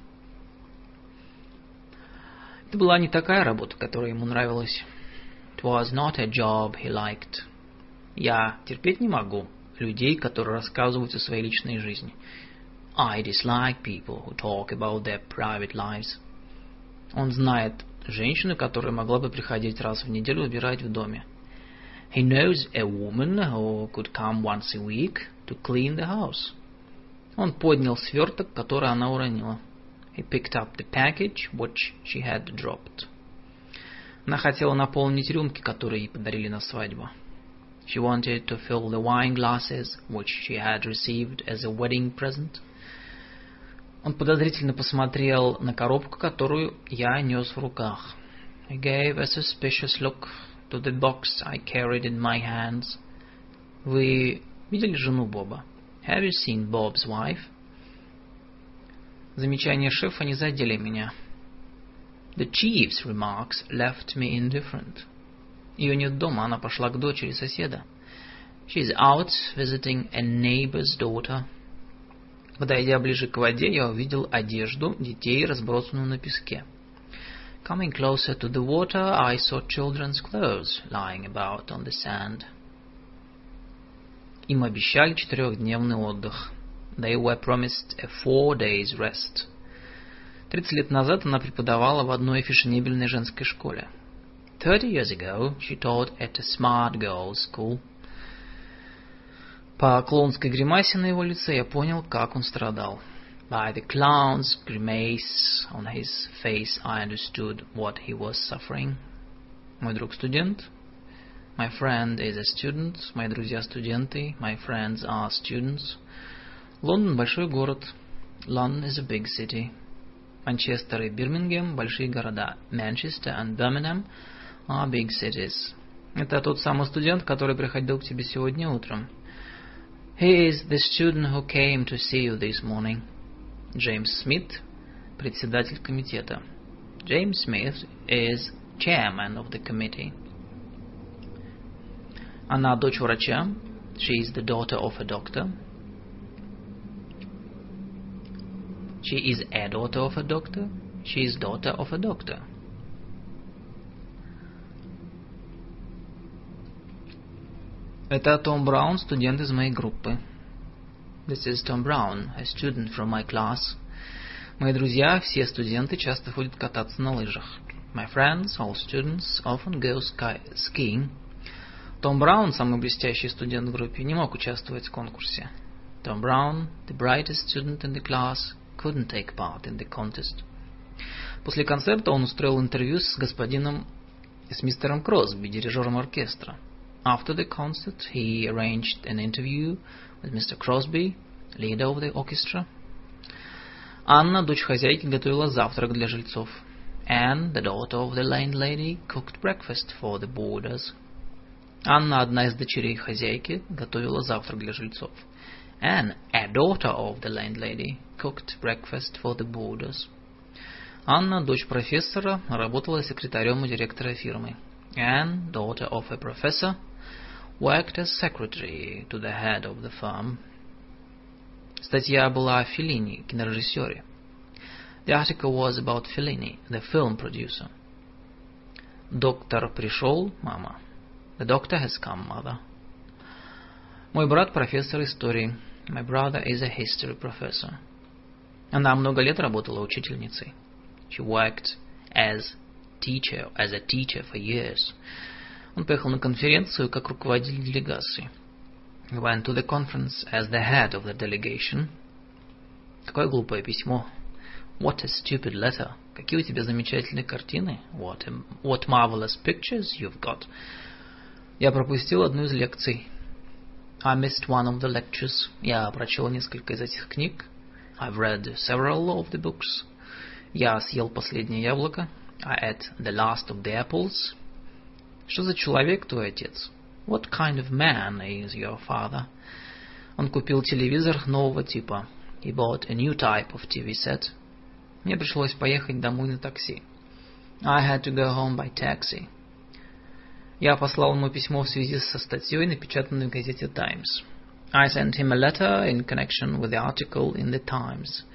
Это была не такая работа, которая ему нравилась. It was not a job he liked. Я терпеть не могу людей, которые рассказывают о своей личной жизни. I dislike people who talk about their private lives. Он знает женщину, которая могла бы приходить раз в неделю убирать в доме. He knows a woman who could come once a week to clean the house. Он поднял сверток, который она уронила. He picked up the package which she had dropped. Она хотела наполнить рюмки, которые ей подарили на свадьбу. She wanted to fill the wine glasses which she had received as a wedding present. Он подозрительно посмотрел на коробку, которую я нес в руках. He gave a suspicious look to the box I carried in my hands. Вы видели жену Боба? Have you seen Bob's wife? Замечания шефа не задели меня. The chief's remarks left me indifferent. Ее нет дома, она пошла к дочери соседа. She's out visiting a neighbor's daughter. Подойдя ближе к воде, я увидел одежду детей, разбросанную на песке. Coming closer to the water, I saw children's clothes lying about on the sand. Им обещали четырехдневный отдых. They were promised a four days rest. Тридцать лет назад она преподавала в одной фешенебельной женской школе. Thirty years ago, she taught at a smart girls' school. По клоунской гримасе на его лице я понял, как он страдал. By the clown's grimace on his face, I understood what he was suffering. Мой друг студент. My friend is a student. Мои друзья студенты. My friends are students. Лондон – большой город. London is a big city. Манчестер и Бирмингем – большие города. Manchester and Birmingham are big cities. Это тот самый студент, который приходил к тебе сегодня утром. He is the student who came to see you this morning. Джеймс Смит, председатель комитета. James Smith is chairman of the committee. Она дочь врача. She is the daughter of a doctor. She is a daughter of a doctor. She is daughter of a doctor. Это Том Браун, студент из моей группы. This is Tom Brown, a student from my class. Мои друзья, все студенты, часто ходят кататься на лыжах. My friends, all students, often go sky skiing. Том Браун, самый блестящий студент в группе, не мог участвовать в конкурсе. Tom Brown, the brightest student in the class, couldn't take part in the contest. После концерта он устроил интервью с господином, с мистером Кросби, дирижером оркестра. After the concert, he arranged an interview with Mister Crosby, leader of the orchestra. Анна, дочь хозяйки, готовила завтрак для жильцов. Anne, the daughter of the landlady, cooked breakfast for the boarders. Анна, одна из дочерей хозяйки, готовила завтрак для жильцов. Anne, a daughter of the landlady, cooked breakfast for the boarders. Анна, дочь профессора, работала секретарем у директора фирмы. Anne, daughter of a professor, worked as secretary to the head of the firm. Статья была о Феллини, кинорежиссере. The article was about Fellini, the film producer. Доктор пришел, мама. The doctor has come, mother. Мой брат профессор истории. My brother is a history professor. Она много лет работала учительницей. She worked as teacher, as a teacher for years. Он поехал на конференцию как руководитель делегации. He went to the conference as the head of the delegation. Какое глупое письмо. What a stupid letter. Какие у тебя замечательные картины. What, a, what marvelous pictures you've got. Я пропустил одну из лекций. I missed one of the lectures. Я прочел несколько из этих книг. I've read several of the books. Я съел последнее яблоко. I ate the last of the apples. Что за человек твой отец? What kind of man is your father? Он купил телевизор нового типа. He bought a new type of ти ви set. Мне пришлось поехать домой на такси. I had to go home by taxi. Я послал ему письмо в связи со статьей, напечатанной в газете Times. I sent him a letter in connection with the article in the Times.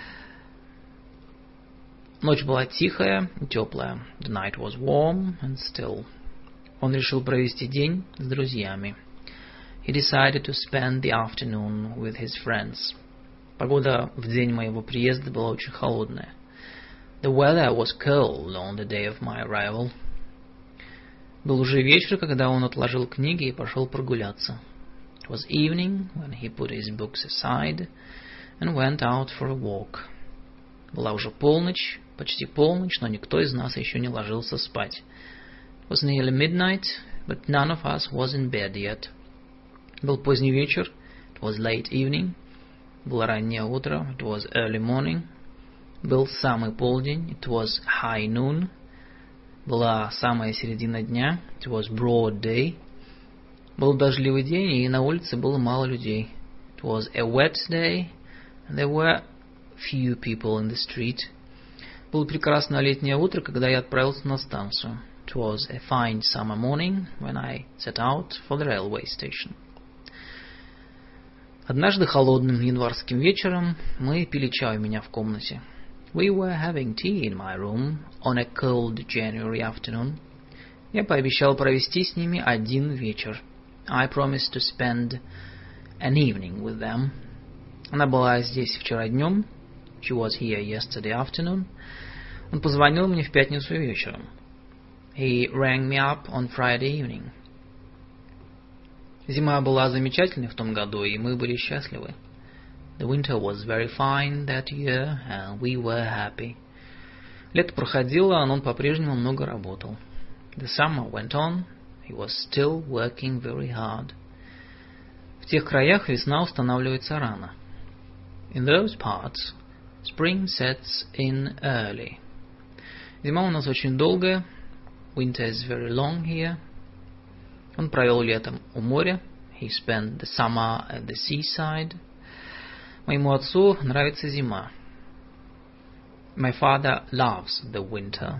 Ночь была тихая и теплая. The night was warm and still. Он решил провести день с друзьями. He decided to spend the afternoon with his friends. Погода в день моего приезда была очень холодная. The weather was cold on the day of my arrival. Был уже вечер, когда он отложил книги и пошел прогуляться. It was evening when he put his books aside and went out for a walk. Была уже полночь, почти полночь, но никто из нас еще не ложился спать. It was nearly midnight, but none of us was in bed yet. Был поздний вечер. It was late evening. Было раннее утро. It was early morning. Был самый полдень. It was high noon. Была самая середина дня. It was broad day. Был дождливый день, и на улице было мало людей. It was a wet day, and there were few people in the street. Было прекрасное летнее утро, когда я отправился на станцию. It was a fine summer morning when I set out for the railway station. Однажды холодным январским вечером мы пили чай у меня в комнате. We were having tea in my room on a cold January afternoon. Я пообещал провести с ними один вечер. I promised to spend an evening with them. Она была здесь вчера днем. She was here yesterday afternoon. Он позвонил мне в пятницу вечером. He rang me up on Friday evening. Зима была замечательной в том году, и мы были счастливы. The winter was very fine that year, and we were happy. Лето проходило, но он по-прежнему много работал. The summer went on. He was still working very hard. В тех краях весна устанавливается рано. In those parts, spring sets in early. Зима у нас очень долгая. Winter is very long here. Он провел летом у моря. He spent the summer at the seaside. Моему отцу нравится зима. My father loves the winter.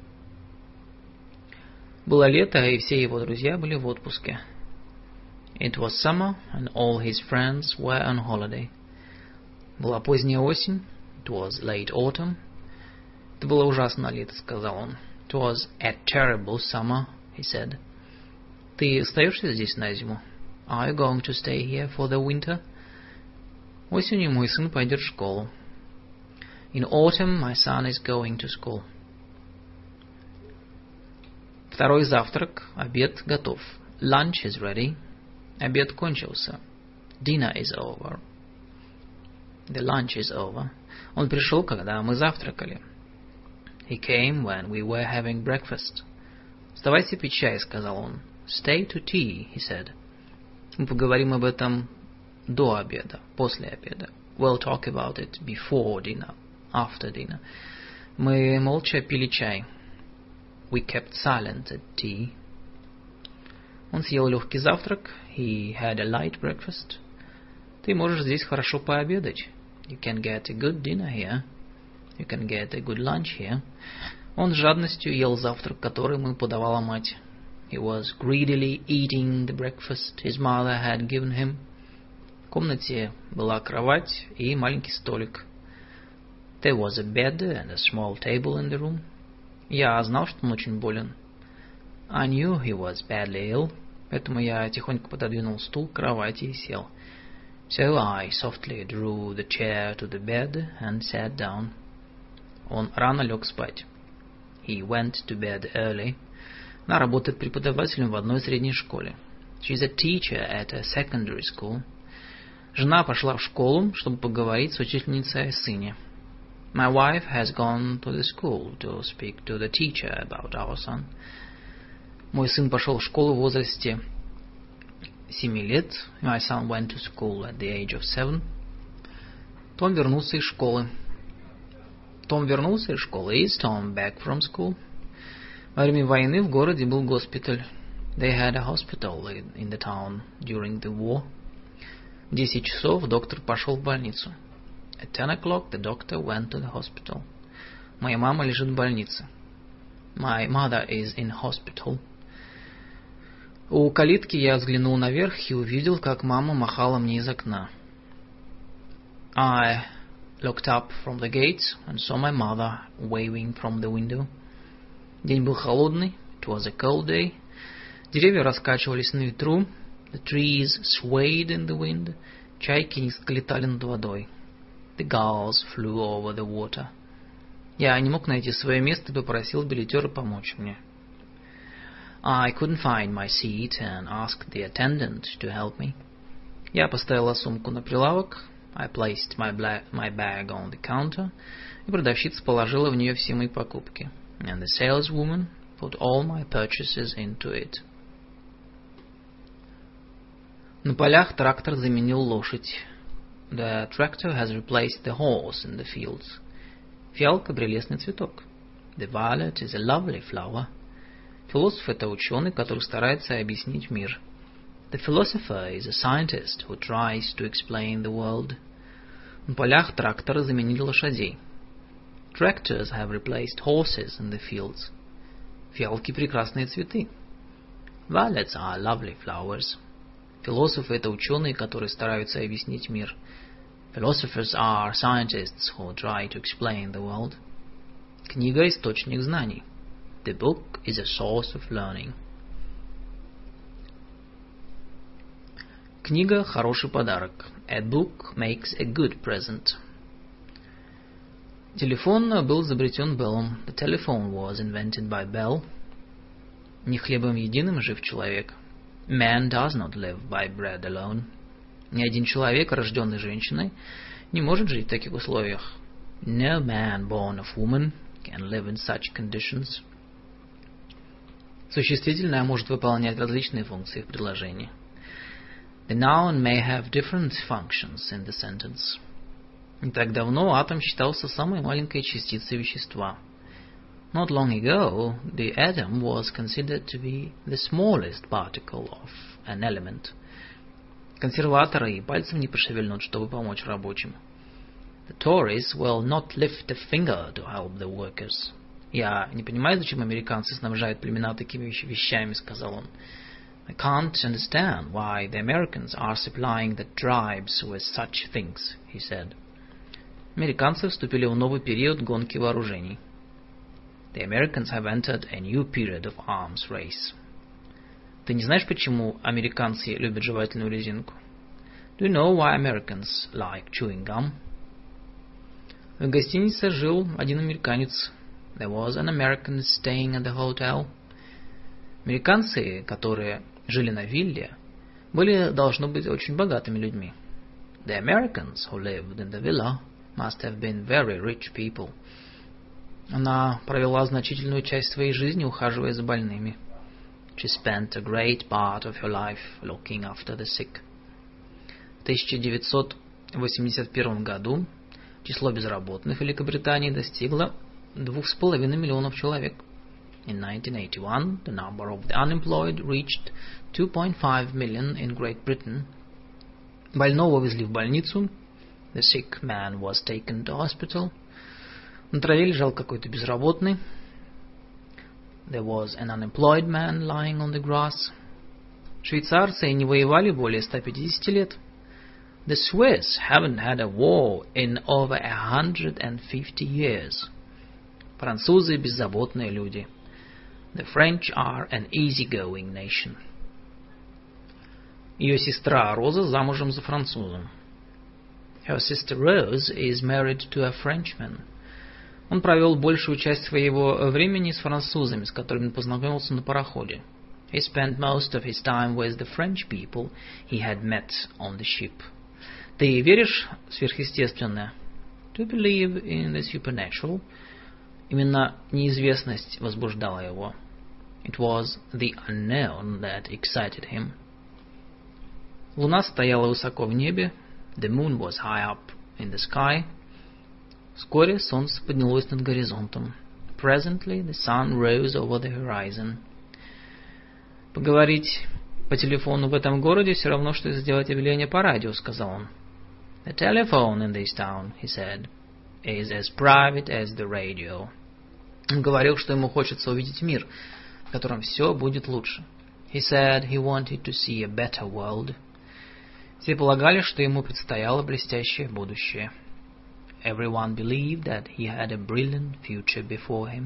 Было лето, и все его друзья были в отпуске. It was summer, and all his friends were on holiday. Была поздняя осень. It was late autumn. Это было ужасное лето, сказал он. It was a terrible summer, he said. Ты остаешься здесь на зиму? Are you going to stay here for the winter? Осенью мой сын пойдет в школу. In autumn, my son is going to school. Второй завтрак, обед готов. Lunch is ready. Обед кончился. Dinner is over. The lunch is over. Он пришел, когда мы завтракали. He came when we were having breakfast. Вставайте пить чай, сказал он. Stay to tea, he said. Мы поговорим об этом до обеда, после обеда. We'll talk about it before dinner, after dinner. Мы молча пили чай. We kept silent at tea. Он съел легкий завтрак. He had a light breakfast. Ты можешь здесь хорошо пообедать. You can get a good dinner here. You can get a good lunch here. Он с жадностью ел завтрак, который ему подавала мать. He was greedily eating the breakfast his mother had given him. В комнате была кровать и маленький столик. There was a bed and a small table in the room. Я знал, что он очень болен. I knew he was badly ill, поэтому я тихонько пододвинул стул к кровати и сел. So I softly drew the chair to the bed and sat down. Он рано лег спать. He went to bed early. Она работает преподавателем в одной средней школе. She's a teacher at a secondary school. Жена пошла в школу, чтобы поговорить с учительницей о сыне. My wife has gone to the school to speak to the teacher about our son. Мой сын пошел в школу в возрасте семи лет. My son went to school at the age of seven. Том вернулся из школы. Том вернулся из школы. Is Tom back from school? Во время войны в городе был госпиталь. They had a hospital in the town during the war. В десять часов доктор пошел в больницу. At ten o'clock the doctor went to the hospital. Моя мама лежит в больнице. My mother is in hospital. У калитки я взглянул наверх и увидел, как мама махала мне из окна. I looked up from the gate and saw my mother waving from the window. День был холодный. It was a cold day. Деревья раскачивались на ветру. The trees swayed in the wind. Чайки низко летали над водой. The gulls flew over the water. Я не мог найти свое место и попросил билетера помочь мне. I couldn't find my seat and asked the attendant to help me. Я поставила сумку на прилавок. I placed my, bla- my bag on the counter. И продавщица положила в нее все мои покупки. And the saleswoman put all my purchases into it. На полях трактор заменил лошадь. The tractor has replaced the horse in the fields. Фиалка – прелестный цветок. The violet is a lovely flower. Философ – это ученый, который старается объяснить мир. The philosopher is a scientist who tries to explain the world. На полях тракторы заменили лошадей. Tractors have replaced horses in the fields. Фиалки – прекрасные цветы. Violets are lovely flowers. Философы – это ученые, которые стараются объяснить мир. Philosophers are scientists who try to explain the world. Книга – источник знаний. The book is a source of learning. Книга – хороший подарок. A book makes a good present. Телефон был изобретен Беллом. The telephone was invented by Bell. Не хлебом единым жив человек. Man does not live by bread alone. Ни один человек, рожденный женщиной, не может жить в таких условиях. No man born of woman can live in such conditions. Существительное может выполнять различные функции в предложении. The noun may have different functions in the sentence. Не так давно атом считался самой маленькой частицей вещества. Not long ago, the atom was considered to be the smallest particle of an element. Консерваторы и пальцем не пошевельнут, чтобы помочь рабочим. The Tories will not lift a finger to help the workers. Я не понимаю, зачем американцы снабжают племена такими вещами, сказал он. I can't understand why the Americans are supplying the tribes with such things, he said. Американцы вступили в новый период гонки вооружений. The Americans have entered a new period of arms race. Ты не знаешь, почему американцы любят жевательную резинку? Do you know why Americans like chewing gum? В гостинице жил один американец. There was an American staying at the hotel. Американцы, которые жили на вилле, были, должно быть, очень богатыми людьми. The Americans who lived in the villa must have been very rich people. Она провела значительную часть своей жизни, ухаживая за больными. She spent a great part of her life looking after the sick. В тысяча девятьсот восемьдесят первом году число безработных в Великобритании достигло двух с половиной миллионов человек. In nineteen eighty-one, the number of the unemployed reached two point five million in Great Britain. Больного увезли в больницу. The sick man was taken to hospital. На траве лежал какой-то безработный. There was an unemployed man lying on the grass. Швейцарцы не воевали более ста пятидесяти лет. The Swiss haven't had a war in over a hundred and fifty years. Французы беззаботные люди. The French are an easygoing nation. Ее сестра Роза замужем за французом. Her sister Rose is married to a Frenchman. Он провел большую часть своего времени с французами, с которыми он познакомился на пароходе. He spent most of his time with the French people he had met on the ship. Ты веришь в сверхъестественное? Do you believe in the supernatural? Именно неизвестность возбуждала его. It was the unknown that excited him. Луна стояла высоко в небе. The moon was high up in the sky. Вскоре солнце поднялось над горизонтом. Presently the sun rose over the horizon. Поговорить По телефону в этом городе все равно, что сделать объявление по радио, сказал он. The telephone in this town, he said, is as private as the radio. Он говорил, что ему хочется увидеть мир, в котором все будет лучше. He said he wanted to see a better world. Все полагали, что ему предстояло блестящее будущее. Everyone believed that he had a brilliant future before him.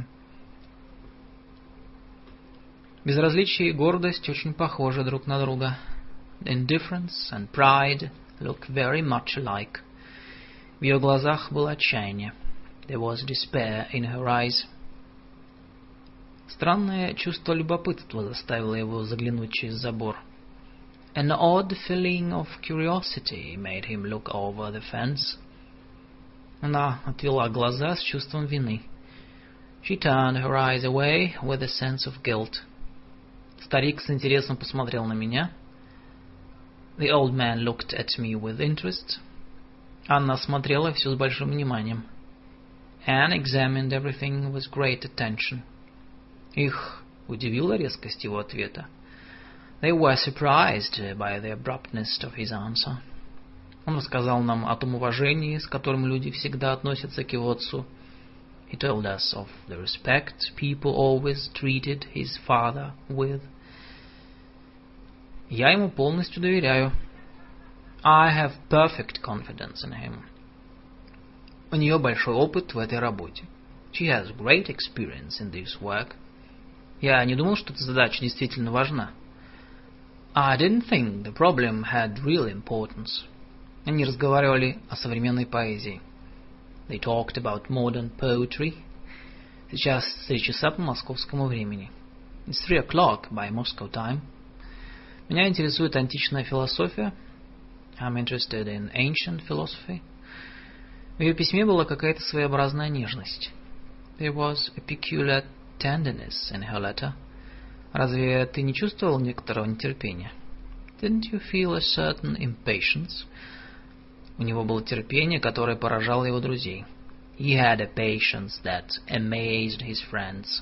Безразличие и гордость очень похожи друг на друга. Indifference and pride look very much alike. В ее глазах было отчаяние. There was despair in her eyes. Странное чувство любопытства заставило его заглянуть через забор. An odd feeling of curiosity made him look over the fence. Она отвела глаза с чувством вины. She turned her eyes away with a sense of guilt. Старик с интересом посмотрел на меня. The old man looked at me with interest. Анна смотрела все с большим вниманием. Anne examined everything with great attention. Их удивила резкость его ответа. They were surprised by the abruptness of his answer. Он рассказал нам о том уважении, с которым люди всегда относятся к его отцу. He told us of the respect people always treated his father with. Я ему полностью доверяю. I have perfect confidence in him. У нее большой опыт в этой работе. She has great experience in this work. Я не думал, что эта задача действительно важна. I didn't think the problem had real importance. Они разговаривали о современной поэзии. They talked about modern poetry. Сейчас три часа по московскому времени. It's three o'clock by Moscow time. Меня интересует античная философия. I'm interested in ancient philosophy. В ее письме была какая-то своеобразная нежность. There was a peculiar tenderness in her letter. Разве ты не чувствовал некоторого нетерпения? Didn't you feel a certain impatience? У него было терпение, которое поражало его друзей. He had a patience that amazed his friends.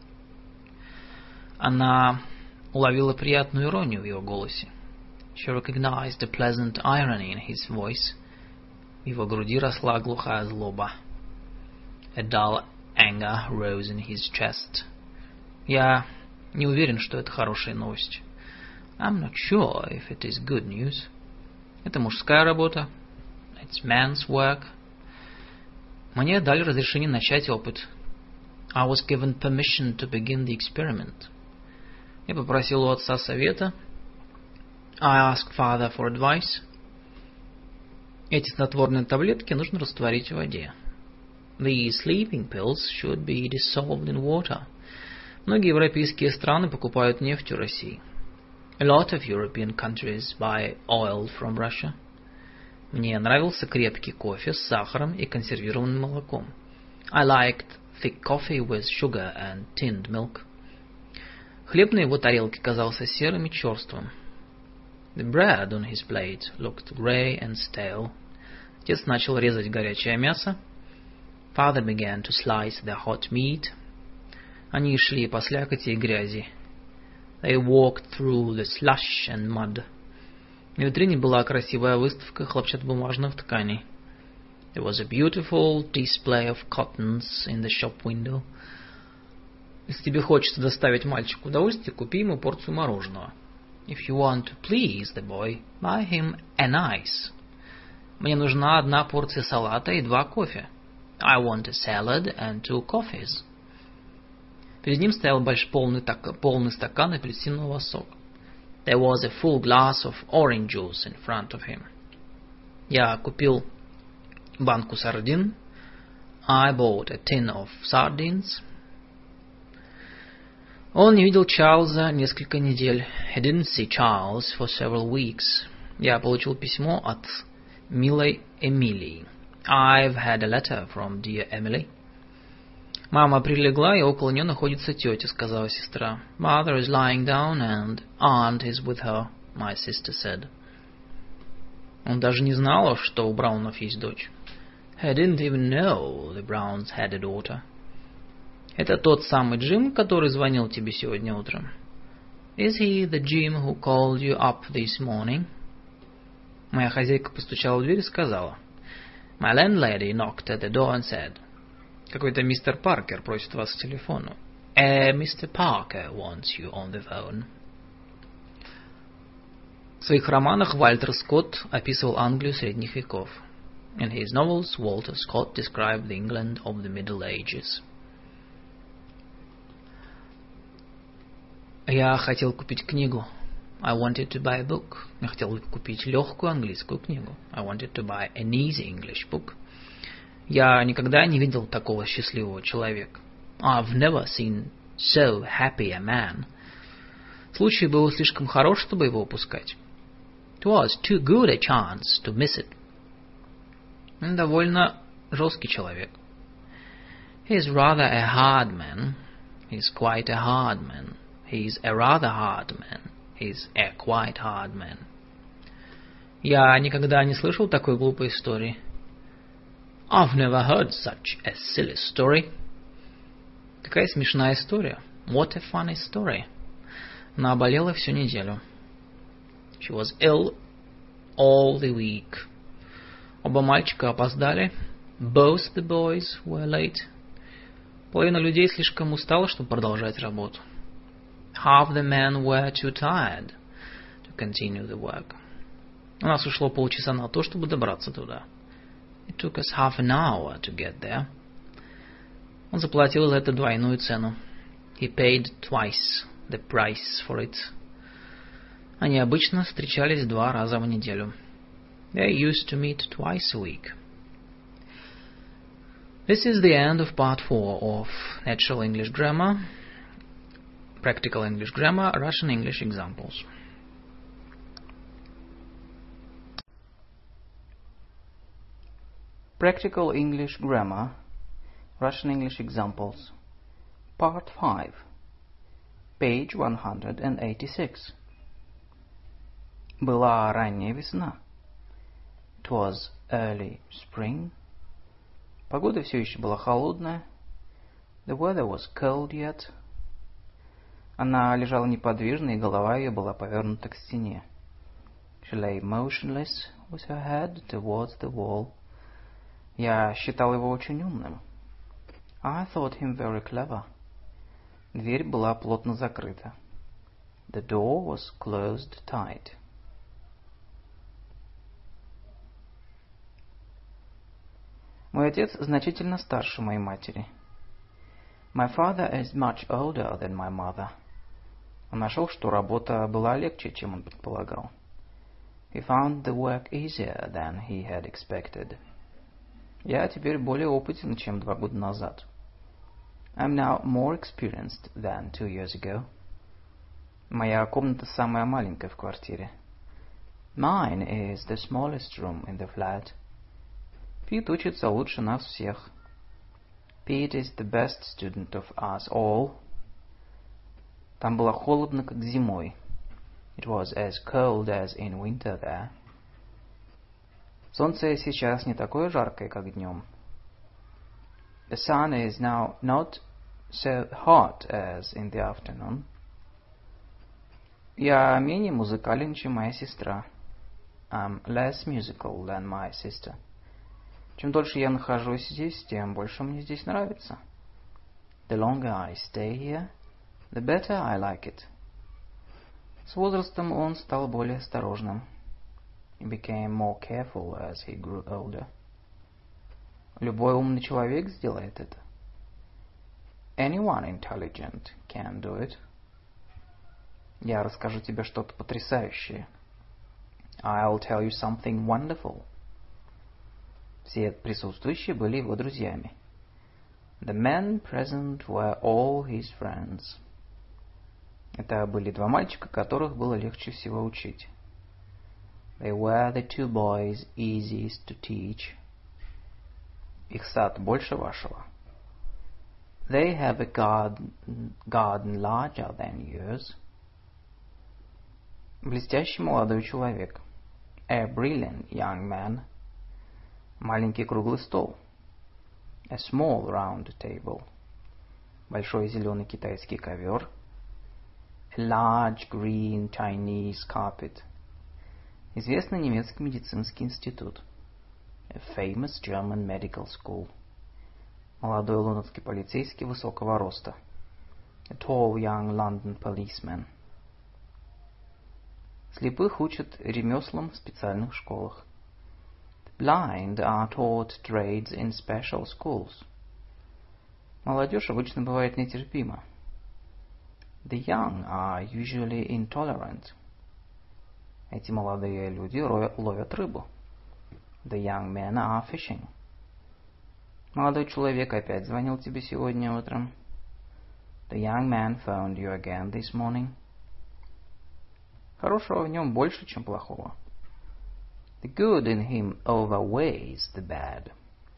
Она уловила приятную иронию в его голосе. She recognized a pleasant irony in his voice. В его груди росла глухая злоба. A dull anger rose in his chest. Я не уверен, что это хорошая новость. I'm not sure if it is good news. Это мужская работа. It's man's work. Мне дали разрешение начать опыт. I was given permission to begin the experiment. Я попросил у отца совета. I asked father for advice. Эти снотворные таблетки нужно растворить в воде. The sleeping pills should be dissolved in water. Многие европейские страны покупают нефть у России. A lot of European countries buy oil from Russia. Мне нравился крепкий кофе с сахаром и консервированным молоком. I liked thick coffee with sugar and tinned milk. Хлеб на его тарелке казался серым и черствым. The bread on his plate looked grey and stale. Отец начал резать горячее мясо. Father began to slice the hot meat. Они шли по слякоти и грязи. They walked through the slush and mud. На витрине была красивая выставка хлопчатобумажных тканей. There was a beautiful display of cottons in the shop window. Если тебе хочется доставить мальчику удовольствие, купи ему порцию мороженого. If you want to please the boy, buy him an ice. Мне нужна одна порция салата и два кофе. I want a salad and two coffees. Перед ним стоял большой полный, полный стакан апельсинового сока. There was a full glass of orange juice in front of him. Я купил банку сардин. I bought a tin of sardines. Он не видел Чарльза несколько недель. He didn't see Charles for several weeks. Я получил письмо от милой Эмилии. I've had a letter from dear Emily. Мама прилегла, и около нее находится тетя, сказала сестра. Mother is lying down, and aunt is with her, my sister said. Он даже не знал, что у Браунов есть дочь. He didn't even know the Browns had a daughter. Это тот самый Джим, который звонил тебе сегодня утром. Is he the Jim who called you up this morning? Моя хозяйка постучала в дверь и сказала. My landlady knocked at the door and said. Какой-то мистер Паркер просит вас к телефону. A Mister Parker wants you on the phone. В своих романах Вальтер Скотт описывал Англию средних веков. In his novels, Walter Scott described the England of the Middle Ages. Я хотел купить книгу. I wanted to buy a book. Я хотел купить легкую английскую книгу. I wanted to buy an easy English book. Я никогда не видел такого счастливого человека. I've never seen so happy a man. Случай был слишком хорош, чтобы его упускать. It was too good a chance to miss it. Он довольно жесткий человек. He's rather a hard man. He's quite a hard man. He's a rather hard man. He's a quite hard man. Я никогда не слышал такой глупой истории. I've never heard such a silly story. Какая смешная история. What a funny story. Она болела всю неделю. She was ill all the week. Оба мальчика опоздали. Both the boys were late. Половина людей слишком устала, чтобы продолжать работу. Half the men were too tired to continue the work. У нас ушло полчаса на то, чтобы добраться туда. It took us half an hour to get there. Он заплатил за это двойную цену. He paid twice the price for it. Они обычно встречались два раза в неделю. They used to meet twice a week. This is the end of part four of Natural English Grammar, Practical English Grammar, Russian English Examples. Practical English Grammar, Russian English Examples, Part five, page one hundred eighty-six. Была ранняя весна. It was early spring. Погода все еще была холодная. The weather was cold yet. Она лежала неподвижно, и голова ее была повернута к стене. She lay motionless with her head towards the wall. Я считал его очень умным. I thought him very clever. Дверь была плотно закрыта. The door was closed tight. Мой отец значительно старше моей матери. My father is much older than my mother. Он нашел, что работа была легче, чем он предполагал. He found the work easier than he had expected. Я теперь более опытен, чем два года назад. I'm now more experienced than two years ago. Моя комната самая маленькая в квартире. Mine is the smallest room in the flat. Пит учится лучше нас всех. Pete is the best student of us all. Там было холодно, как зимой. It was as cold as in winter there. Солнце сейчас не такое жаркое, как днем. The sun is now not so hot as in the afternoon. Я менее музыкален, чем моя сестра. I'm less musical than my sister. Чем дольше я нахожусь здесь, тем больше мне здесь нравится. The longer I stay here, the better I like it. С возрастом он стал более осторожным. He became more careful as he grew older. Любой умный человек сделает это. Anyone intelligent can do it. Я расскажу тебе что-то потрясающее. I'll tell you something wonderful. Все присутствующие были его друзьями. The men present were all his friends. Это были два мальчика, которых было легче всего учить. They were the two boys easiest to teach. Их сад больше вашего. They have a garden, garden larger than yours. Блестящий молодой человек. A brilliant young man. Маленький круглый стол. A small round table. Большой зеленый китайский ковер. A large green Chinese carpet. Известный немецкий медицинский институт. A famous German medical school. Молодой лондонский полицейский высокого роста. A tall young London policeman. Слепых учат ремеслам в специальных школах. The blind are taught trades in special schools. Молодежь обычно бывает нетерпима. The young are usually intolerant. Эти молодые люди ловят рыбу. The young men are fishing. Молодой человек опять звонил тебе сегодня утром. The young man phoned you again this morning. Хорошего в нем больше, чем плохого. The good in him outweighs the bad.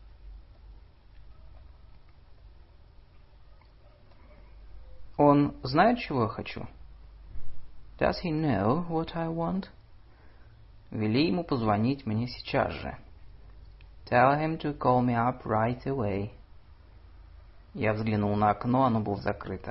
Он знает, чего я хочу? Does he know what I want? Вели ему позвонить мне сейчас же. Tell him to call me up right away. Я взглянул на окно, оно было закрыто.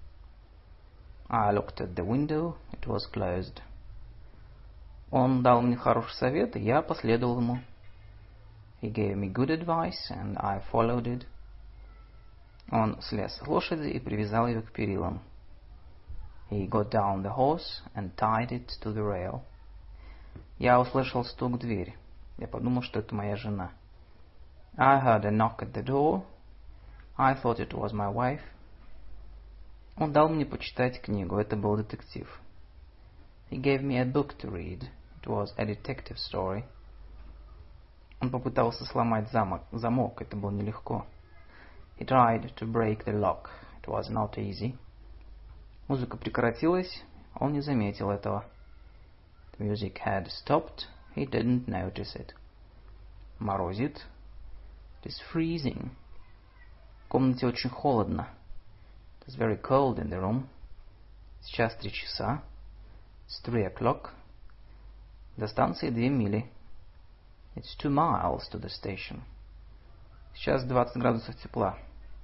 I looked at the window, it was closed. Он дал мне хороший совет, и я последовал ему. He gave me good advice, and I followed it. Он слез с лошади и привязал ее к перилам. He got down the horse and tied it to the rail. Я услышал стук в дверь. Я подумал, что это моя жена. I heard a knock at the door. I thought it was my wife. Он дал мне почитать книгу. Это был детектив. He gave me a book to read. It was a detective story. Он попытался сломать замок, замок. Это было нелегко. He tried to break the lock. It was not easy. Музыка прекратилась. Он не заметил этого. The music had stopped. He didn't notice it. Морозит. It is freezing. В комнате очень холодно. It is very cold in the room. Сейчас три часа. It's three o'clock. До станции две мили. It's two miles to the station. Сейчас двадцать градусов тепла.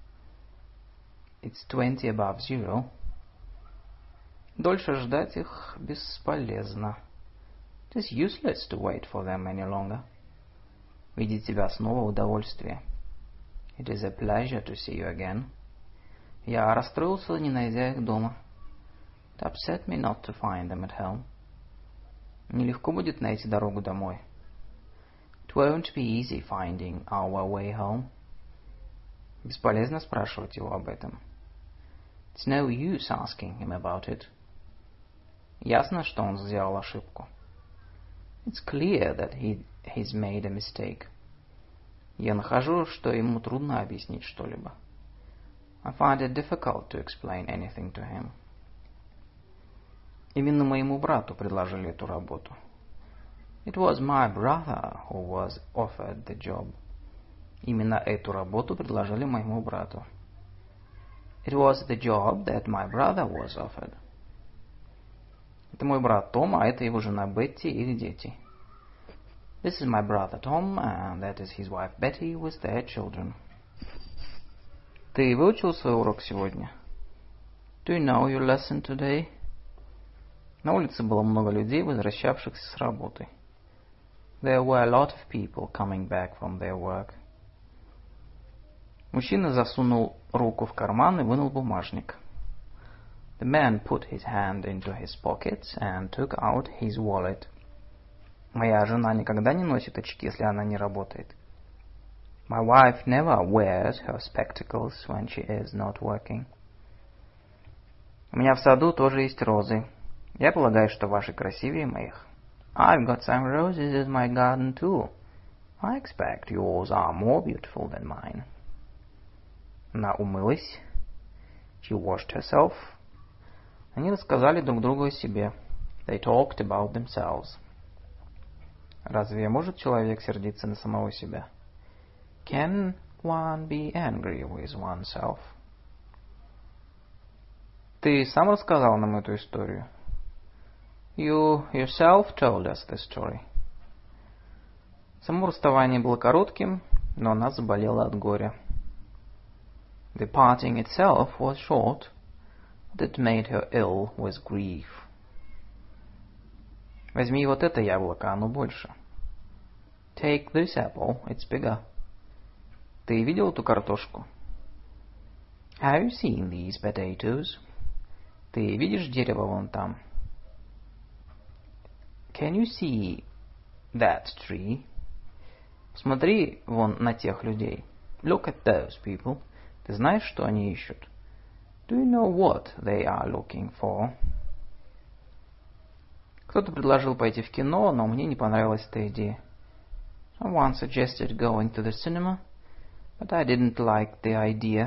It's twenty above zero. Дольше ждать их бесполезно. It is useless to wait for them any longer. Видеть тебя снова удовольствие. It is a pleasure to see you again. Я расстроился, не найдя их дома. It upset me not to find them at home. Нелегко будет найти дорогу домой. It won't be easy finding our way home. Бесполезно спрашивать его об этом. It's no use asking him about it. Ясно, что он сделал ошибку. It's clear that he has made a mistake. Я нахожу, что ему трудно объяснить что-либо. I find it difficult to explain anything to him. Именно моему брату предложили эту работу. It was my brother who was offered the job. Именно эту работу предложили моему брату. It was the job that my brother was offered. Это мой брат Том, а это его жена Бетти и их дети. This is my brother Tom, and that is his wife Betty with their children. Ты выучил свой урок сегодня? Do you know your lesson today? На улице было много людей, возвращавшихся с работы. There were a lot of people coming back from their work. Мужчина засунул руку в карман и вынул бумажник. The man put his hand into his pocket and took out his wallet. Моя жена никогда не носит очки, если она не работает. My wife never wears her spectacles when she is not working. У меня в саду тоже есть розы. Я полагаю, что ваши красивее моих. I've got some roses in my garden too. I expect yours are more beautiful than mine. Она умылась. She washed herself. Они рассказали друг другу о себе. They talked about themselves. Разве может человек сердиться на самого себя? Can one be angry with oneself? Ты сам рассказал нам эту историю? You yourself told us the story. Само расставание было коротким, но она заболела от горя. The parting itself was short, that made her ill with grief. Возьми вот это яблоко, оно больше. Take this apple, it's bigger. Ты видел эту картошку? Have you seen these potatoes? Ты видишь дерево вон там? Can you see that tree? Смотри вон на тех людей. Look at those people. Ты знаешь, что они ищут? Do you know what they are looking for? Кто-то предложил пойти в кино, но мне не понравилась эта идея. Someone suggested going to the cinema, but I didn't like the idea.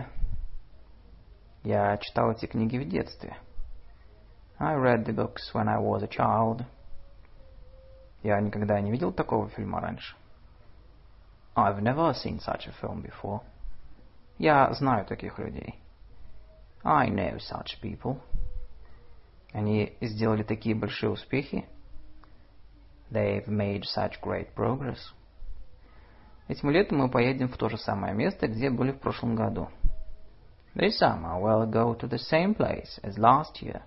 Я читал эти книги в детстве. I read the books when I was a child. Я никогда не видел такого фильма раньше. I've never seen such a film before. Я знаю таких людей. I know such people. Они сделали такие большие успехи. They've made such great progress. Этим летом мы поедем в то же самое место, где были в прошлом году. This summer we'll go to the same place as last year.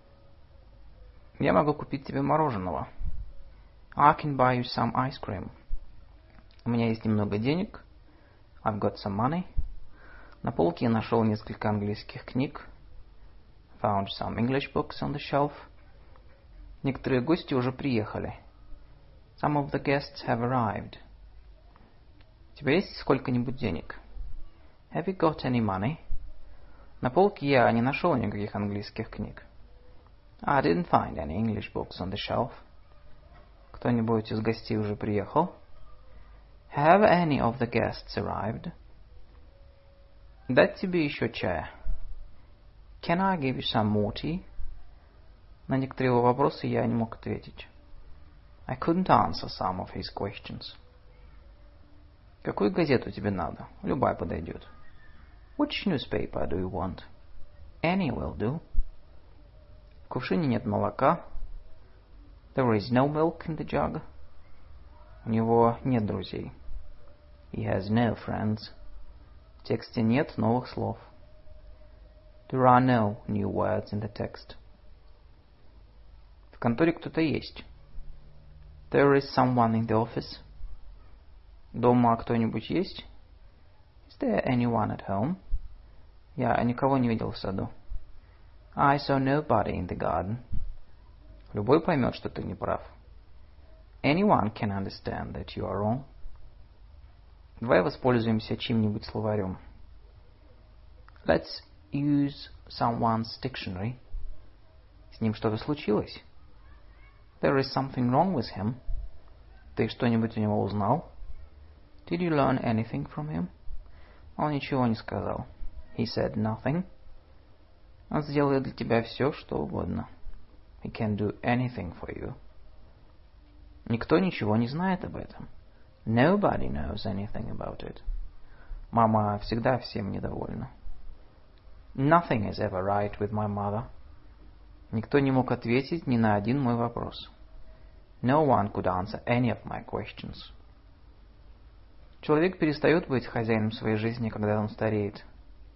Я могу купить тебе мороженого. I can buy you some ice cream. У меня есть немного денег. I've got some money. На полке я нашел несколько английских книг. Found some English books on the shelf. Некоторые гости уже приехали. Some of the guests have arrived. У тебя есть сколько-нибудь денег? Have you got any money? На полке я не нашел никаких английских книг. I didn't find any English books on the shelf. Кто-нибудь из гостей уже приехал? Have any of the guests arrived? Дать тебе еще чая? Can I give you some more tea? На некоторые его вопросы я не мог ответить. I couldn't answer some of his questions. Какую газету тебе надо? Любая подойдет. Which newspaper do you want? Any will do. В кувшине нет молока. There is no milk in the jug. У него нет друзей. He has no friends. В тексте нет новых слов. There are no new words in the text. В конторе кто-то есть. There is someone in the office. Дома кто-нибудь есть? Is there anyone at home? Я никого не видел в саду. I saw nobody in the garden. Любой поймет, что ты не прав. Anyone can understand that you are wrong. Давай воспользуемся чьим-нибудь словарем. Let's use someone's dictionary. С ним что-то случилось? There is something wrong with him. Ты что-нибудь у него узнал? Did you learn anything from him? Он ничего не сказал. He said nothing. Он сделает для тебя все, что угодно. He can do anything for you. Никто ничего не знает об этом. Nobody knows anything about it. Мама всегда всем недовольна. Nothing is ever right with my mother. Никто не мог ответить ни на один мой вопрос. No one could answer any of my questions. Человек перестает быть хозяином своей жизни, когда он стареет.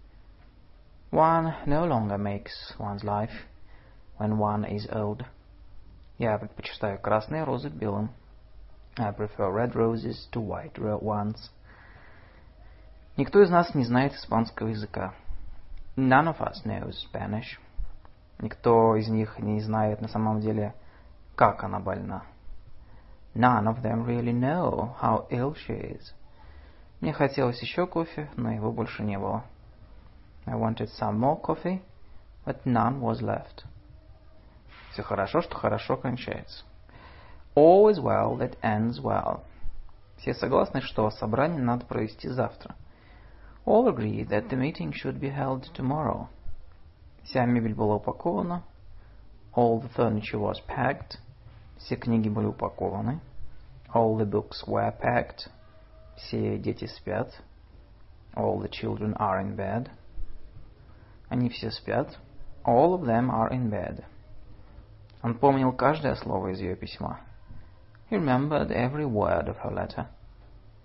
One no longer makes one's life when one is old. Я предпочитаю красные розы белым. I prefer red roses to white ones. Никто из нас не знает испанского языка. None of us knows Spanish. Никто из них не знает на самом деле, как она больна. None of them really know how ill she is. Мне хотелось еще кофе, но его больше не было. I wanted some more coffee, but none was left. Все хорошо, что хорошо кончается. All is well that ends well. Все согласны, что собрание надо провести завтра. All agree that the meeting should be held tomorrow. Вся мебель была упакована. All the furniture was packed. Все книги были упакованы. All the books were packed. Все дети спят. All the children are in bed. Они все спят. All of them are in bed. Он помнил каждое слово из ее письма. He remembered every word of her letter.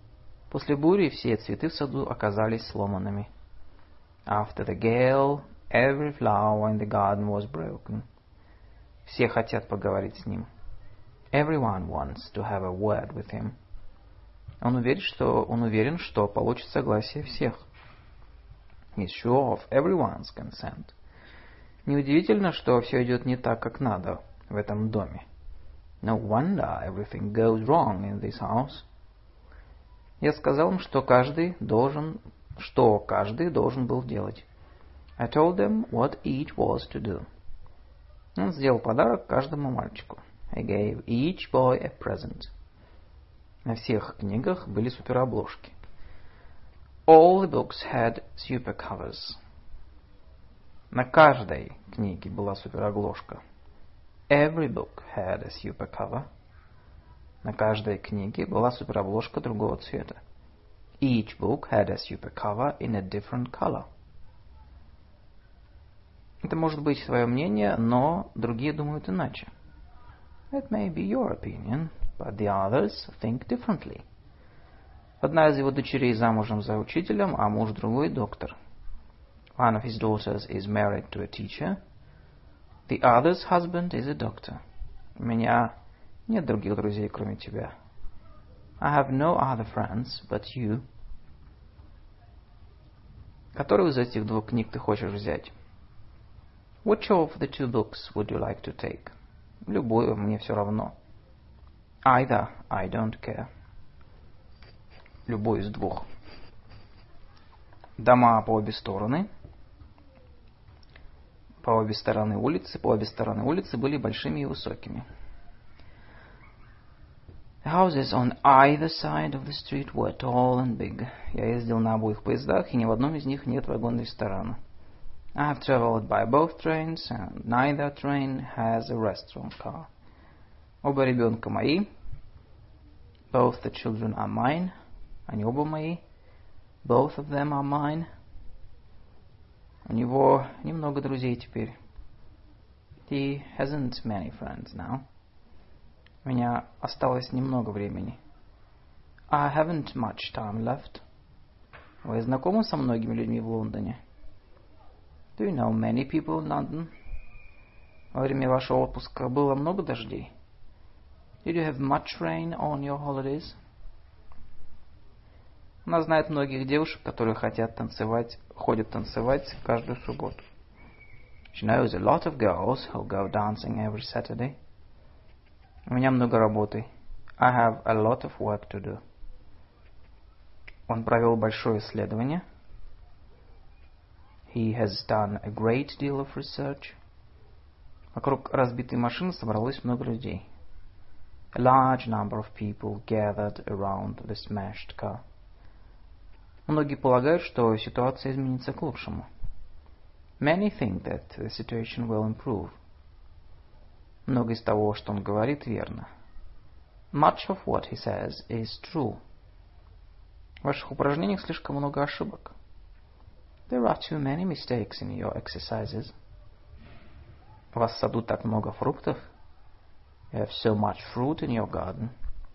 После бури все цветы в саду оказались сломанными. After the gale, Every flower in the garden was broken. Все хотят поговорить с ним. Everyone wants to have a word with him. Он уверен, что, он уверен, что получит согласие всех. He's sure of everyone's consent. Неудивительно, что все идет не так, как надо в этом доме. No wonder everything goes wrong in this house. Я сказал им, что каждый должен, что каждый должен был делать. I told them what each was to do. Он сделал подарок каждому мальчику. I gave each boy a present. На всех книгах были суперобложки. All the books had super covers. На каждой книге была суперобложка. Every book had a super cover. На каждой книге была суперобложка другого цвета. Each book had a super cover in a different color. Это может быть твое мнение, но другие думают иначе. That may be your opinion, but the others think differently. Одна из его дочерей замужем за учителем, а муж другой доктор. One of his daughters is married to a teacher. The other's husband is a doctor. У меня нет других друзей, кроме тебя. I have no other friends but you. Которую из этих двух книг ты хочешь взять? Which of the two books would you like to take? Любую, мне все равно. Either, I don't care. Любой из двух. Дома по обе стороны. По обе стороны улицы, по обе стороны улицы были большими и высокими. The houses on either side of the street were tall and big. Я ездил на обоих поездах, и ни в одном из них нет вагона-ресторана. I have traveled by both trains, and neither train has a restaurant car. Оба ребенка мои. Both the children are mine. Они оба мои. Both of them are mine. У него немного друзей теперь. He hasn't many friends now. У меня осталось немного времени. I haven't much time left. Вы знакомы со многими людьми в Лондоне? Do you know many people in London? Во время вашего отпуска было много дождей? Did you have much rain on your holidays? Она знает многих девушек, которые хотят танцевать, ходят танцевать каждую субботу. She knows a lot of girls who go dancing every Saturday. У меня много работы. I have a lot of work to do. Он провел большое исследование. He has done a great deal of research. Вокруг разбитой машины собралось много людей. A large number of people gathered around the smashed car. Многие полагают, что ситуация изменится к лучшему. Many think that the situation will improve. Много из того, что он говорит, верно. Much of what he says is true. В ваших упражнениях слишком много ошибок. There are too many mistakes in your exercises. У вас в саду так много фруктов. You have so much fruit in your garden.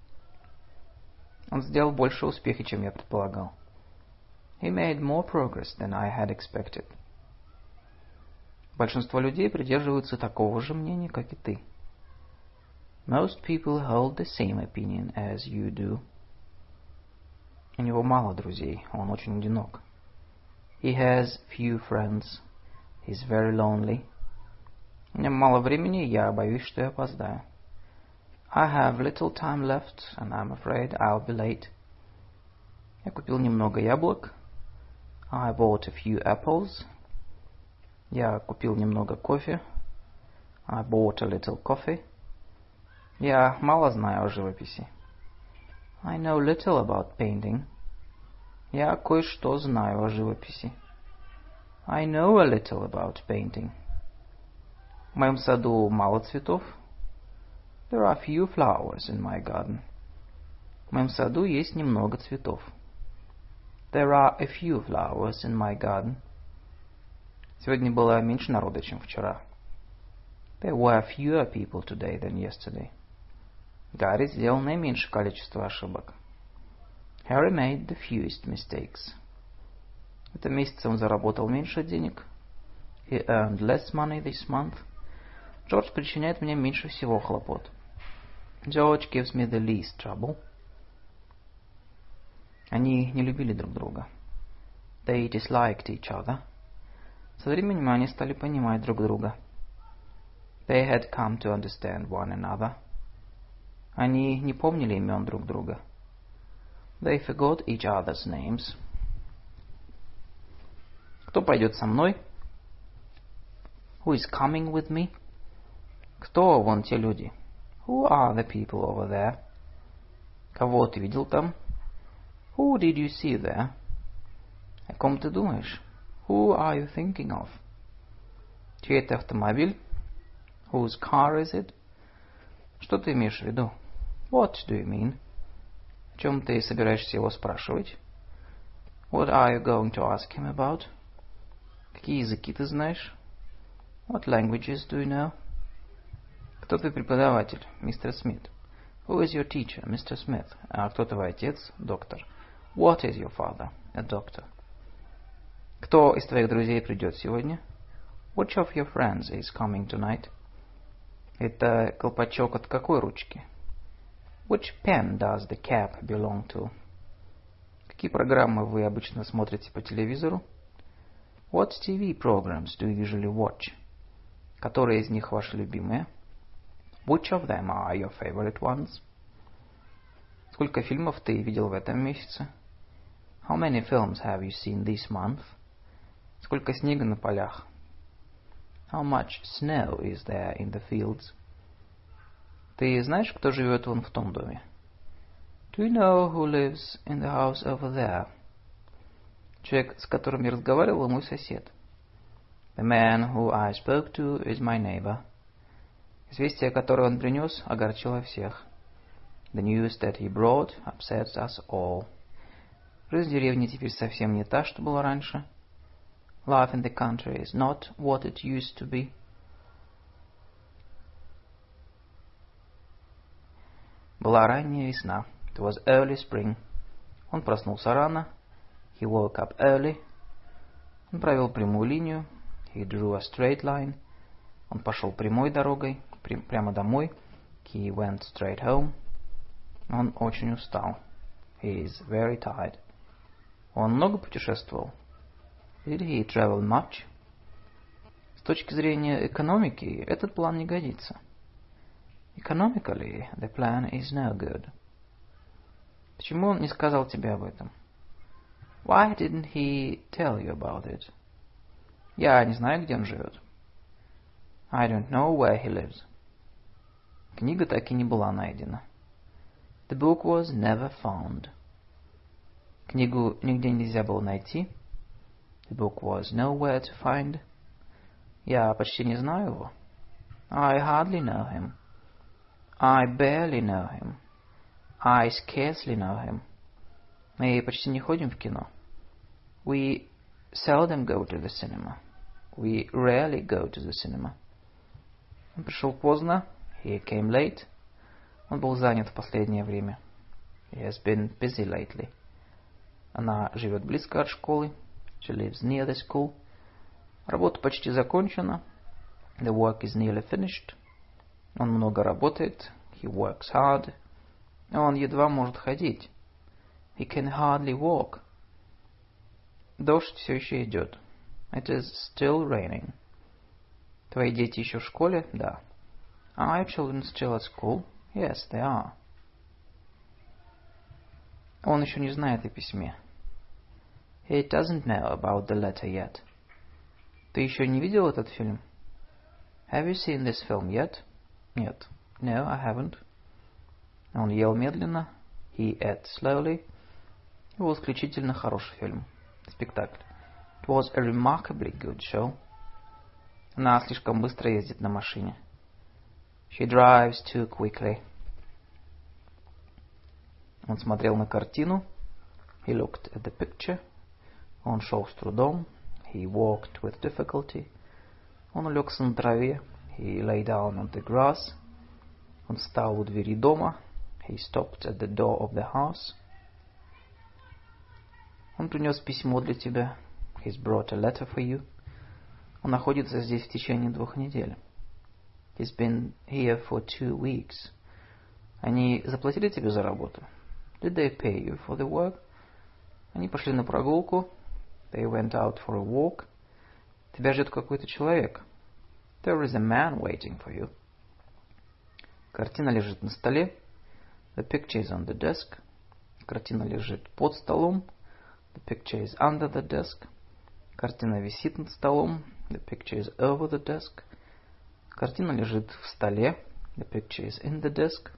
Он сделал больше успеха, чем я предполагал. He made more progress than I had expected. Большинство людей придерживаются такого же мнения, как и ты. Most people hold the same opinion as you do. У него мало друзей, он очень одинок. He has few friends. He's very lonely. У меня мало времени, я боюсь, что я опоздаю. I have little time left, and I'm afraid I'll be late. Я купил немного яблок. I bought a few apples. Я купил немного кофе. I bought a little coffee. Я мало знаю о живописи. I know little about painting. Я кое-что знаю о живописи. I know a little about painting. В моем саду мало цветов. There are few flowers in my garden. В моем саду есть немного цветов. There are a few flowers in my garden. Сегодня было меньше народа, чем вчера. There were fewer people today than yesterday. Гарри сделал наименьшее количество ошибок. Harry made the fewest mistakes. В этом месяце он заработал меньше денег. He earned less money this month. Джордж причиняет мне меньше всего хлопот. George gives me the least trouble. Они не любили друг друга. They disliked each other. Со временем они стали понимать друг друга. They had come to understand one another. Они не помнили имен друг друга. They forgot each other's names. Кто пойдет со мной? Who is coming with me? Кто вон те люди? Who are the people over there? Кого ты видел там? Who did you see there? О ком ты думаешь? Who are you thinking of? Чей это автомобиль? Whose car is it? Что ты имеешь в виду? What do you mean? О чем ты собираешься его спрашивать? What are you going to ask him about? Какие языки ты знаешь? What languages do you know? Кто твой преподаватель, мистер Смит? Who is your teacher, мистер Смит? А кто твой отец, доктор? What is your father, a doctor? Кто из твоих друзей придет сегодня? Which of your friends is coming tonight? Это колпачок от какой ручки? Which pen does the cap belong to? Какие программы вы обычно смотрите по телевизору? What ти ви programs do you usually watch? Которые из них ваши любимые? Which of them are your favorite ones? Сколько фильмов ты видел в этом месяце? How many films have you seen this month? Сколько снега на полях? How much snow is there in the fields? Ты знаешь, кто живет вон в том доме? Do you know who lives in the house over there? Человек, с которым я разговаривал, мой сосед. The man who I spoke to is my neighbor. Известие, которое он принес, огорчило всех. The news that he brought upsets us all. Жизнь в деревне теперь совсем не та, что была раньше. Life in the country is not what it used to be. Была ранняя весна. It was early spring. Он проснулся рано. He woke up early. Он провел прямую линию. He drew a straight line. Он пошел прямой дорогой, прям, прямо домой. He went straight home. Он очень устал. He is very tired. Он много путешествовал. Did he travel much? С точки зрения экономики, этот план не годится. Economically, the plan is no good. Почему он не сказал тебе об этом? Why didn't he tell you about it? Я не знаю, где он живет. I don't know where he lives. Книга так и не была найдена. The book was never found. Книгу нигде нельзя было найти. The book was nowhere to find. Я почти не знаю его. I hardly know him. I barely know him. I scarcely know him. Мы почти не ходим в кино. We seldom go to the cinema. We rarely go to the cinema. Он пришел поздно. He came late. Он был занят в последнее время. He has been busy lately. Она живет близко от школы. She lives near the school. Работа почти закончена. The work is nearly finished. Он много работает. He works hard. Он едва может ходить. He can hardly walk. Дождь все еще идет. It is still raining. Твои дети еще в школе? Да. Are your children still at school? Yes, they are. Он еще не знает о письме. He doesn't know about the letter yet. Ты еще не видел этот фильм? Have you seen this film yet? Нет. No, I haven't. Он ел медленно. He ate slowly. Это был исключительно хороший фильм. Спектакль. It was a remarkably good show. Она слишком быстро ездит на машине. She drives too quickly. Он смотрел на картину. He looked at the picture. Он шел с трудом. He walked with difficulty. Он улегся на траве. He lay down on the grass. Он встал у двери дома. He stopped at the door of the house. Он принес письмо для тебя. He's brought a letter for you. Он находится здесь в течение двух недель. He's been here for two weeks. Они заплатили тебе за работу? Did they pay you for the work? Они пошли на прогулку. They went out for a walk. Тебя ждет какой-то человек. There is a man waiting for you. Картина лежит на столе. The picture is on the desk. Картина лежит под столом. The picture is under the desk. Картина висит над столом. The picture is over the desk. Картина лежит в столе. The picture is in the desk.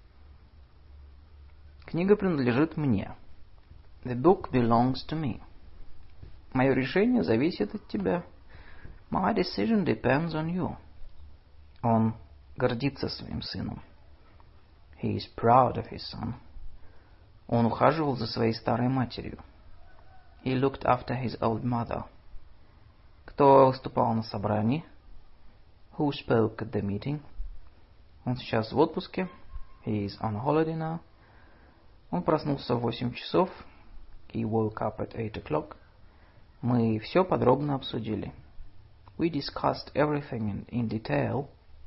Книга принадлежит мне. The book belongs to me. Мое решение зависит от тебя. My decision depends on you. Он гордится своим сыном. He is proud of his son. Он ухаживал за своей старой матерью. He looked after his old mother. Кто выступал на собрании? Who spoke at the meeting? Он сейчас в отпуске. He is on holiday now. Он проснулся в восемь часов. He woke up at eight o'clock. Мы все подробно обсудили. We discussed everything in, in detail.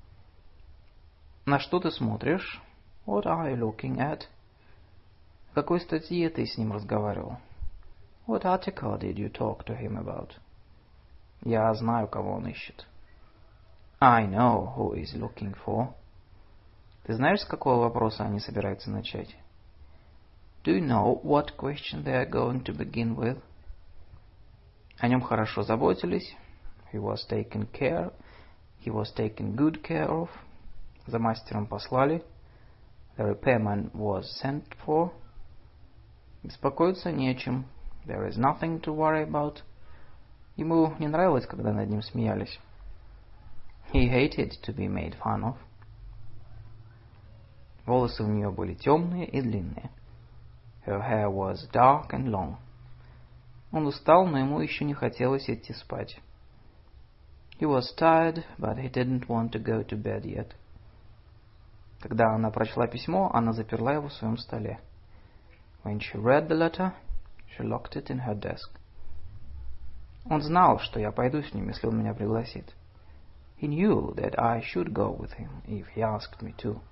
На что ты смотришь? What are you looking at? В какой статье ты с ним разговаривал? What article did you talk to him about? Я знаю, кого он ищет. I know who is looking for. Ты знаешь, с какого вопроса они собираются начать? Do you know what question they are going to begin with? О нем хорошо заботились. He was taken care. He was taken good care of. За мастером послали. The repairman was sent for. Беспокоиться не о чем. There is nothing to worry about. Ему не нравилось, когда над ним смеялись. He hated to be made fun of. Волосы у нее были темные и длинные. Her hair was dark and long. Он устал, но ему еще не хотелось идти спать. He was tired, but he didn't want to go to bed yet. Когда она прочла письмо, она заперла его в своем столе. When she read the letter, she locked it in her desk. Он знал, что я пойду с ним, если он меня пригласит. He knew that I should go with him if he asked me to.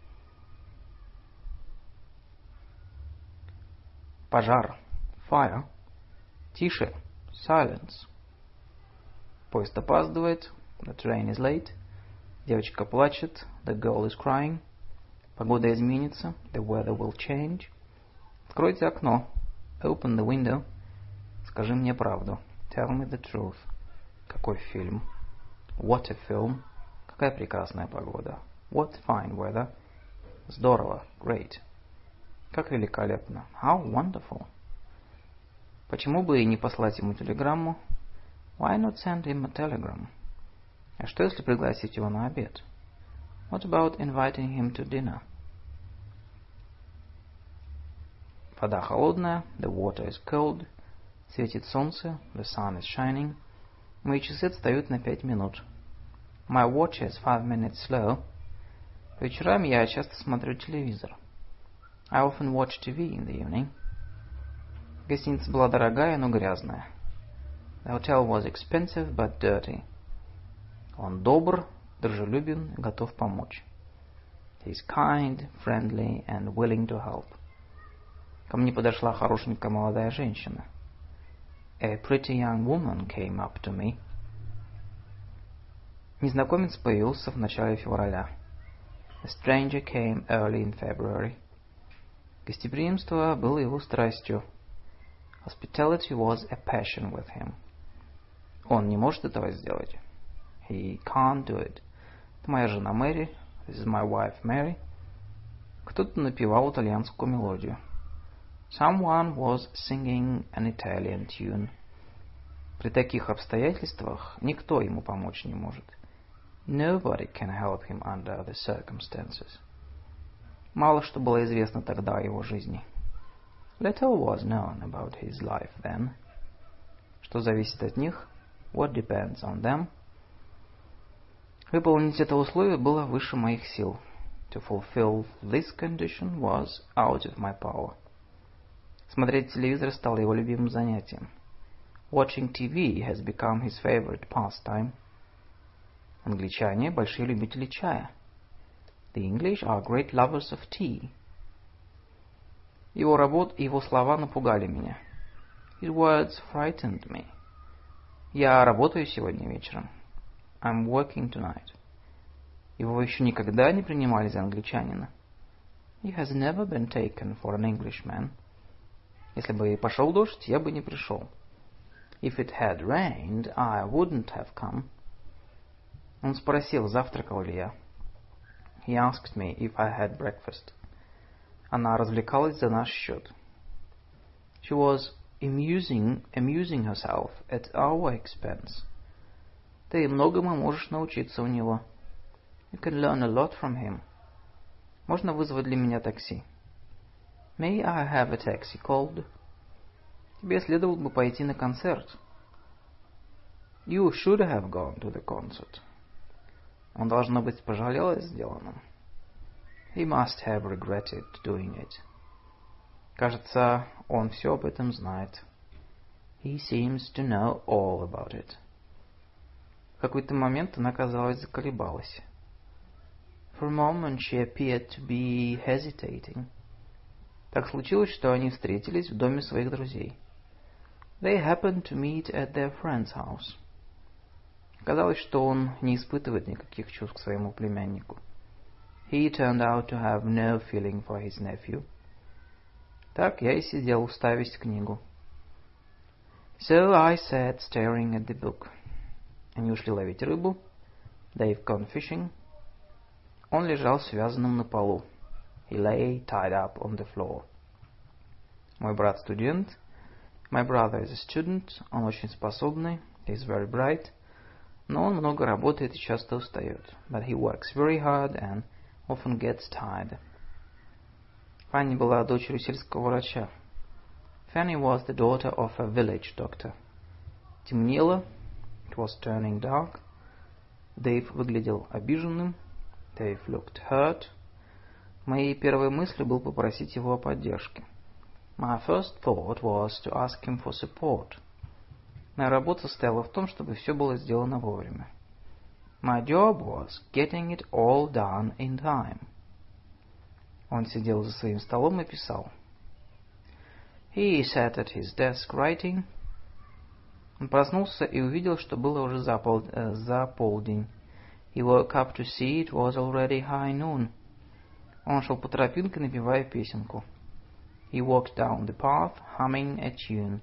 Пожар. Fire. Тише. Silence. Поезд опаздывает. The train is late. Девочка плачет. The girl is crying. Погода изменится. The weather will change. Откройте окно. Open the window. Скажи мне правду. Tell me the truth. Какой фильм? What a film. Какая прекрасная погода. What fine weather. Здорово. Great. Как великолепно. How wonderful. Почему бы и не послать ему телеграмму? Why not send him a telegram? А что, если пригласить его на обед? What about inviting him to dinner? Вода холодная. The water is cold. Светит солнце. The sun is shining. Мои часы отстают на пять минут. My watch is five minutes slow. По вечерам я часто смотрю телевизор. I often watch T V in the evening. Гостиница была дорогая, но грязная. The hotel was expensive, but dirty. Он добр, дружелюбен, готов помочь. He is kind, friendly, and willing to help. Ко мне подошла хорошенькая молодая женщина. A pretty young woman came up to me. Незнакомец появился в начале февраля. A stranger came early in February. Гостеприимство было его страстью. Hospitality was a passion with him. Он не может этого сделать. He can't do it. Это моя жена Мэри. This is my wife Mary. Кто-то напевал итальянскую мелодию. Someone was singing an Italian tune. При таких обстоятельствах никто ему помочь не может. Nobody can help him under the circumstances. Мало что было известно тогда о его жизни. Little was known about his life then. Что зависит от них? What depends on them? Выполнить это условие было выше моих сил. To fulfill this condition was out of my power. Смотреть телевизор стало его любимым занятием. Watching T V has become his favorite pastime. Англичане большие любители чая. The English are great lovers of tea. Его работа и его слова напугали меня. His words frightened me. Я работаю сегодня вечером. I'm working tonight. Его еще никогда не принимали за англичанина. He has never been taken for an Englishman. Если бы пошел дождь, я бы не пришел. If it had rained, I wouldn't have come. Он спросил, завтракал ли я. He asked me if I had breakfast. Она развлекалась за наш счет. She was amusing, amusing herself at our expense. Ты многому можешь научиться у него. You can learn a lot from him. Можно вызвать для меня такси? May I have a taxi called? Тебе следовало бы пойти на концерт. You should have gone to the concert. Он, должно быть, пожалел о сделанном. He must have regretted doing it. Кажется, он все об этом знает. He seems to know all about it. В какой-то момент она, казалось, заколебалась. For a moment she appeared to be hesitating. Так случилось, что они встретились в доме своих друзей. They happened to meet at their friend's house. Казалось, что он не испытывает никаких чувств к своему племяннику. He turned out to have no feeling for his nephew. Так я и сидел, уставясь в книгу. So I sat staring at the book. Они ушли ловить рыбу. They've gone fishing. Он лежал связанным на полу. He lay tied up on the floor. Мой брат студент. My brother is a student. Он очень способный. He is very bright. Но он много работает и часто устает. But he works very hard and often gets tired. Фанни была дочерью сельского врача. Fanny was the daughter of a village doctor. Темнело. It was turning dark. Дэйв выглядел обиженным. Dave looked hurt. Моей первой мыслью был попросить его о поддержке. My first thought was to ask him for support. Моя работа состояла в том, чтобы все было сделано вовремя. My job was getting it all done in time. Он сидел за своим столом и писал. He sat at his desk writing. Он проснулся и увидел, что было уже за, пол, э, за полдень. He woke up to see it was already high noon. Он шел по тропинке, напевая песенку. He walked down the path, humming a tune.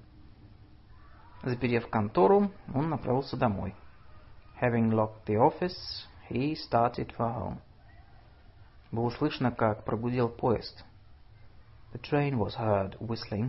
Заперев контору, он направился домой. Having locked the office, he started for home. Было слышно, как прогудел поезд. The train was heard whistling.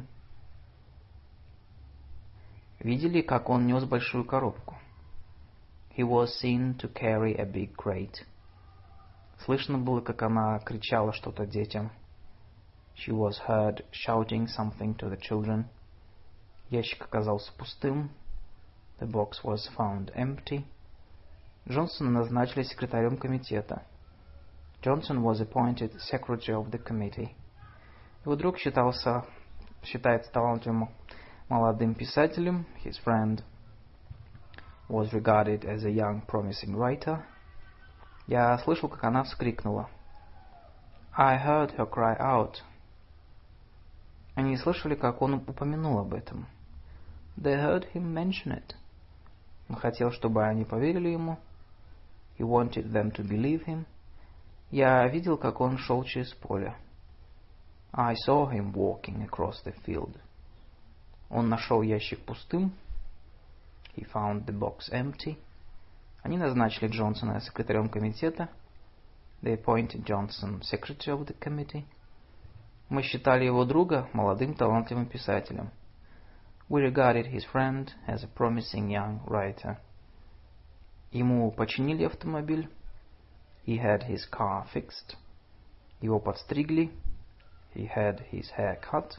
Видели, как он нес большую коробку? He was seen to carry a big crate. Слышно было, как она кричала что-то детям. She was heard shouting something to the children. Ящик оказался пустым. The box was found empty. Джонсона назначили секретарем комитета. Johnson was appointed secretary of the committee. Его друг считался, считается талантливым молодым писателем. His friend was regarded as a young promising writer. Я слышал, как она вскрикнула. I heard her cry out. Они слышали, как он упомянул об этом. They heard him mention it. Он хотел, чтобы они поверили ему. He wanted them to believe him. Я видел, как он шел через поле. I saw him walking across the field. Он нашел ящик пустым. He found the box empty. Они назначили Джонсона секретарем комитета. They appointed Johnson secretary of the committee. Мы считали его друга молодым талантливым писателем. We regarded his friend as a promising young writer. Ему починили автомобиль. He had his car fixed. Его подстригли. He had his hair cut.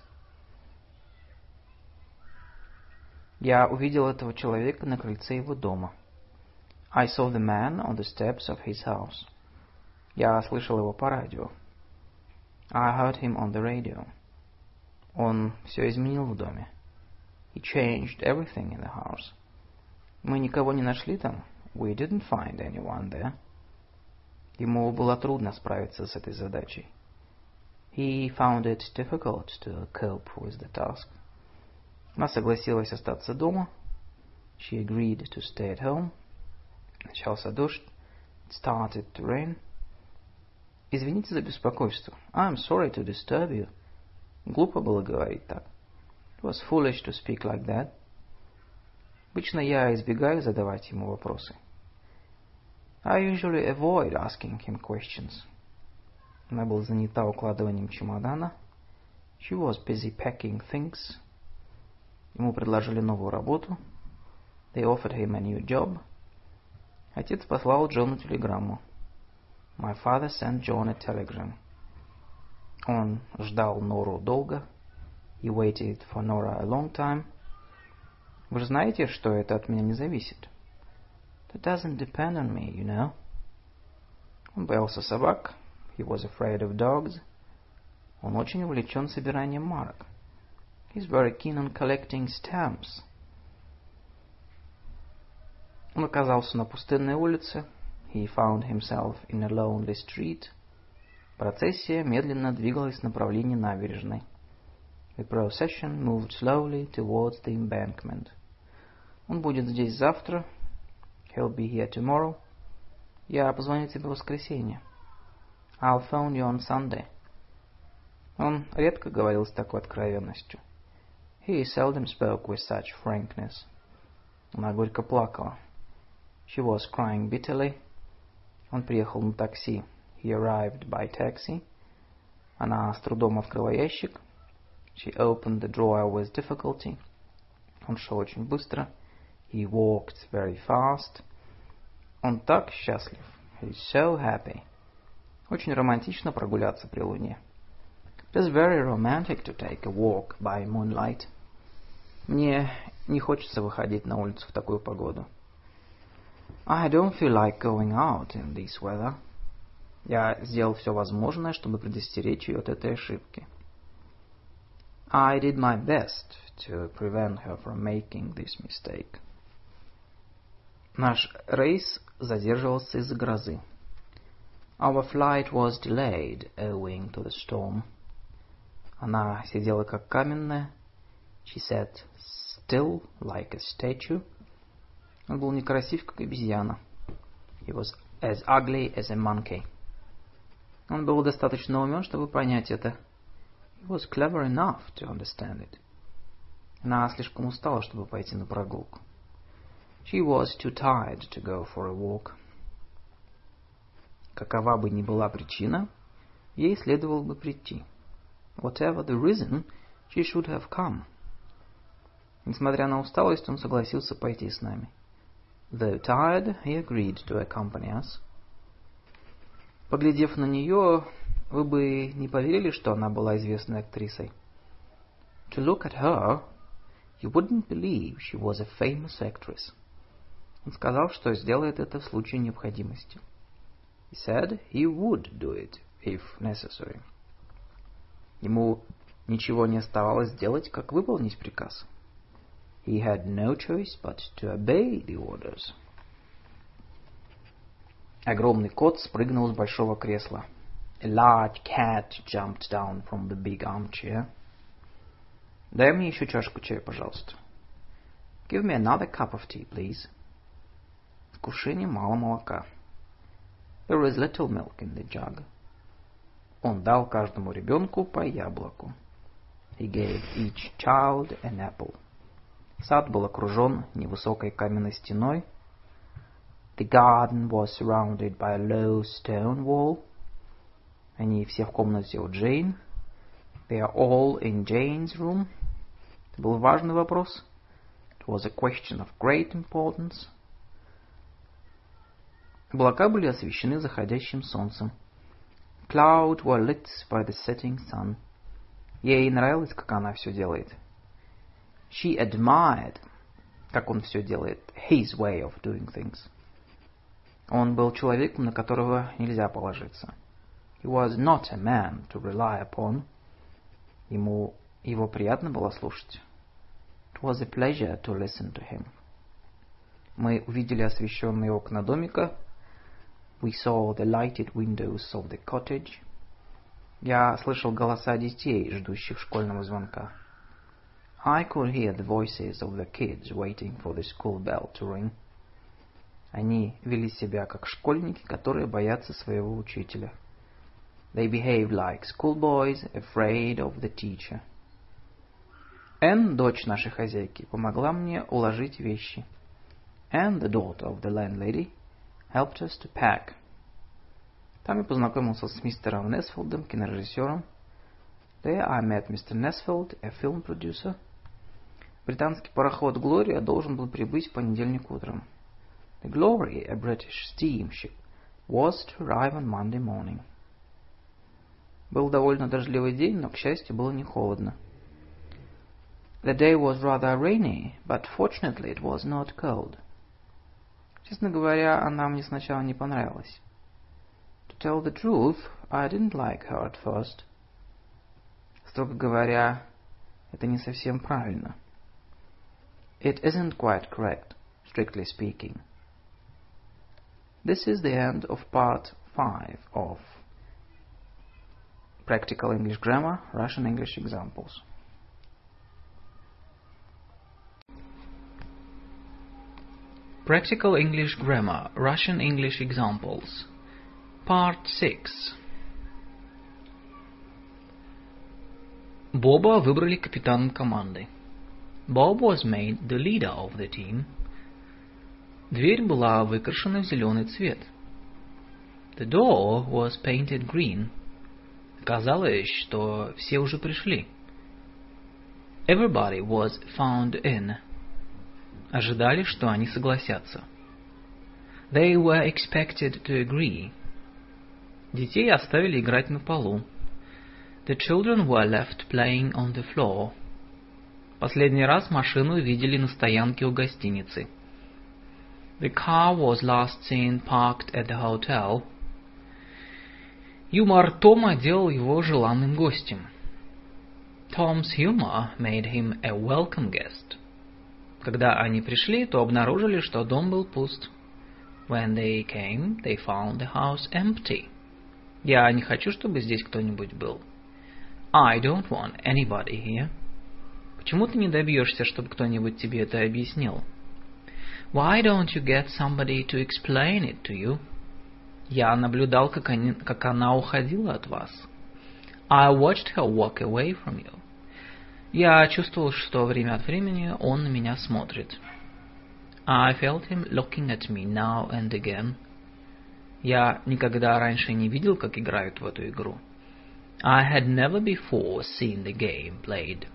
Я увидел этого человека на крыльце его дома. I saw the man on the steps of his house. Я слышал его по радио. I heard him on the radio. Он все изменил в доме. He changed everything in the house. Мы никого не нашли там. We didn't find anyone there. Ему было трудно справиться с этой задачей. He found it difficult to cope with the task. Она согласилась остаться дома. She agreed to stay at home. Начался дождь. It started to rain. Извините за беспокойство. I'm sorry to disturb you. Глупо было говорить так. It was foolish to speak like that. Обычно я избегаю задавать ему вопросы. I usually avoid asking him questions. Она была занята укладыванием чемодана. She was busy packing things. Ему предложили новую работу. They offered him a new job. Отец послал Джону телеграмму. My father sent John a telegram. Он ждал Нору долго. He waited for Nora a long time. Вы же знаете, что это от меня не зависит. That doesn't depend on me, you know. Он боялся собак. He was afraid of dogs. Он очень увлечен собиранием марок. He's very keen on collecting stamps. Он оказался на пустынной улице. He found himself in a lonely street. Процессия медленно двигалась в направлении набережной. The procession moved slowly towards the embankment. Он будет здесь завтра. He'll be here tomorrow. Я позвоню тебе в воскресенье. I'll phone you on Sunday. Он редко говорил с такой откровенностью. He seldom spoke with such frankness. Она горько плакала. She was crying bitterly. Он приехал на такси. He arrived by taxi. Она с трудом открыла ящик. She opened the drawer with difficulty. Он шел очень быстро. He walked very fast. Он так счастлив. He's so happy. Очень романтично прогуляться при луне. It is very romantic to take a walk by moonlight. Мне не хочется выходить на улицу в такую погоду. I don't feel like going out in this weather. Я сделал все возможное, чтобы предостеречь ее от этой ошибки. I did my best to prevent her from making this mistake. Наш рейс задерживался из-за грозы. Our flight was delayed owing to the storm. Она сидела как каменная. She sat still like a statue. Он был некрасив, как обезьяна. He was as ugly as a monkey. Он был достаточно умен, чтобы понять это. He was clever enough to understand it. Она слишком устала, чтобы пойти на прогулку. She was too tired to go for a walk. Какова бы ни была причина, ей следовало бы прийти. Whatever the reason, she should have come. Несмотря на усталость, он согласился пойти с нами. Though tired, he agreed to accompany us. Поглядев на нее, вы бы не поверили, что она была известной актрисой. To look at her, you wouldn't believe she was a famous actress. Он сказал, что сделает это в случае необходимости. He said he would do it if necessary. Ему ничего не оставалось делать, как выполнить приказ. He had no choice but to obey the orders. Огромный кот спрыгнул с большого кресла. A large cat jumped down from the big armchair. Дай мне еще чашку чая, пожалуйста. Give me another cup of tea, please. В кувшине мало молока. There is little milk in the jug. Он дал каждому ребенку по яблоку. He gave each child an apple. Сад был окружен невысокой каменной стеной. The garden was surrounded by a low stone wall. Они все в комнате у Джейн. They are all in Jane's room. Это был важный вопрос. It was a question of great importance. Облака были освещены заходящим солнцем. Clouds were lit by the setting sun. Ей нравилось, как она все делает. She admired, как он все делает, his way of doing things. Он был человеком, на которого нельзя положиться. He was not a man to rely upon. Ему его приятно было слушать. It was a pleasure to listen to him. Мы увидели освещенные окна домика. We saw the lighted windows of the cottage. Я слышал голоса детей, ждущих школьного звонка. I could hear the voices of the kids waiting for the school bell to ring. Они вели себя как школьники, которые боятся своего учителя. They behaved like schoolboys, afraid of the teacher. Энн, дочь нашей хозяйки, помогла мне уложить вещи. And the daughter of the landlady helped us to pack. Там я познакомился с мистером Несфилдом, кинорежиссером. There I met Mister Nesfield, a film producer. Британский пароход «Глория» должен был прибыть в понедельник утром. The Glory, a British steamship, was to arrive on Monday morning. Был довольно дождливый день, но, к счастью, было не холодно. The day was rather rainy, but fortunately it was not cold. Честно говоря, она мне сначала не понравилась. To tell the truth, I didn't like her at first. Строго говоря, это не совсем правильно. It isn't quite correct, strictly speaking. This is the end of part five of Practical English Grammar, Russian English Examples. Practical English Grammar, Russian English Examples. Part six. Боба выбрали капитаном команды. Bob was made the leader of the team. Дверь была выкрашена в зеленый цвет. The door was painted green. Казалось, что все уже пришли. Everybody was found in. Ожидали, что они согласятся. They were expected to agree. Детей оставили играть на полу. The children were left playing on the floor. Последний раз машину видели на стоянке у гостиницы. The car was last seen parked at the hotel. Юмор Тома делал его желанным гостем. Tom's humor made him a welcome guest. Когда они пришли, то обнаружили, что дом был пуст. When they came, they found the house empty. Я не хочу, чтобы здесь кто-нибудь был. I don't want anybody here. Почему ты не добьешься, чтобы кто-нибудь тебе это объяснил? Why don't you get somebody to explain it to you? Я наблюдал, как, они, как она уходила от вас. I watched her walk away from you. Я чувствовал, что время от времени он на меня смотрит. I felt him looking at me now and again. Я никогда раньше не видел, как играют в эту игру. I had never before seen the game played.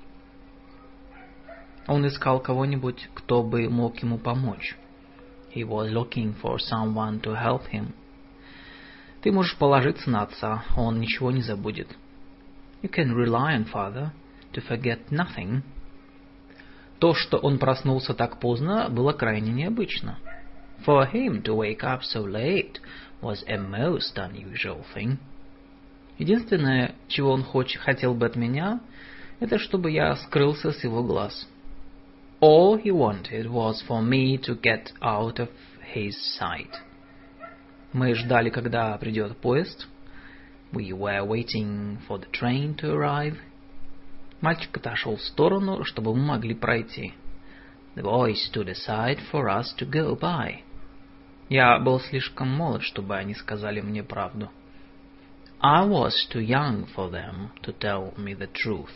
Он искал кого-нибудь, кто бы мог ему помочь. He was looking for someone to help him. Ты можешь положиться на отца, он ничего не забудет. You can rely on father to forget nothing. То, что он проснулся так поздно, было крайне необычно. For him to wake up so late was a most unusual thing. Единственное, чего он хоч, хотел бы от меня, это чтобы я скрылся с его глаз. All he wanted was for me to get out of his sight. Мы ждали, когда придет поезд. We were waiting for the train to arrive. Мальчик отошел в сторону, чтобы мы могли пройти. The boy stood aside for us to go by. Я был слишком молод, чтобы они сказали мне правду. I was too young for them to tell me the truth.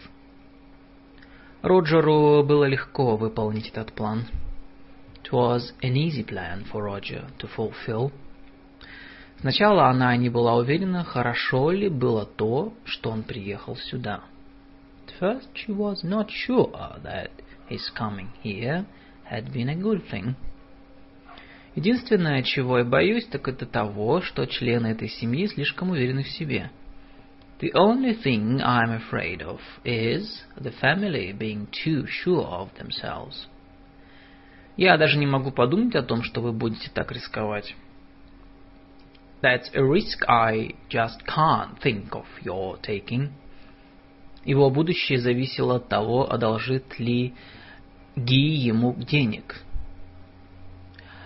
Роджеру было легко выполнить этот план. It was an easy plan for Roger to fulfill. Сначала она не была уверена, хорошо ли было то, что он приехал сюда. At first she was not sure that his coming here had been a good thing. Единственное, чего я боюсь, так это того, что члены этой семьи слишком уверены в себе. The only thing I'm afraid of is the family being too sure of themselves. Я даже не могу подумать о том, что вы будете так рисковать. That's a risk I just can't think of your taking. Его будущее зависело от того, одолжит ли Ги ему денег.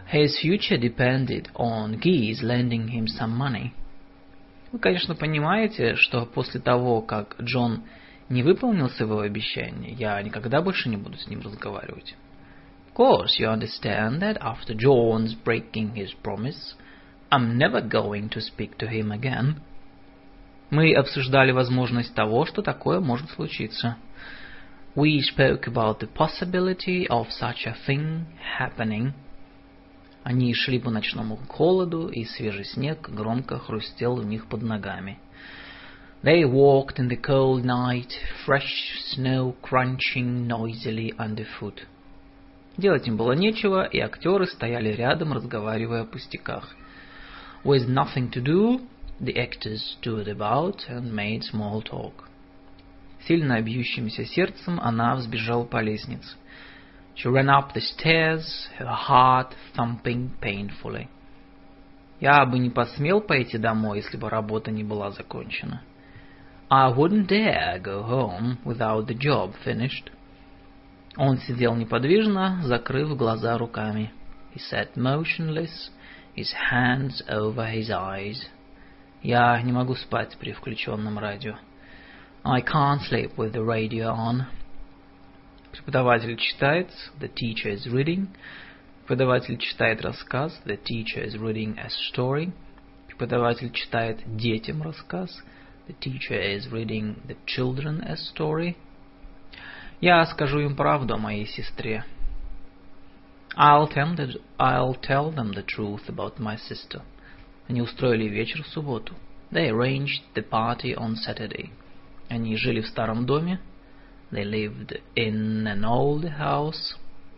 His future depended on Geese lending him some money. Вы, конечно, понимаете, что после того, как Джон не выполнил своего обещания, я никогда больше не буду с ним разговаривать. Of course, you understand that after John's breaking his promise, I'm never going to speak to him again. Мы обсуждали возможность того, что такое может случиться. We spoke about the possibility of such a thing happening. Они шли по ночному холоду, и свежий снег громко хрустел у них под ногами. They walked in the cold night, fresh snow crunching noisily underfoot. Делать им было нечего, и актеры стояли рядом, разговаривая о пустяках. With nothing to do, the actors stood about and made small talk. Сильно бьющимся сердцем она взбежала по лестнице. She ran up the stairs, her heart thumping painfully. Я бы не посмел пойти домой, если бы работа не была закончена. I wouldn't dare go home without the job finished. Он сидел неподвижно, закрыв глаза руками. He sat motionless, his hands over his eyes. Я не могу спать при включенном радио. I can't sleep with the radio on. Преподаватель читает, the teacher is reading. Преподаватель читает рассказ, the teacher is reading a story. Преподаватель читает детям рассказ, the teacher is reading the children a story. Я скажу им правду о моей сестре. I'll tell them, I'll tell them the truth about my sister. Они устроили вечер в субботу. They arranged the party on Saturday. Они жили в старом доме. They lived in an old house.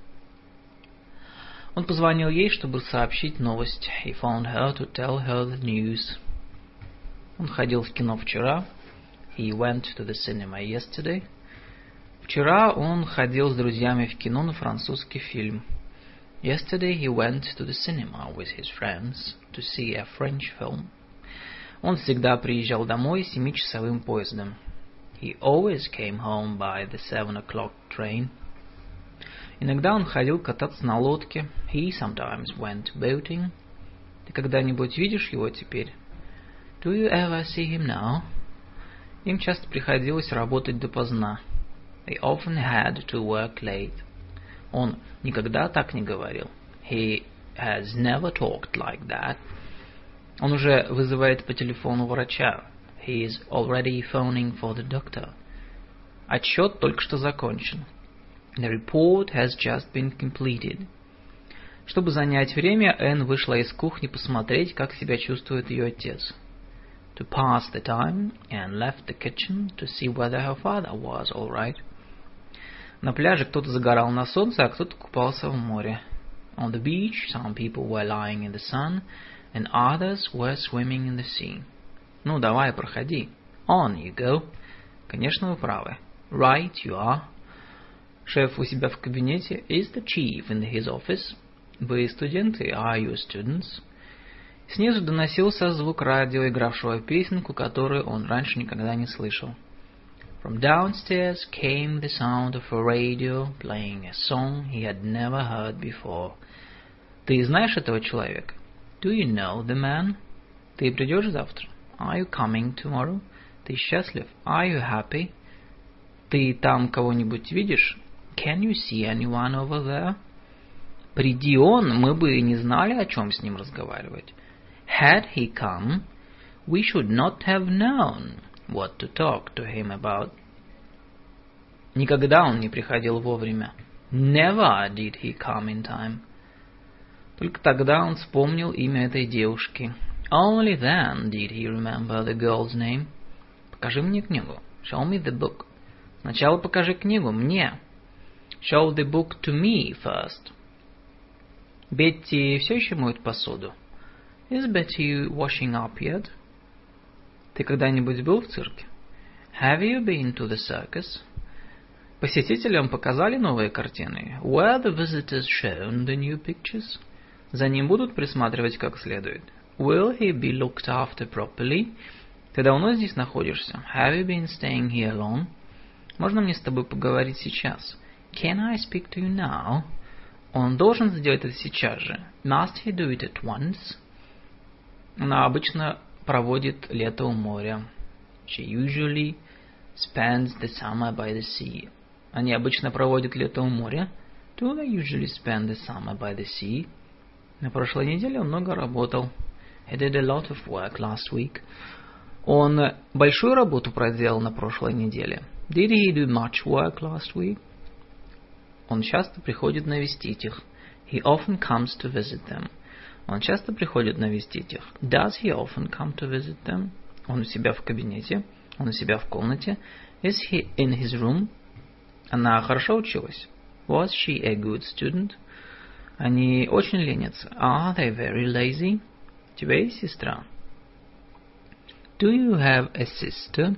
Он позвонил ей, чтобы сообщить новость. He phoned her to tell her the news. Он ходил в кино вчера. He went to the cinema yesterday. Вчера он ходил с друзьями в кино на французский фильм. Yesterday he went to the cinema with his friends to see a French film. Он всегда приезжал домой семичасовым поездом. He always came home by the seven o'clock train. Иногда он ходил кататься на лодке. He sometimes went boating. Ты когда-нибудь видишь его теперь? Do you ever see him now? Им часто приходилось работать допоздна. They often had to work late. Он никогда так не говорил. He has never talked like that. Он уже вызывает по телефону врача. He is already phoning for the doctor. Отчет только что закончен. The report has just been completed. Чтобы занять время, Энн вышла из кухни посмотреть, как себя чувствует ее отец. To pass the time, Anne left the kitchen to see whether her father was all right. На пляже кто-то загорал на солнце, а кто-то купался в море. On the beach, some people were lying in the sun, and others were swimming in the sea. Ну, давай, проходи. On you go. Конечно, вы правы. Right, you are. Шеф у себя в кабинете. Is the chief in his office? Вы студенты? Are you students? Снизу доносился звук радио, игравшего песенку, которую он раньше никогда не слышал. From downstairs came the sound of a radio playing a song he had never heard before. Ты знаешь этого человека? Do you know the man? Ты придешь завтра? Are you coming tomorrow? Ты счастлив? Are you happy? Ты там кого-нибудь видишь? Can you see anyone over there? Приди он, мы бы не знали, о чем с ним разговаривать. Had he come, we should not have known what to talk to him about. Никогда он не приходил вовремя. Never did he come in time. Только тогда он вспомнил имя этой девушки. Only then did he remember the girl's name. Покажи мне книгу. Show me the book. Сначала покажи книгу мне. Show the book to me first. Бетти все еще моет посуду. Is Betty washing up yet? Ты когда-нибудь был в цирке? Have you been to the circus? Посетителям показали новые картины. Were the visitors shown the new pictures? За ним будут присматривать как следует. Will he be looked after properly? Ты давно здесь находишься? Have you been staying here long? Можно мне с тобой поговорить сейчас? Can I speak to you now? Он должен сделать это сейчас же. Must he do it at once? Она обычно проводит лето у моря. She usually spends the summer by the sea. Они обычно проводят лето у моря. Do they usually spend the summer by the sea? На прошлой неделе он много работал. He did a lot of work last week. Он большую работу проделал на прошлой неделе. Did he do much work last week? Он часто приходит навестить их. He often comes to visit them. Он часто приходит навестить их. Does he often come to visit them? Он у себя в кабинете. Он у себя в комнате. Is he in his room? Она хорошо училась. Was she a good student? Они очень ленятся. Are they very lazy? У тебя есть сестра? Do you have a sister?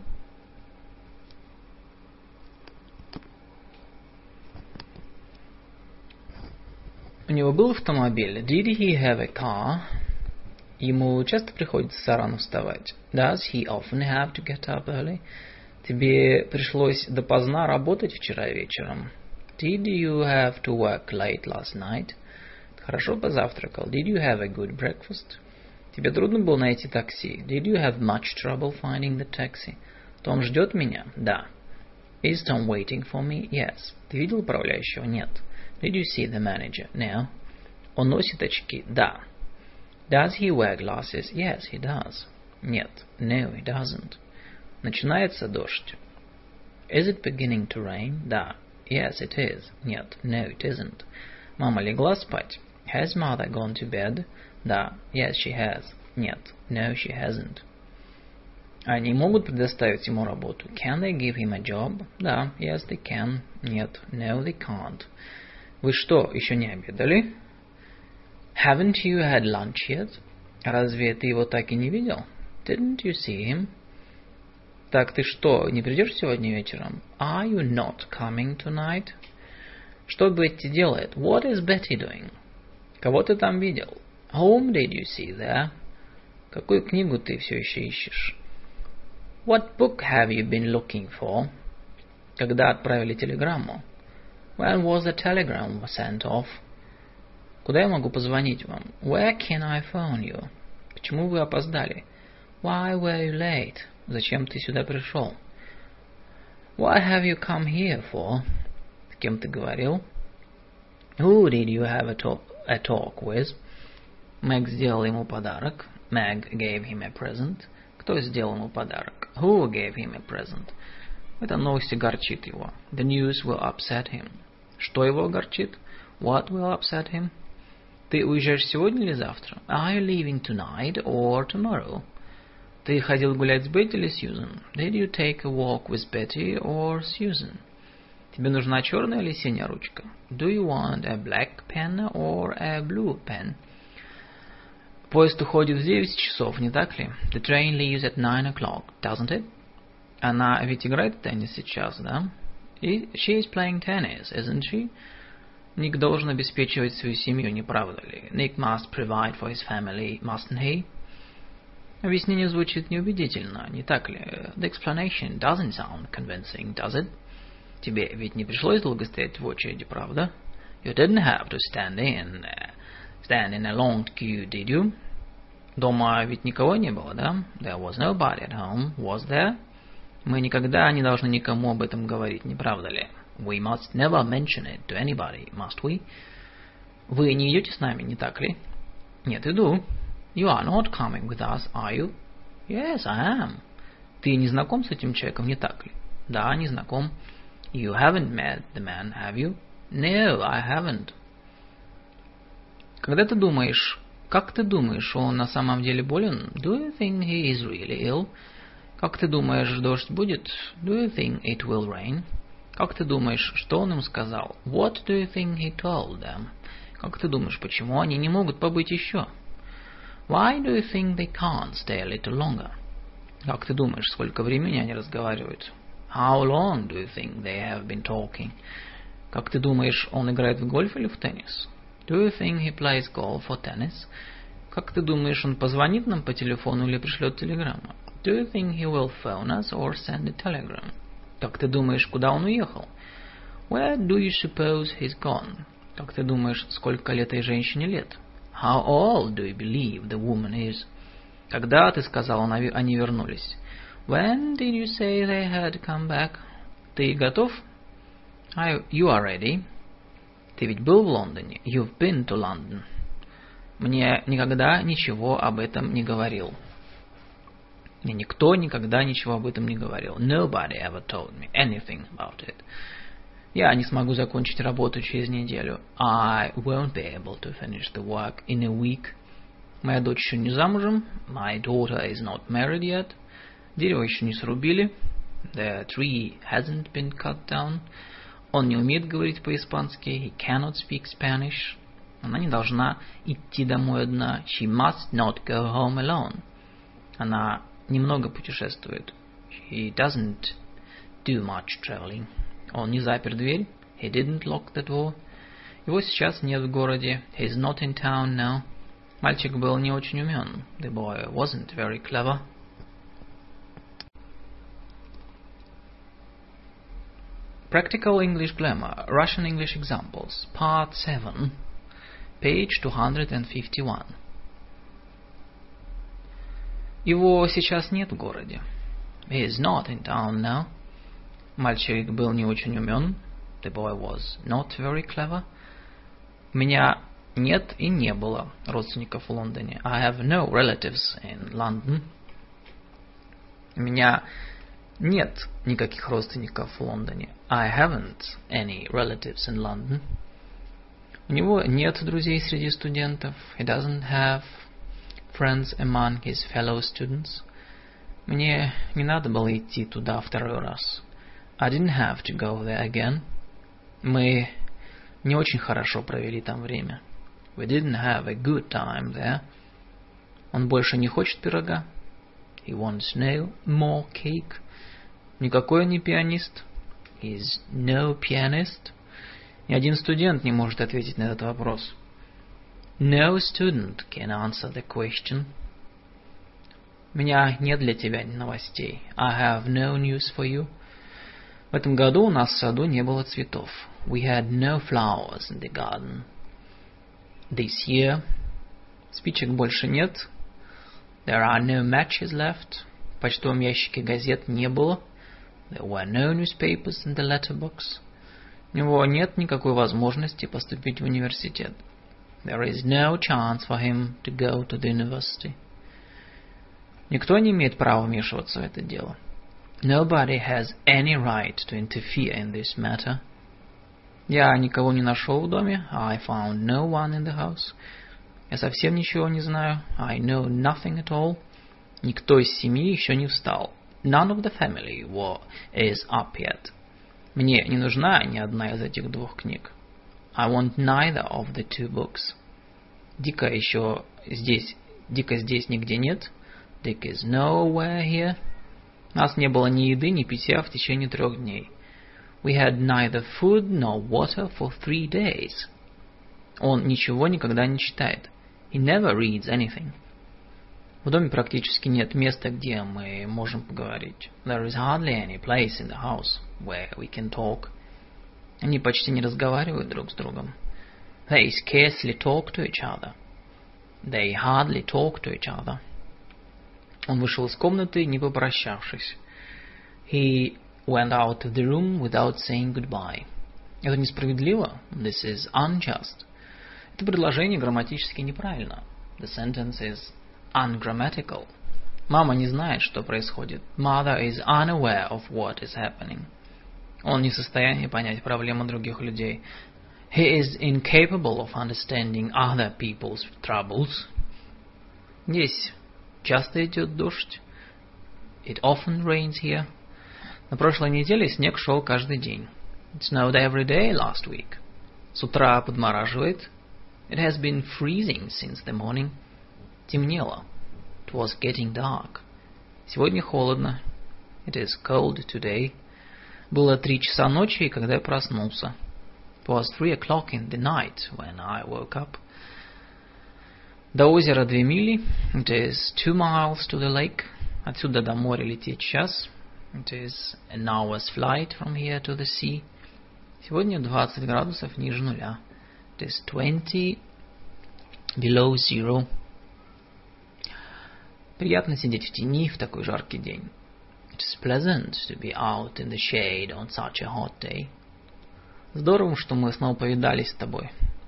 У него был автомобиль. Did he have a car? Ему часто приходится рано вставать. Does he often have to get up early? Тебе пришлось допоздна работать вчера вечером. Did you have to work late last night? Ты хорошо позавтракал. Did you have a good breakfast? Тебе трудно было найти такси. Did you have much trouble finding the taxi? Том ждет меня? Да. Is Tom waiting for me? Yes. Ты видел управляющего? Нет. Did you see the manager? No. Он носит очки? Да. Does he wear glasses? Yes, he does. Нет. No, he doesn't. Начинается дождь. Is it beginning to rain? Да. Yes, it is. Нет. No, it isn't. Мама легла спать? Has mother gone to bed? Да. Yes, she has. Нет. No, she hasn't. Они могут предоставить ему работу? Can they give him a job? Да. Yes, they can. Нет. No, they can't. Вы что, еще не обедали? Haven't you had lunch yet? Разве ты его так и не видел? Didn't you see him? Так ты что, не придешь сегодня вечером? Are you not coming tonight? Что Бетти делает? What is Betty doing? Кого ты там видел? Whom did you see there? Какую книгу ты все еще ищешь? What book have you been looking for? Когда отправили телеграмму? When was the telegram sent off? Куда я могу позвонить вам? Where can I phone you? Почему вы опоздали? Why were you late? Зачем ты сюда пришел? What have you come here for? С кем ты говорил? Who did you have a talk, a talk with? Мэг сделал ему подарок. Meg gave him a present. Кто сделал ему подарок? Who gave him a present? Эта новость огорчит его. The news will upset him. Что его огорчит? What will upset him? Ты уезжаешь сегодня или завтра? Are you leaving tonight or tomorrow? Ты ходил гулять с Бетти или Сьюзен? Did you take a walk with Betty or Susan? Тебе нужна черная или синяя ручка? Do you want a black pen or a blue pen? Поезд уходит в девять часов, не так ли? The train leaves at nine o'clock, doesn't it? Она ведь играет в теннис сейчас, да? И she is playing tennis, isn't she? Ник должен обеспечивать свою семью, не правда ли? Nick must provide for his family, mustn't he? Объяснение звучит неубедительно, не так ли? The explanation doesn't sound convincing, does it? Тебе ведь не пришлось долго стоять в очереди, правда? You didn't have to stand in, uh, stand in a long queue, did you? Дома ведь никого не было, да? There was nobody at home, was there? Мы никогда не должны никому об этом говорить, не правда ли? We must never mention it to anybody, must we? Вы не идете с нами, не так ли? Нет, иду. You are not coming with us, are you? Yes, I am. Ты не знаком с этим человеком, не так ли? Да, не знаком. You haven't met the man, have you? No, I haven't. Когда ты думаешь, как ты думаешь, он на самом деле болен? Do you think he is really ill? Как ты думаешь, дождь будет? Do you think it will rain? Как ты думаешь, что он им сказал? What do you think he told them? Как ты думаешь, почему они не могут побыть еще? Why do you think they can't stay a little longer? Как ты думаешь, сколько времени они разговаривают? How long do you think they have been talking? Как ты думаешь, он играет в гольф или в теннис? Do you think he plays golf or tennis? Как ты думаешь, он позвонит нам по телефону или пришлет телеграмму? Do you think he will phone us or send a telegram? Как ты думаешь, куда он уехал? Where do you suppose he's gone? Как ты думаешь, сколько лет этой женщине лет? How old do you believe the woman is? Когда, ты сказал, они вернулись? When did you say they had come back? Ты готов? I, you are ready. Ты ведь был в Лондоне? You've been to London. Мне никогда ничего об этом не говорил. Мне никто никогда ничего об этом не говорил. Nobody ever told me anything about it. Я не смогу закончить работу через неделю. I won't be able to finish the work in a week. Моя дочь еще не замужем. My daughter is not married yet. Дерево еще не срубили. The tree hasn't been cut down. Он не умеет говорить по-испански. He cannot speak Spanish. Она не должна идти домой одна. She must not go home alone. Она немного путешествует. She doesn't do much traveling. Он не запер дверь. He didn't lock the door. Его сейчас нет в городе. He's not in town now. Мальчик был не очень умен. The boy wasn't very clever. Practical English Grammar, Russian English Examples, Part seven, page two hundred fifty-one. Его сейчас нет в городе. He is not in town now. Мальчик был не очень умен. The boy was not very clever. У меня нет и не было родственников в Лондоне. I have no relatives in London. У меня нет никаких родственников в Лондоне. I haven't any relatives in London. У него нет друзей среди студентов. He doesn't have friends among his fellow students. Мне не надо было идти туда второй раз. I didn't have to go there again. Мы не очень хорошо провели там время. We didn't have a good time there. Он больше не хочет пирога. He wants no more cake. Никакой он не пианист. He is no pianist. Ни один студент не может ответить на этот вопрос. No student can answer the question. У меня нет для тебя новостей. I have no news for you. В этом году у нас в саду не было цветов. We had no flowers in the garden. This year. Спичек больше нет. There are no matches left. В почтовом ящике газет не было. There were no newspapers in the letterbox. У него нет никакой возможности поступить в университет. There is no chance for him to go to the university. Никто не имеет права вмешиваться в это дело. Nobody has any right to interfere in this matter. Я никого не нашел в доме. I found no one in the house. Я совсем ничего не знаю. I know nothing at all. Никто из семьи еще не встал. None of the family were, is up yet. Мне не нужна ни одна из этих двух книг. I want neither of the two books. Дика еще здесь, Дика здесь нигде нет. Dick is nowhere here. У нас не было ни еды, ни питья в течение трех дней. We had neither food nor water for three days. Он ничего никогда не читает. He never reads anything. В доме практически нет места, где мы можем поговорить. There is hardly any place in the house where we can talk. Они почти не разговаривают друг с другом. They scarcely talk to each other. They hardly talk to each other. Он вышел из комнаты, не попрощавшись. He went out of the room without saying goodbye. Это несправедливо. This is unjust. Это предложение грамматически неправильно. The sentence is ungrammatical. Мама не знает, что происходит. Mother is unaware of what is happening. Он не в состоянии понять проблемы других людей. He is incapable of understanding other people's troubles. Здесь часто идет дождь. It often rains here. На прошлой неделе снег шел каждый день. It snowed every day last week. С утра подмораживает. It has been freezing since the morning. Темнело. It was getting dark. Сегодня холодно. It is cold today. Было три часа ночи, когда я проснулся. It was three o'clock in the night when I woke up. До озера две мили. It is two miles to the lake. Отсюда до моря лететь час. It is an hour's flight from here to the sea. Сегодня двадцать градусов ниже нуля. It is twenty below zero. Приятно сидеть в тени в такой жаркий день. It is pleasant to be out in the shade on such a hot day. Здорово, что мы снова повидались с тобой.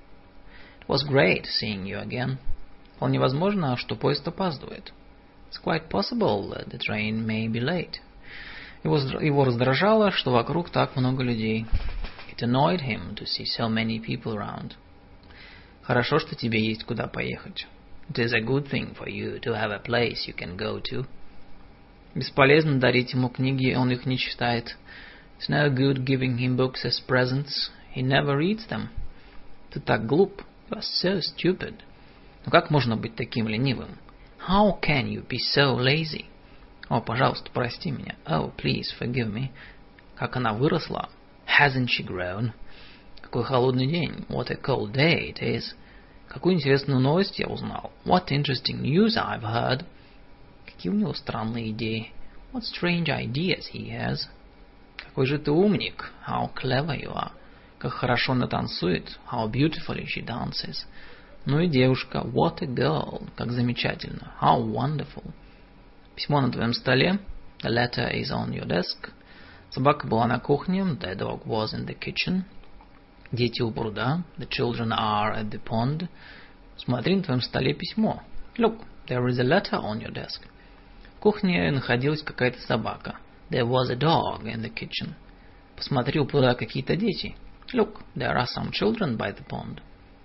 It was great seeing you again. Вполне возможно, что поезд опаздывает. It's quite possible that the train may be late. Его, его раздражало, что вокруг так много людей. It annoyed him to see so many people around. Хорошо, что тебе есть куда поехать. It is a good thing for you to have a place you can go to. Бесполезно дарить ему книги, он их не читает. It's no good giving him books as presents. He never reads them. Ты так глуп. You are so stupid. Ну как можно быть таким ленивым? How can you be so lazy? О, пожалуйста, прости меня. Oh, please forgive me. Как она выросла. Hasn't she grown? Какой холодный день. What a cold day it is. Какую интересную новость я узнал. What interesting news I've heard. Какие у него странные идеи. What strange ideas he has. Какой же ты умник. How clever you are. Как хорошо она танцует. How beautifully she dances. Ну и девушка. What a girl. Как замечательно. How wonderful. Письмо на твоем столе. The letter is on your desk. Собака была на кухне. The dog was in the kitchen. Дети у пруда. The children are at the pond. Смотри, на твоем столе письмо. Look, there is a letter on your desk. В кухне находилась какая-то собака. There was a dog in the kitchen. Посмотри, у пруда какие-то дети. Look, there are some children by the pond.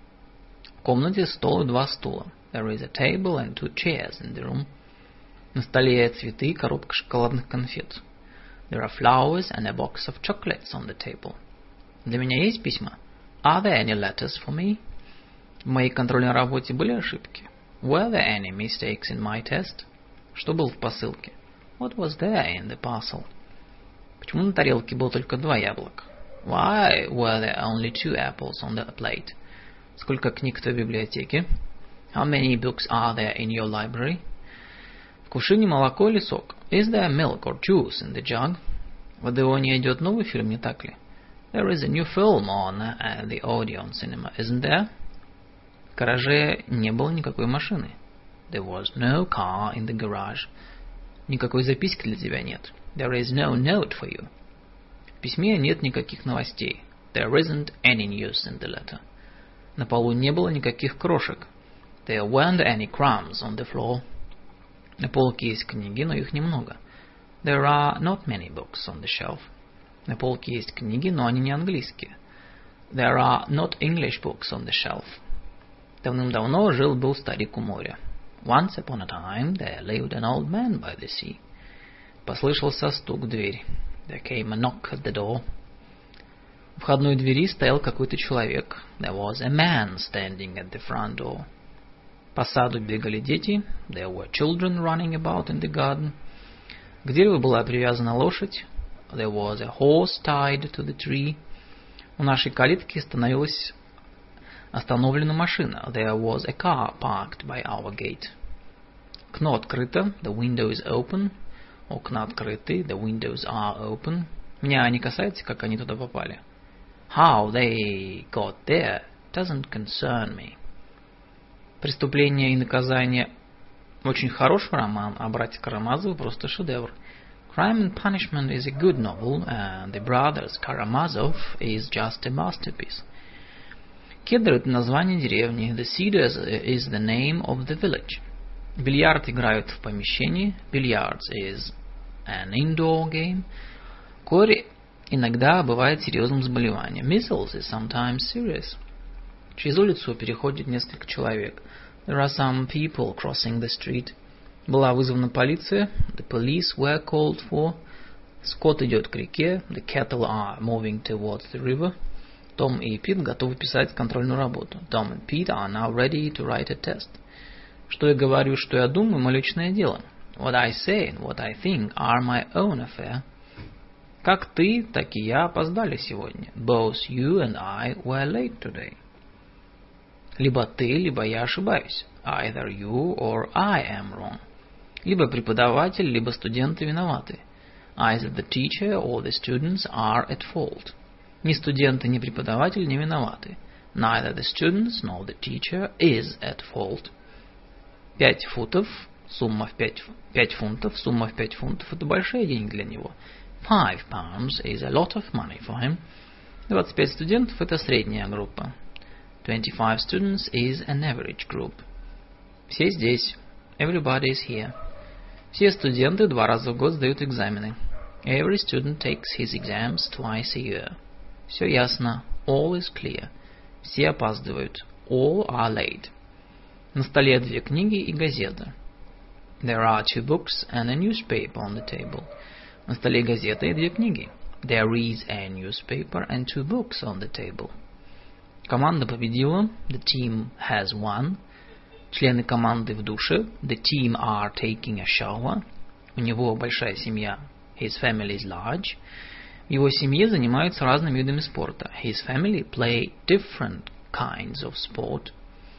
В комнате стол и два стула. There is a table and two chairs in the room. На столе цветы и коробка шоколадных конфет. There are flowers and a box of chocolates on the table. Для меня есть письма? Are there any letters for me? В моей контрольной работе были ошибки? Were there any mistakes in my test? Что было в посылке? What was there in the parcel? Почему на тарелке было только два яблока? Why were there only two apples on the plate? Сколько книг в твоей библиотеке? How many books are there in your library? В кувшине молоко или сок? Is there milk or juice in the jug? В Одеоне идет новый фильм, не так ли? There is a new film on uh, the Odeon cinema, isn't there? В гараже не было никакой машины. There was no car in the garage. Никакой записки для тебя нет. There is no note for you. В письме нет никаких новостей. There isn't any news in the letter. На полу не было никаких крошек. There weren't any crumbs on the floor. На полке есть книги, но их немного. There are not many books on the shelf. На полке есть книги, но они не английские. There are not English books on the shelf. Давным-давно жил-был старик у моря. Once upon a time there lived an old man by the sea. Послышался стук в дверь. There came a knock at the door. У входной двери стоял какой-то человек. There was a man standing at the front door. По саду бегали дети. There were children running about in the garden. К дереву была привязана лошадь. There was a horse tied to the tree. У нашей калитки остановилась остановлена машина. There was a car parked by our gate. Окно открыто. The window is open. Окна открыты. The windows are open. Меня не касается, как они туда попали. How they got there doesn't concern me. «Преступление и наказание» очень хороший роман, а «Братья Карамазовы» просто шедевр. Crime and Punishment is a good novel, and The Brothers Karamazov is just a masterpiece. Кедр – это название деревни. The Cedars is the name of the village. Бильярд играют в помещении. Billiards is an indoor game. Кори иногда бывает серьезным заболеванием. Measles is sometimes serious. Через улицу переходит несколько человек. There are some people crossing the street. Была вызвана полиция. The police were called for. Скот идет к реке. The cattle are moving towards the river. Том и Пит готовы писать контрольную работу. Tom and Pete are now ready to write a test. Что я говорю, что я думаю, мое личное дело. What I say and what I think are my own affair. Как ты, так и я опоздали сегодня. Both you and I were late today. Либо ты, либо я ошибаюсь. Either you or I am wrong. Либо преподаватель, либо студенты виноваты. Either the teacher or the students are at fault. Ни студенты, ни преподаватель не виноваты. Neither the students nor the teacher is at fault. Пять футов, сумма в пять, пять фунтов, сумма в пять фунтов – это большие деньги для него. Five pounds is a lot of money for him. двадцать пять студентов – это средняя группа. Twenty-five students is an average group. Все здесь. Everybody is here. Все студенты два раза в год сдают экзамены. Every student takes his exams twice a year. Все ясно. All is clear. Все опаздывают. All are late. На столе две книги и газета. There are two books and a newspaper on the table. На столе газета и две книги. There is a newspaper and two books on the table. Команда победила. The team has won. Члены команды в душе. The team are taking a shower. У него большая семья. His family is large. В его семье занимаются разными видами спорта. His family play different kinds of sport.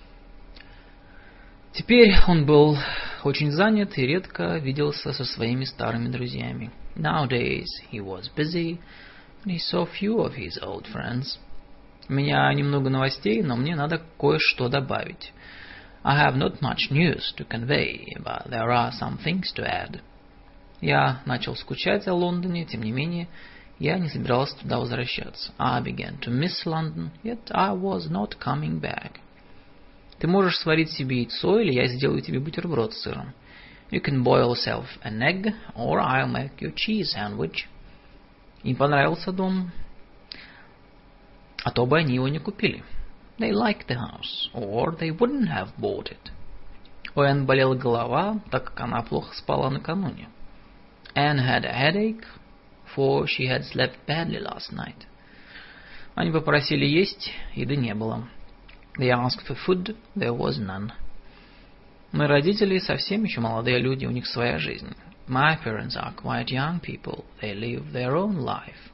Теперь он был очень занят и редко виделся со своими старыми друзьями. Nowadays he was busy and he saw few of his old friends. У меня немного новостей, но мне надо кое-что добавить. I have not much news to convey, but there are some things to add. Я начал скучать о Лондоне, тем не менее, я не собирался туда возвращаться. I began to miss London, yet I was not coming back. Ты можешь сварить себе яйцо, или я сделаю тебе бутерброд с сыром. You can boil yourself an egg, or I'll make you cheese sandwich. Им понравился дом, а то бы они его не купили. They liked the house, or they wouldn't have bought it. У Энн болела голова, так как она плохо спала накануне. Anne had a headache, for she had slept badly last night. Они попросили есть, еды не было. They asked for food, there was none. Мои родители совсем еще молодые люди, у них своя жизнь. My parents are quite young people, they live their own life.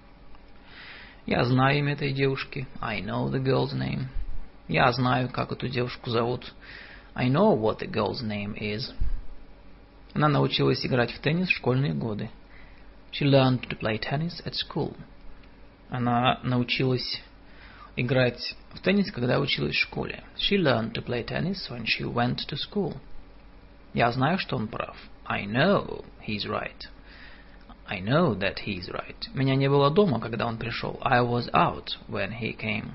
Я знаю имя этой девушки. I know the girl's name. Я знаю, как эту девушку зовут. I know what the girl's name is. Она научилась играть в теннис в школьные годы. She learned to play tennis at school. Она научилась играть в теннис, когда училась в школе. She learned to play tennis when she went to school. Я знаю, что он прав. I know he's right. I know that he's right. Меня не было дома, когда он пришел. I was out when he came.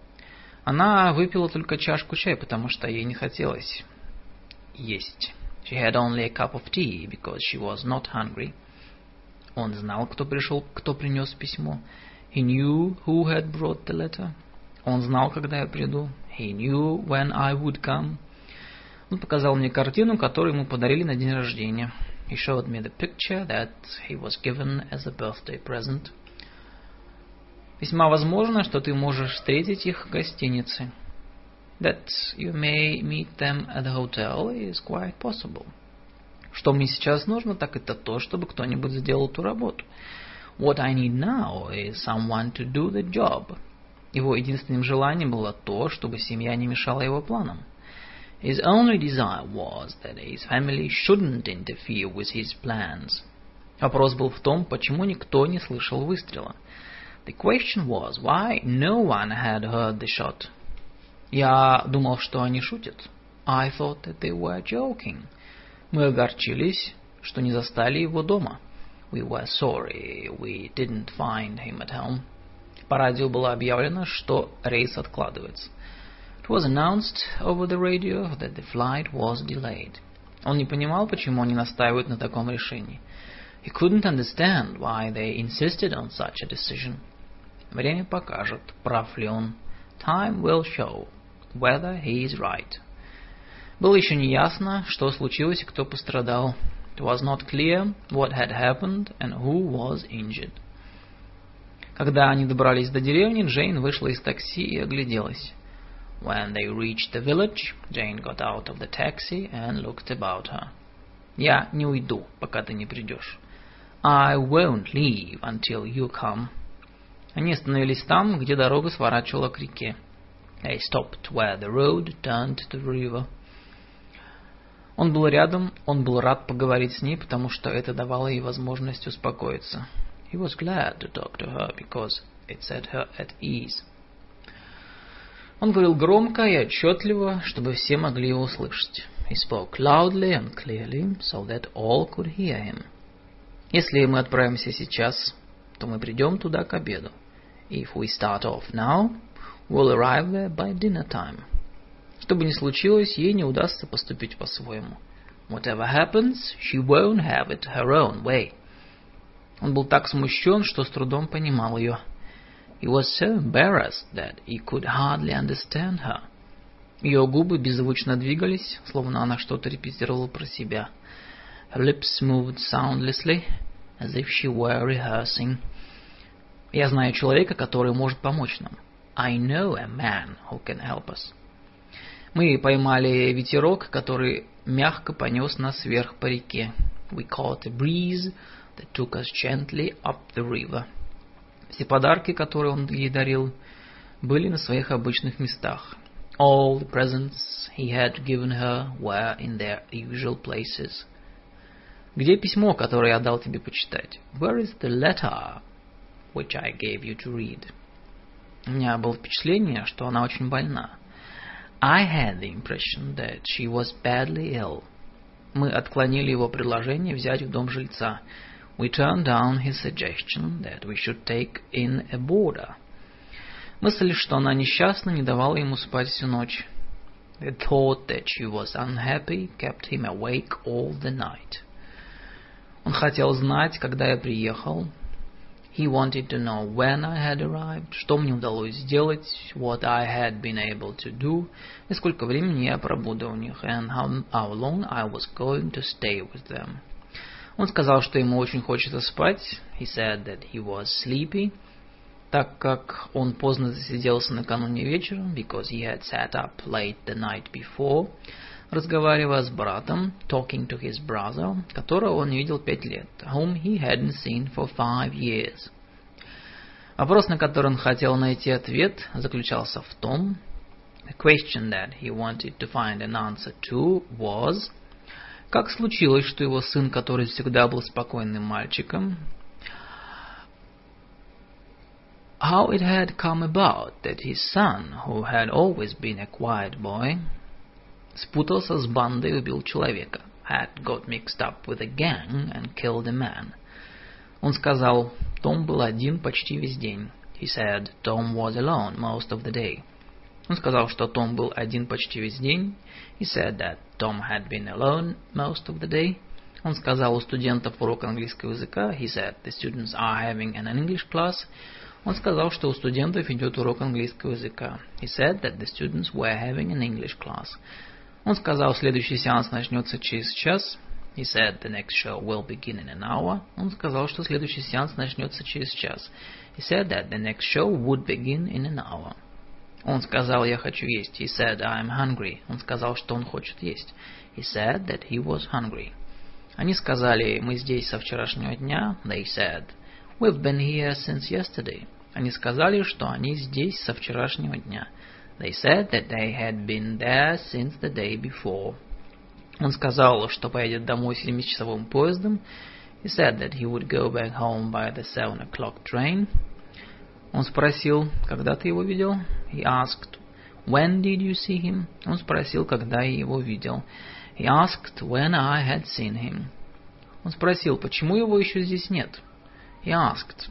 Она выпила только чашку чая, потому что ей не хотелось есть. She had only a cup of tea because she was not hungry. Он знал, кто пришел, кто принес письмо. He knew who had brought the letter. Он знал, когда я приду. He knew when I would come. Он показал мне картину, которую ему подарили на день рождения. He showed me the picture that he was given as a birthday present. Весьма возможно, что ты можешь встретить их в гостинице. That you may meet them at the hotel is quite possible. Что мне сейчас нужно, так это то, чтобы кто-нибудь сделал ту работу. What I need now is someone to do the job. Его единственным желанием было то, чтобы семья не мешала его планам. His only desire was that his family shouldn't interfere with his plans. Вопрос был в том, почему никто не слышал выстрела. The question was why no one had heard the shot. Я думал, что они шутят. I thought that they were joking. Мы огорчились, что не застали его дома. We were sorry we didn't find him at home. По радио было объявлено, что рейс откладывается. It was announced over the radio that the flight was delayed. Он не понимал, почему они настаивают на таком решении. He couldn't understand why they insisted on such a decision. Время покажет, прав ли он. Time will show whether he is right. Было еще не ясно, что случилось и кто пострадал. It was not clear what had happened and who was injured. Когда они добрались до деревни, Джейн вышла из такси и огляделась. When they reached the village, Jane got out of the taxi and looked about her. Я не уйду, пока ты не придешь. I won't leave until you come. Они остановились там, где дорога сворачивала к реке. They stopped where the road turned to the river. Он был рядом, он был рад поговорить с ней, потому что это давало ей возможность успокоиться. He was glad to talk to her because it set her at ease. Он говорил громко и отчетливо, чтобы все могли его услышать. He spoke loudly and clearly, so that all could hear him. Если мы отправимся сейчас, то мы придем туда к обеду. If we start off now, we'll arrive there by dinner time. Что бы ни случилось, ей не удастся поступить по-своему. Whatever happens, she won't have it her own way. Он был так смущен, что с трудом понимал ее. He was so embarrassed that he could hardly understand her. Ее губы беззвучно двигались, словно она что-то репетировала про себя. Her lips moved soundlessly, as if she were rehearsing. Я знаю человека, который может помочь нам. I know a man who can help us. Мы поймали ветерок, который мягко понес нас вверх по реке. We caught a breeze that took us gently up the river. Все подарки, которые он ей дарил, были на своих обычных местах. All the presents he had given her were in their usual places. Где письмо, которое я дал тебе почитать? Where is the letter which I gave you to read? У меня было впечатление, что она очень больна. I had the impression that she was badly ill. Мы отклонили его предложение взять в дом жильца. We turned down his suggestion that we should take in a boarder. Мысль, что она несчастна, не давала ему спать всю ночь. The thought that she was unhappy kept him awake all the night. Он хотел знать, когда я приехал. He wanted to know when I had arrived, что мне удалось сделать, what I had been able to do, и сколько времени я пробуду у них, and how, how long I was going to stay with them. Он сказал, что ему очень хочется спать. He said that he was sleepy, так как он поздно засиделся накануне вечером, because he had sat up late the night before, разговаривая с братом, talking to his brother, которого он не видел пять лет, whom he hadn't seen for five years. Вопрос, на который он хотел найти ответ, заключался в том, the question that he wanted to find an answer to was, как случилось, что его сын, который всегда был спокойным мальчиком, how it had come about that his son, who had always been a quiet boy, спутался с бандой и убил человека, had got mixed up with a gang and killed a man. Он сказал, Том был один почти весь день. He said Tom was alone most of the day. Он сказал, что Том был один почти весь день. He said that Tom had been alone most of the day. Он сказал, у студентов урок английского языка. He said the students are having an English class. Он сказал, что у студентов идет урок английского языка. He said that the students were having an English class. Он сказал, следующий сеанс начнется через час. He said the next show will begin in an hour. Он сказал, что следующий сеанс начнется через час. He said that the next show would begin in an hour. Он сказал, я хочу есть. He said, I'm hungry. Он сказал, что он хочет есть. He said that he was hungry. Они сказали, мы здесь со вчерашнего дня. They said, we've been here since yesterday. Они сказали, что они здесь со вчерашнего дня. They said that they had been there since the day before. Он сказал, что поедет домой семичасовым поездом. He said that he would go back home by the seven o'clock train. Он спросил, когда ты его видел? He asked, when did you see him? Он спросил, когда я его видел. He asked when I had seen him. Он спросил, почему его еще здесь нет? He asked,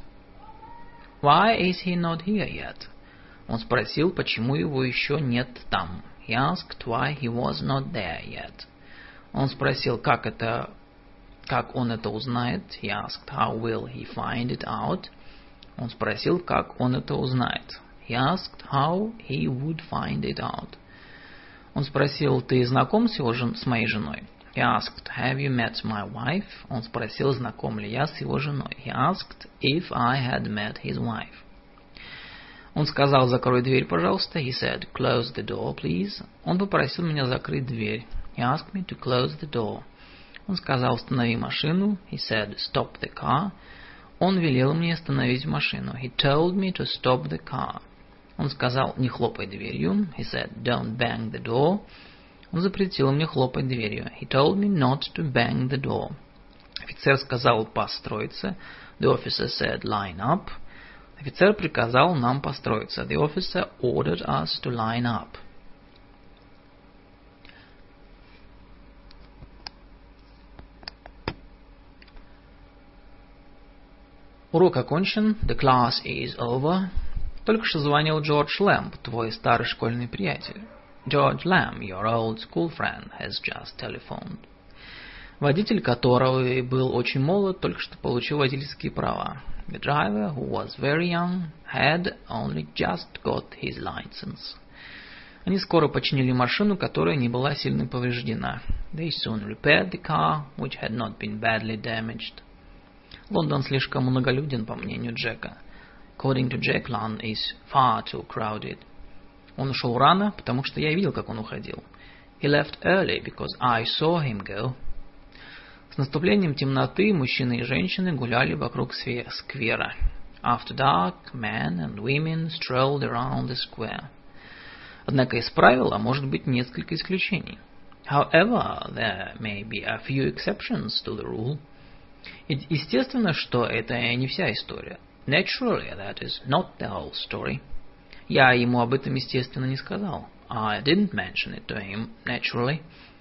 why is he not here yet? Он спросил, почему его еще нет там. He asked why he was not there yet. Он спросил, как это, как он это узнает. He asked how will he find it out. Он спросил, как он это узнает. He asked how he would find it out. Он спросил, ты знаком с его жен... с моей женой? He asked, have you met my wife? Он спросил, знаком ли я с его женой. He asked if I had met his wife. Он сказал, закрой дверь, пожалуйста. He said, close the door, please. Он попросил меня закрыть дверь. He asked me to close the door. Он сказал, останови машину. He said, stop the car. Он велел мне остановить машину. He told me to stop the car. Он сказал, не хлопай дверью. He said, don't bang the door. Он запретил мне хлопать дверью. He told me not to bang the door. Офицер сказал построиться. The officer said line up. Офицер приказал нам построиться. The officer ordered us to line up. Урок окончен. The class is over. Только что звонил Джордж Лэмб, твой старый школьный приятель. George Lamb, your old school friend, has just telephoned. Водитель, которого был очень молод, только что получил водительские права. The driver, who was very young, had only just got his license. Они скоро починили машину, которая не была сильно повреждена. They soon repaired the car, which had not been badly damaged. Лондон слишком многолюден, по мнению Джека. According to Jack, London is far too crowded. Он ушел рано, потому что я видел, как он уходил. He left early because I saw him go. С наступлением темноты мужчины и женщины гуляли вокруг сквера. After dark, men and women strolled around the square. Однако из правила может быть несколько исключений. However, there may be a few exceptions to the rule. Естественно, что это не вся история. Naturally, that is not the whole story. Я ему об этом, естественно, не сказал. I didn't mention it to him, naturally.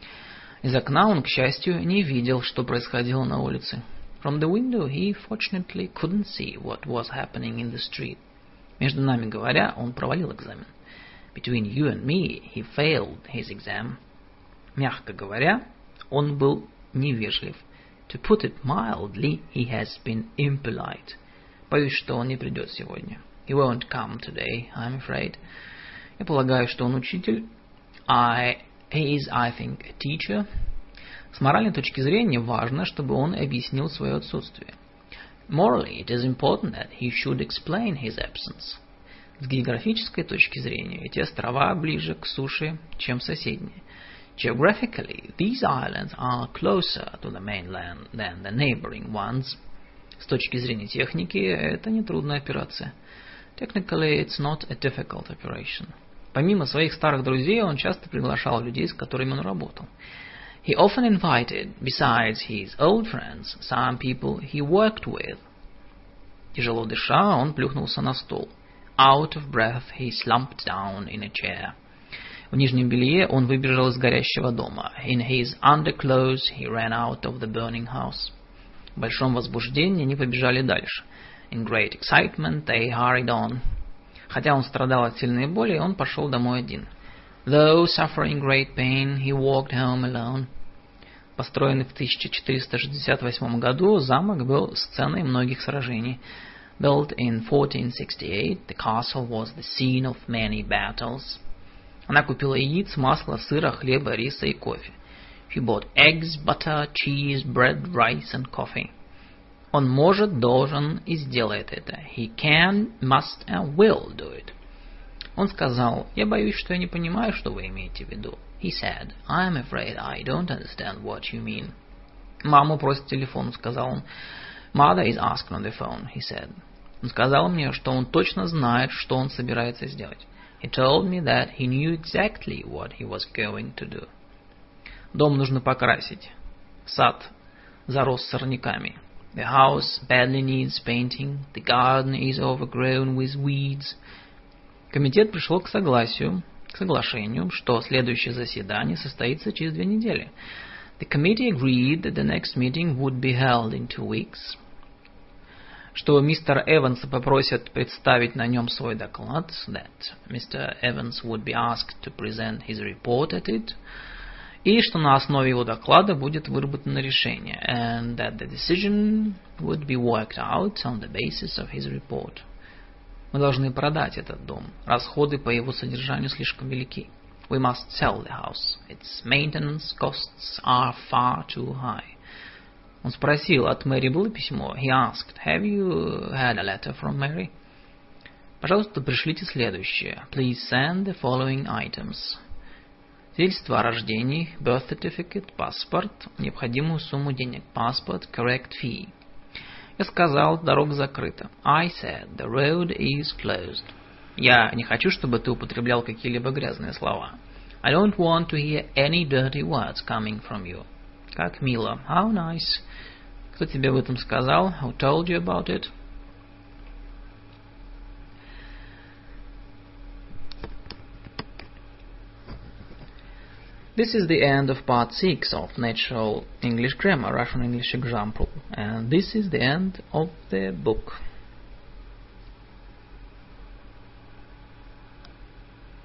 Из окна он, к счастью, не видел, что происходило на улице. From the window he fortunately couldn't see what was happening in the street. Между нами говоря, он провалил экзамен. Between you and me, he failed his exam. Мягко говоря, он был невежлив. To put it mildly, he has been impolite. Боюсь, что он не придет сегодня. He won't come today, I'm afraid. Я полагаю, что он учитель. I, he is, I think, a teacher. С моральной точки зрения важно, чтобы он объяснил свое отсутствие. Morally, it is important that he should explain his absence. С географической точки зрения эти острова ближе к суше, чем соседние. Geographically, these islands are closer to the mainland than the neighboring ones. С точки зрения техники, это нетрудная операция. Technically, it's not a difficult operation. Помимо своих старых друзей, он часто приглашал людей, с которыми он работал. He often invited, besides his old friends, some people he worked with. Тяжело дыша, он плюхнулся на стол. Out of breath, he slumped down in a chair. В нижнем белье он выбежал из горящего дома. In his underclothes, he ran out of the burning house. В большом возбуждении они побежали дальше. In great excitement, they hurried on. Хотя он страдал от сильной боли, он пошел домой один. Though suffering great pain, he walked home alone. Построенный в тысяча четыреста шестьдесят восьмом году, замок был сценой многих сражений. Built in fourteen sixty-eight, the castle was the scene of many battles. Она купила яиц, масло, сыра, хлеба, риса и кофе. She bought eggs, butter, cheese, bread, rice and coffee. Он может, должен и сделает это. He can, must and will do it. Он сказал, я боюсь, что я не понимаю, что вы имеете в виду. He said, I am afraid I don't understand what you mean. Маму просит телефон, сказал он. Mother is asked on the phone, he said. Он сказал мне, что он точно знает, что он собирается сделать. He told me that he knew exactly what he was going to do. Дом нужно покрасить. Сад зарос сорняками. The house badly needs painting. The garden is overgrown with weeds. Комитет пришел к согласию, к соглашению, что следующее заседание состоится через две недели. The committee agreed that the next meeting would be held in two weeks. Что мистера Эванса попросят представить на нем свой доклад. That Mister Evans would be asked to present his report at it. И что на основе его доклада будет выработано решение. And that the decision would be worked out on the basis of his report. Мы должны продать этот дом. Расходы по его содержанию слишком велики. We must sell the house. Its maintenance costs are far too high. Он спросил, от Мэри было письмо? He asked, have you had a letter from Mary? Пожалуйста, пришлите следующее. Please send the following items. Свидетельство о рождении, birth certificate, паспорт, необходимую сумму денег, passport, correct fee. Я сказал, дорога закрыта. I said, the road is closed. Я не хочу, чтобы ты употреблял какие-либо грязные слова. I don't want to hear any dirty words coming from you. Как мило. How nice. Кто тебе об этом сказал? Who told you about it? This is the end of part six of Natural English Grammar, Russian English Example, and this is the end of the book.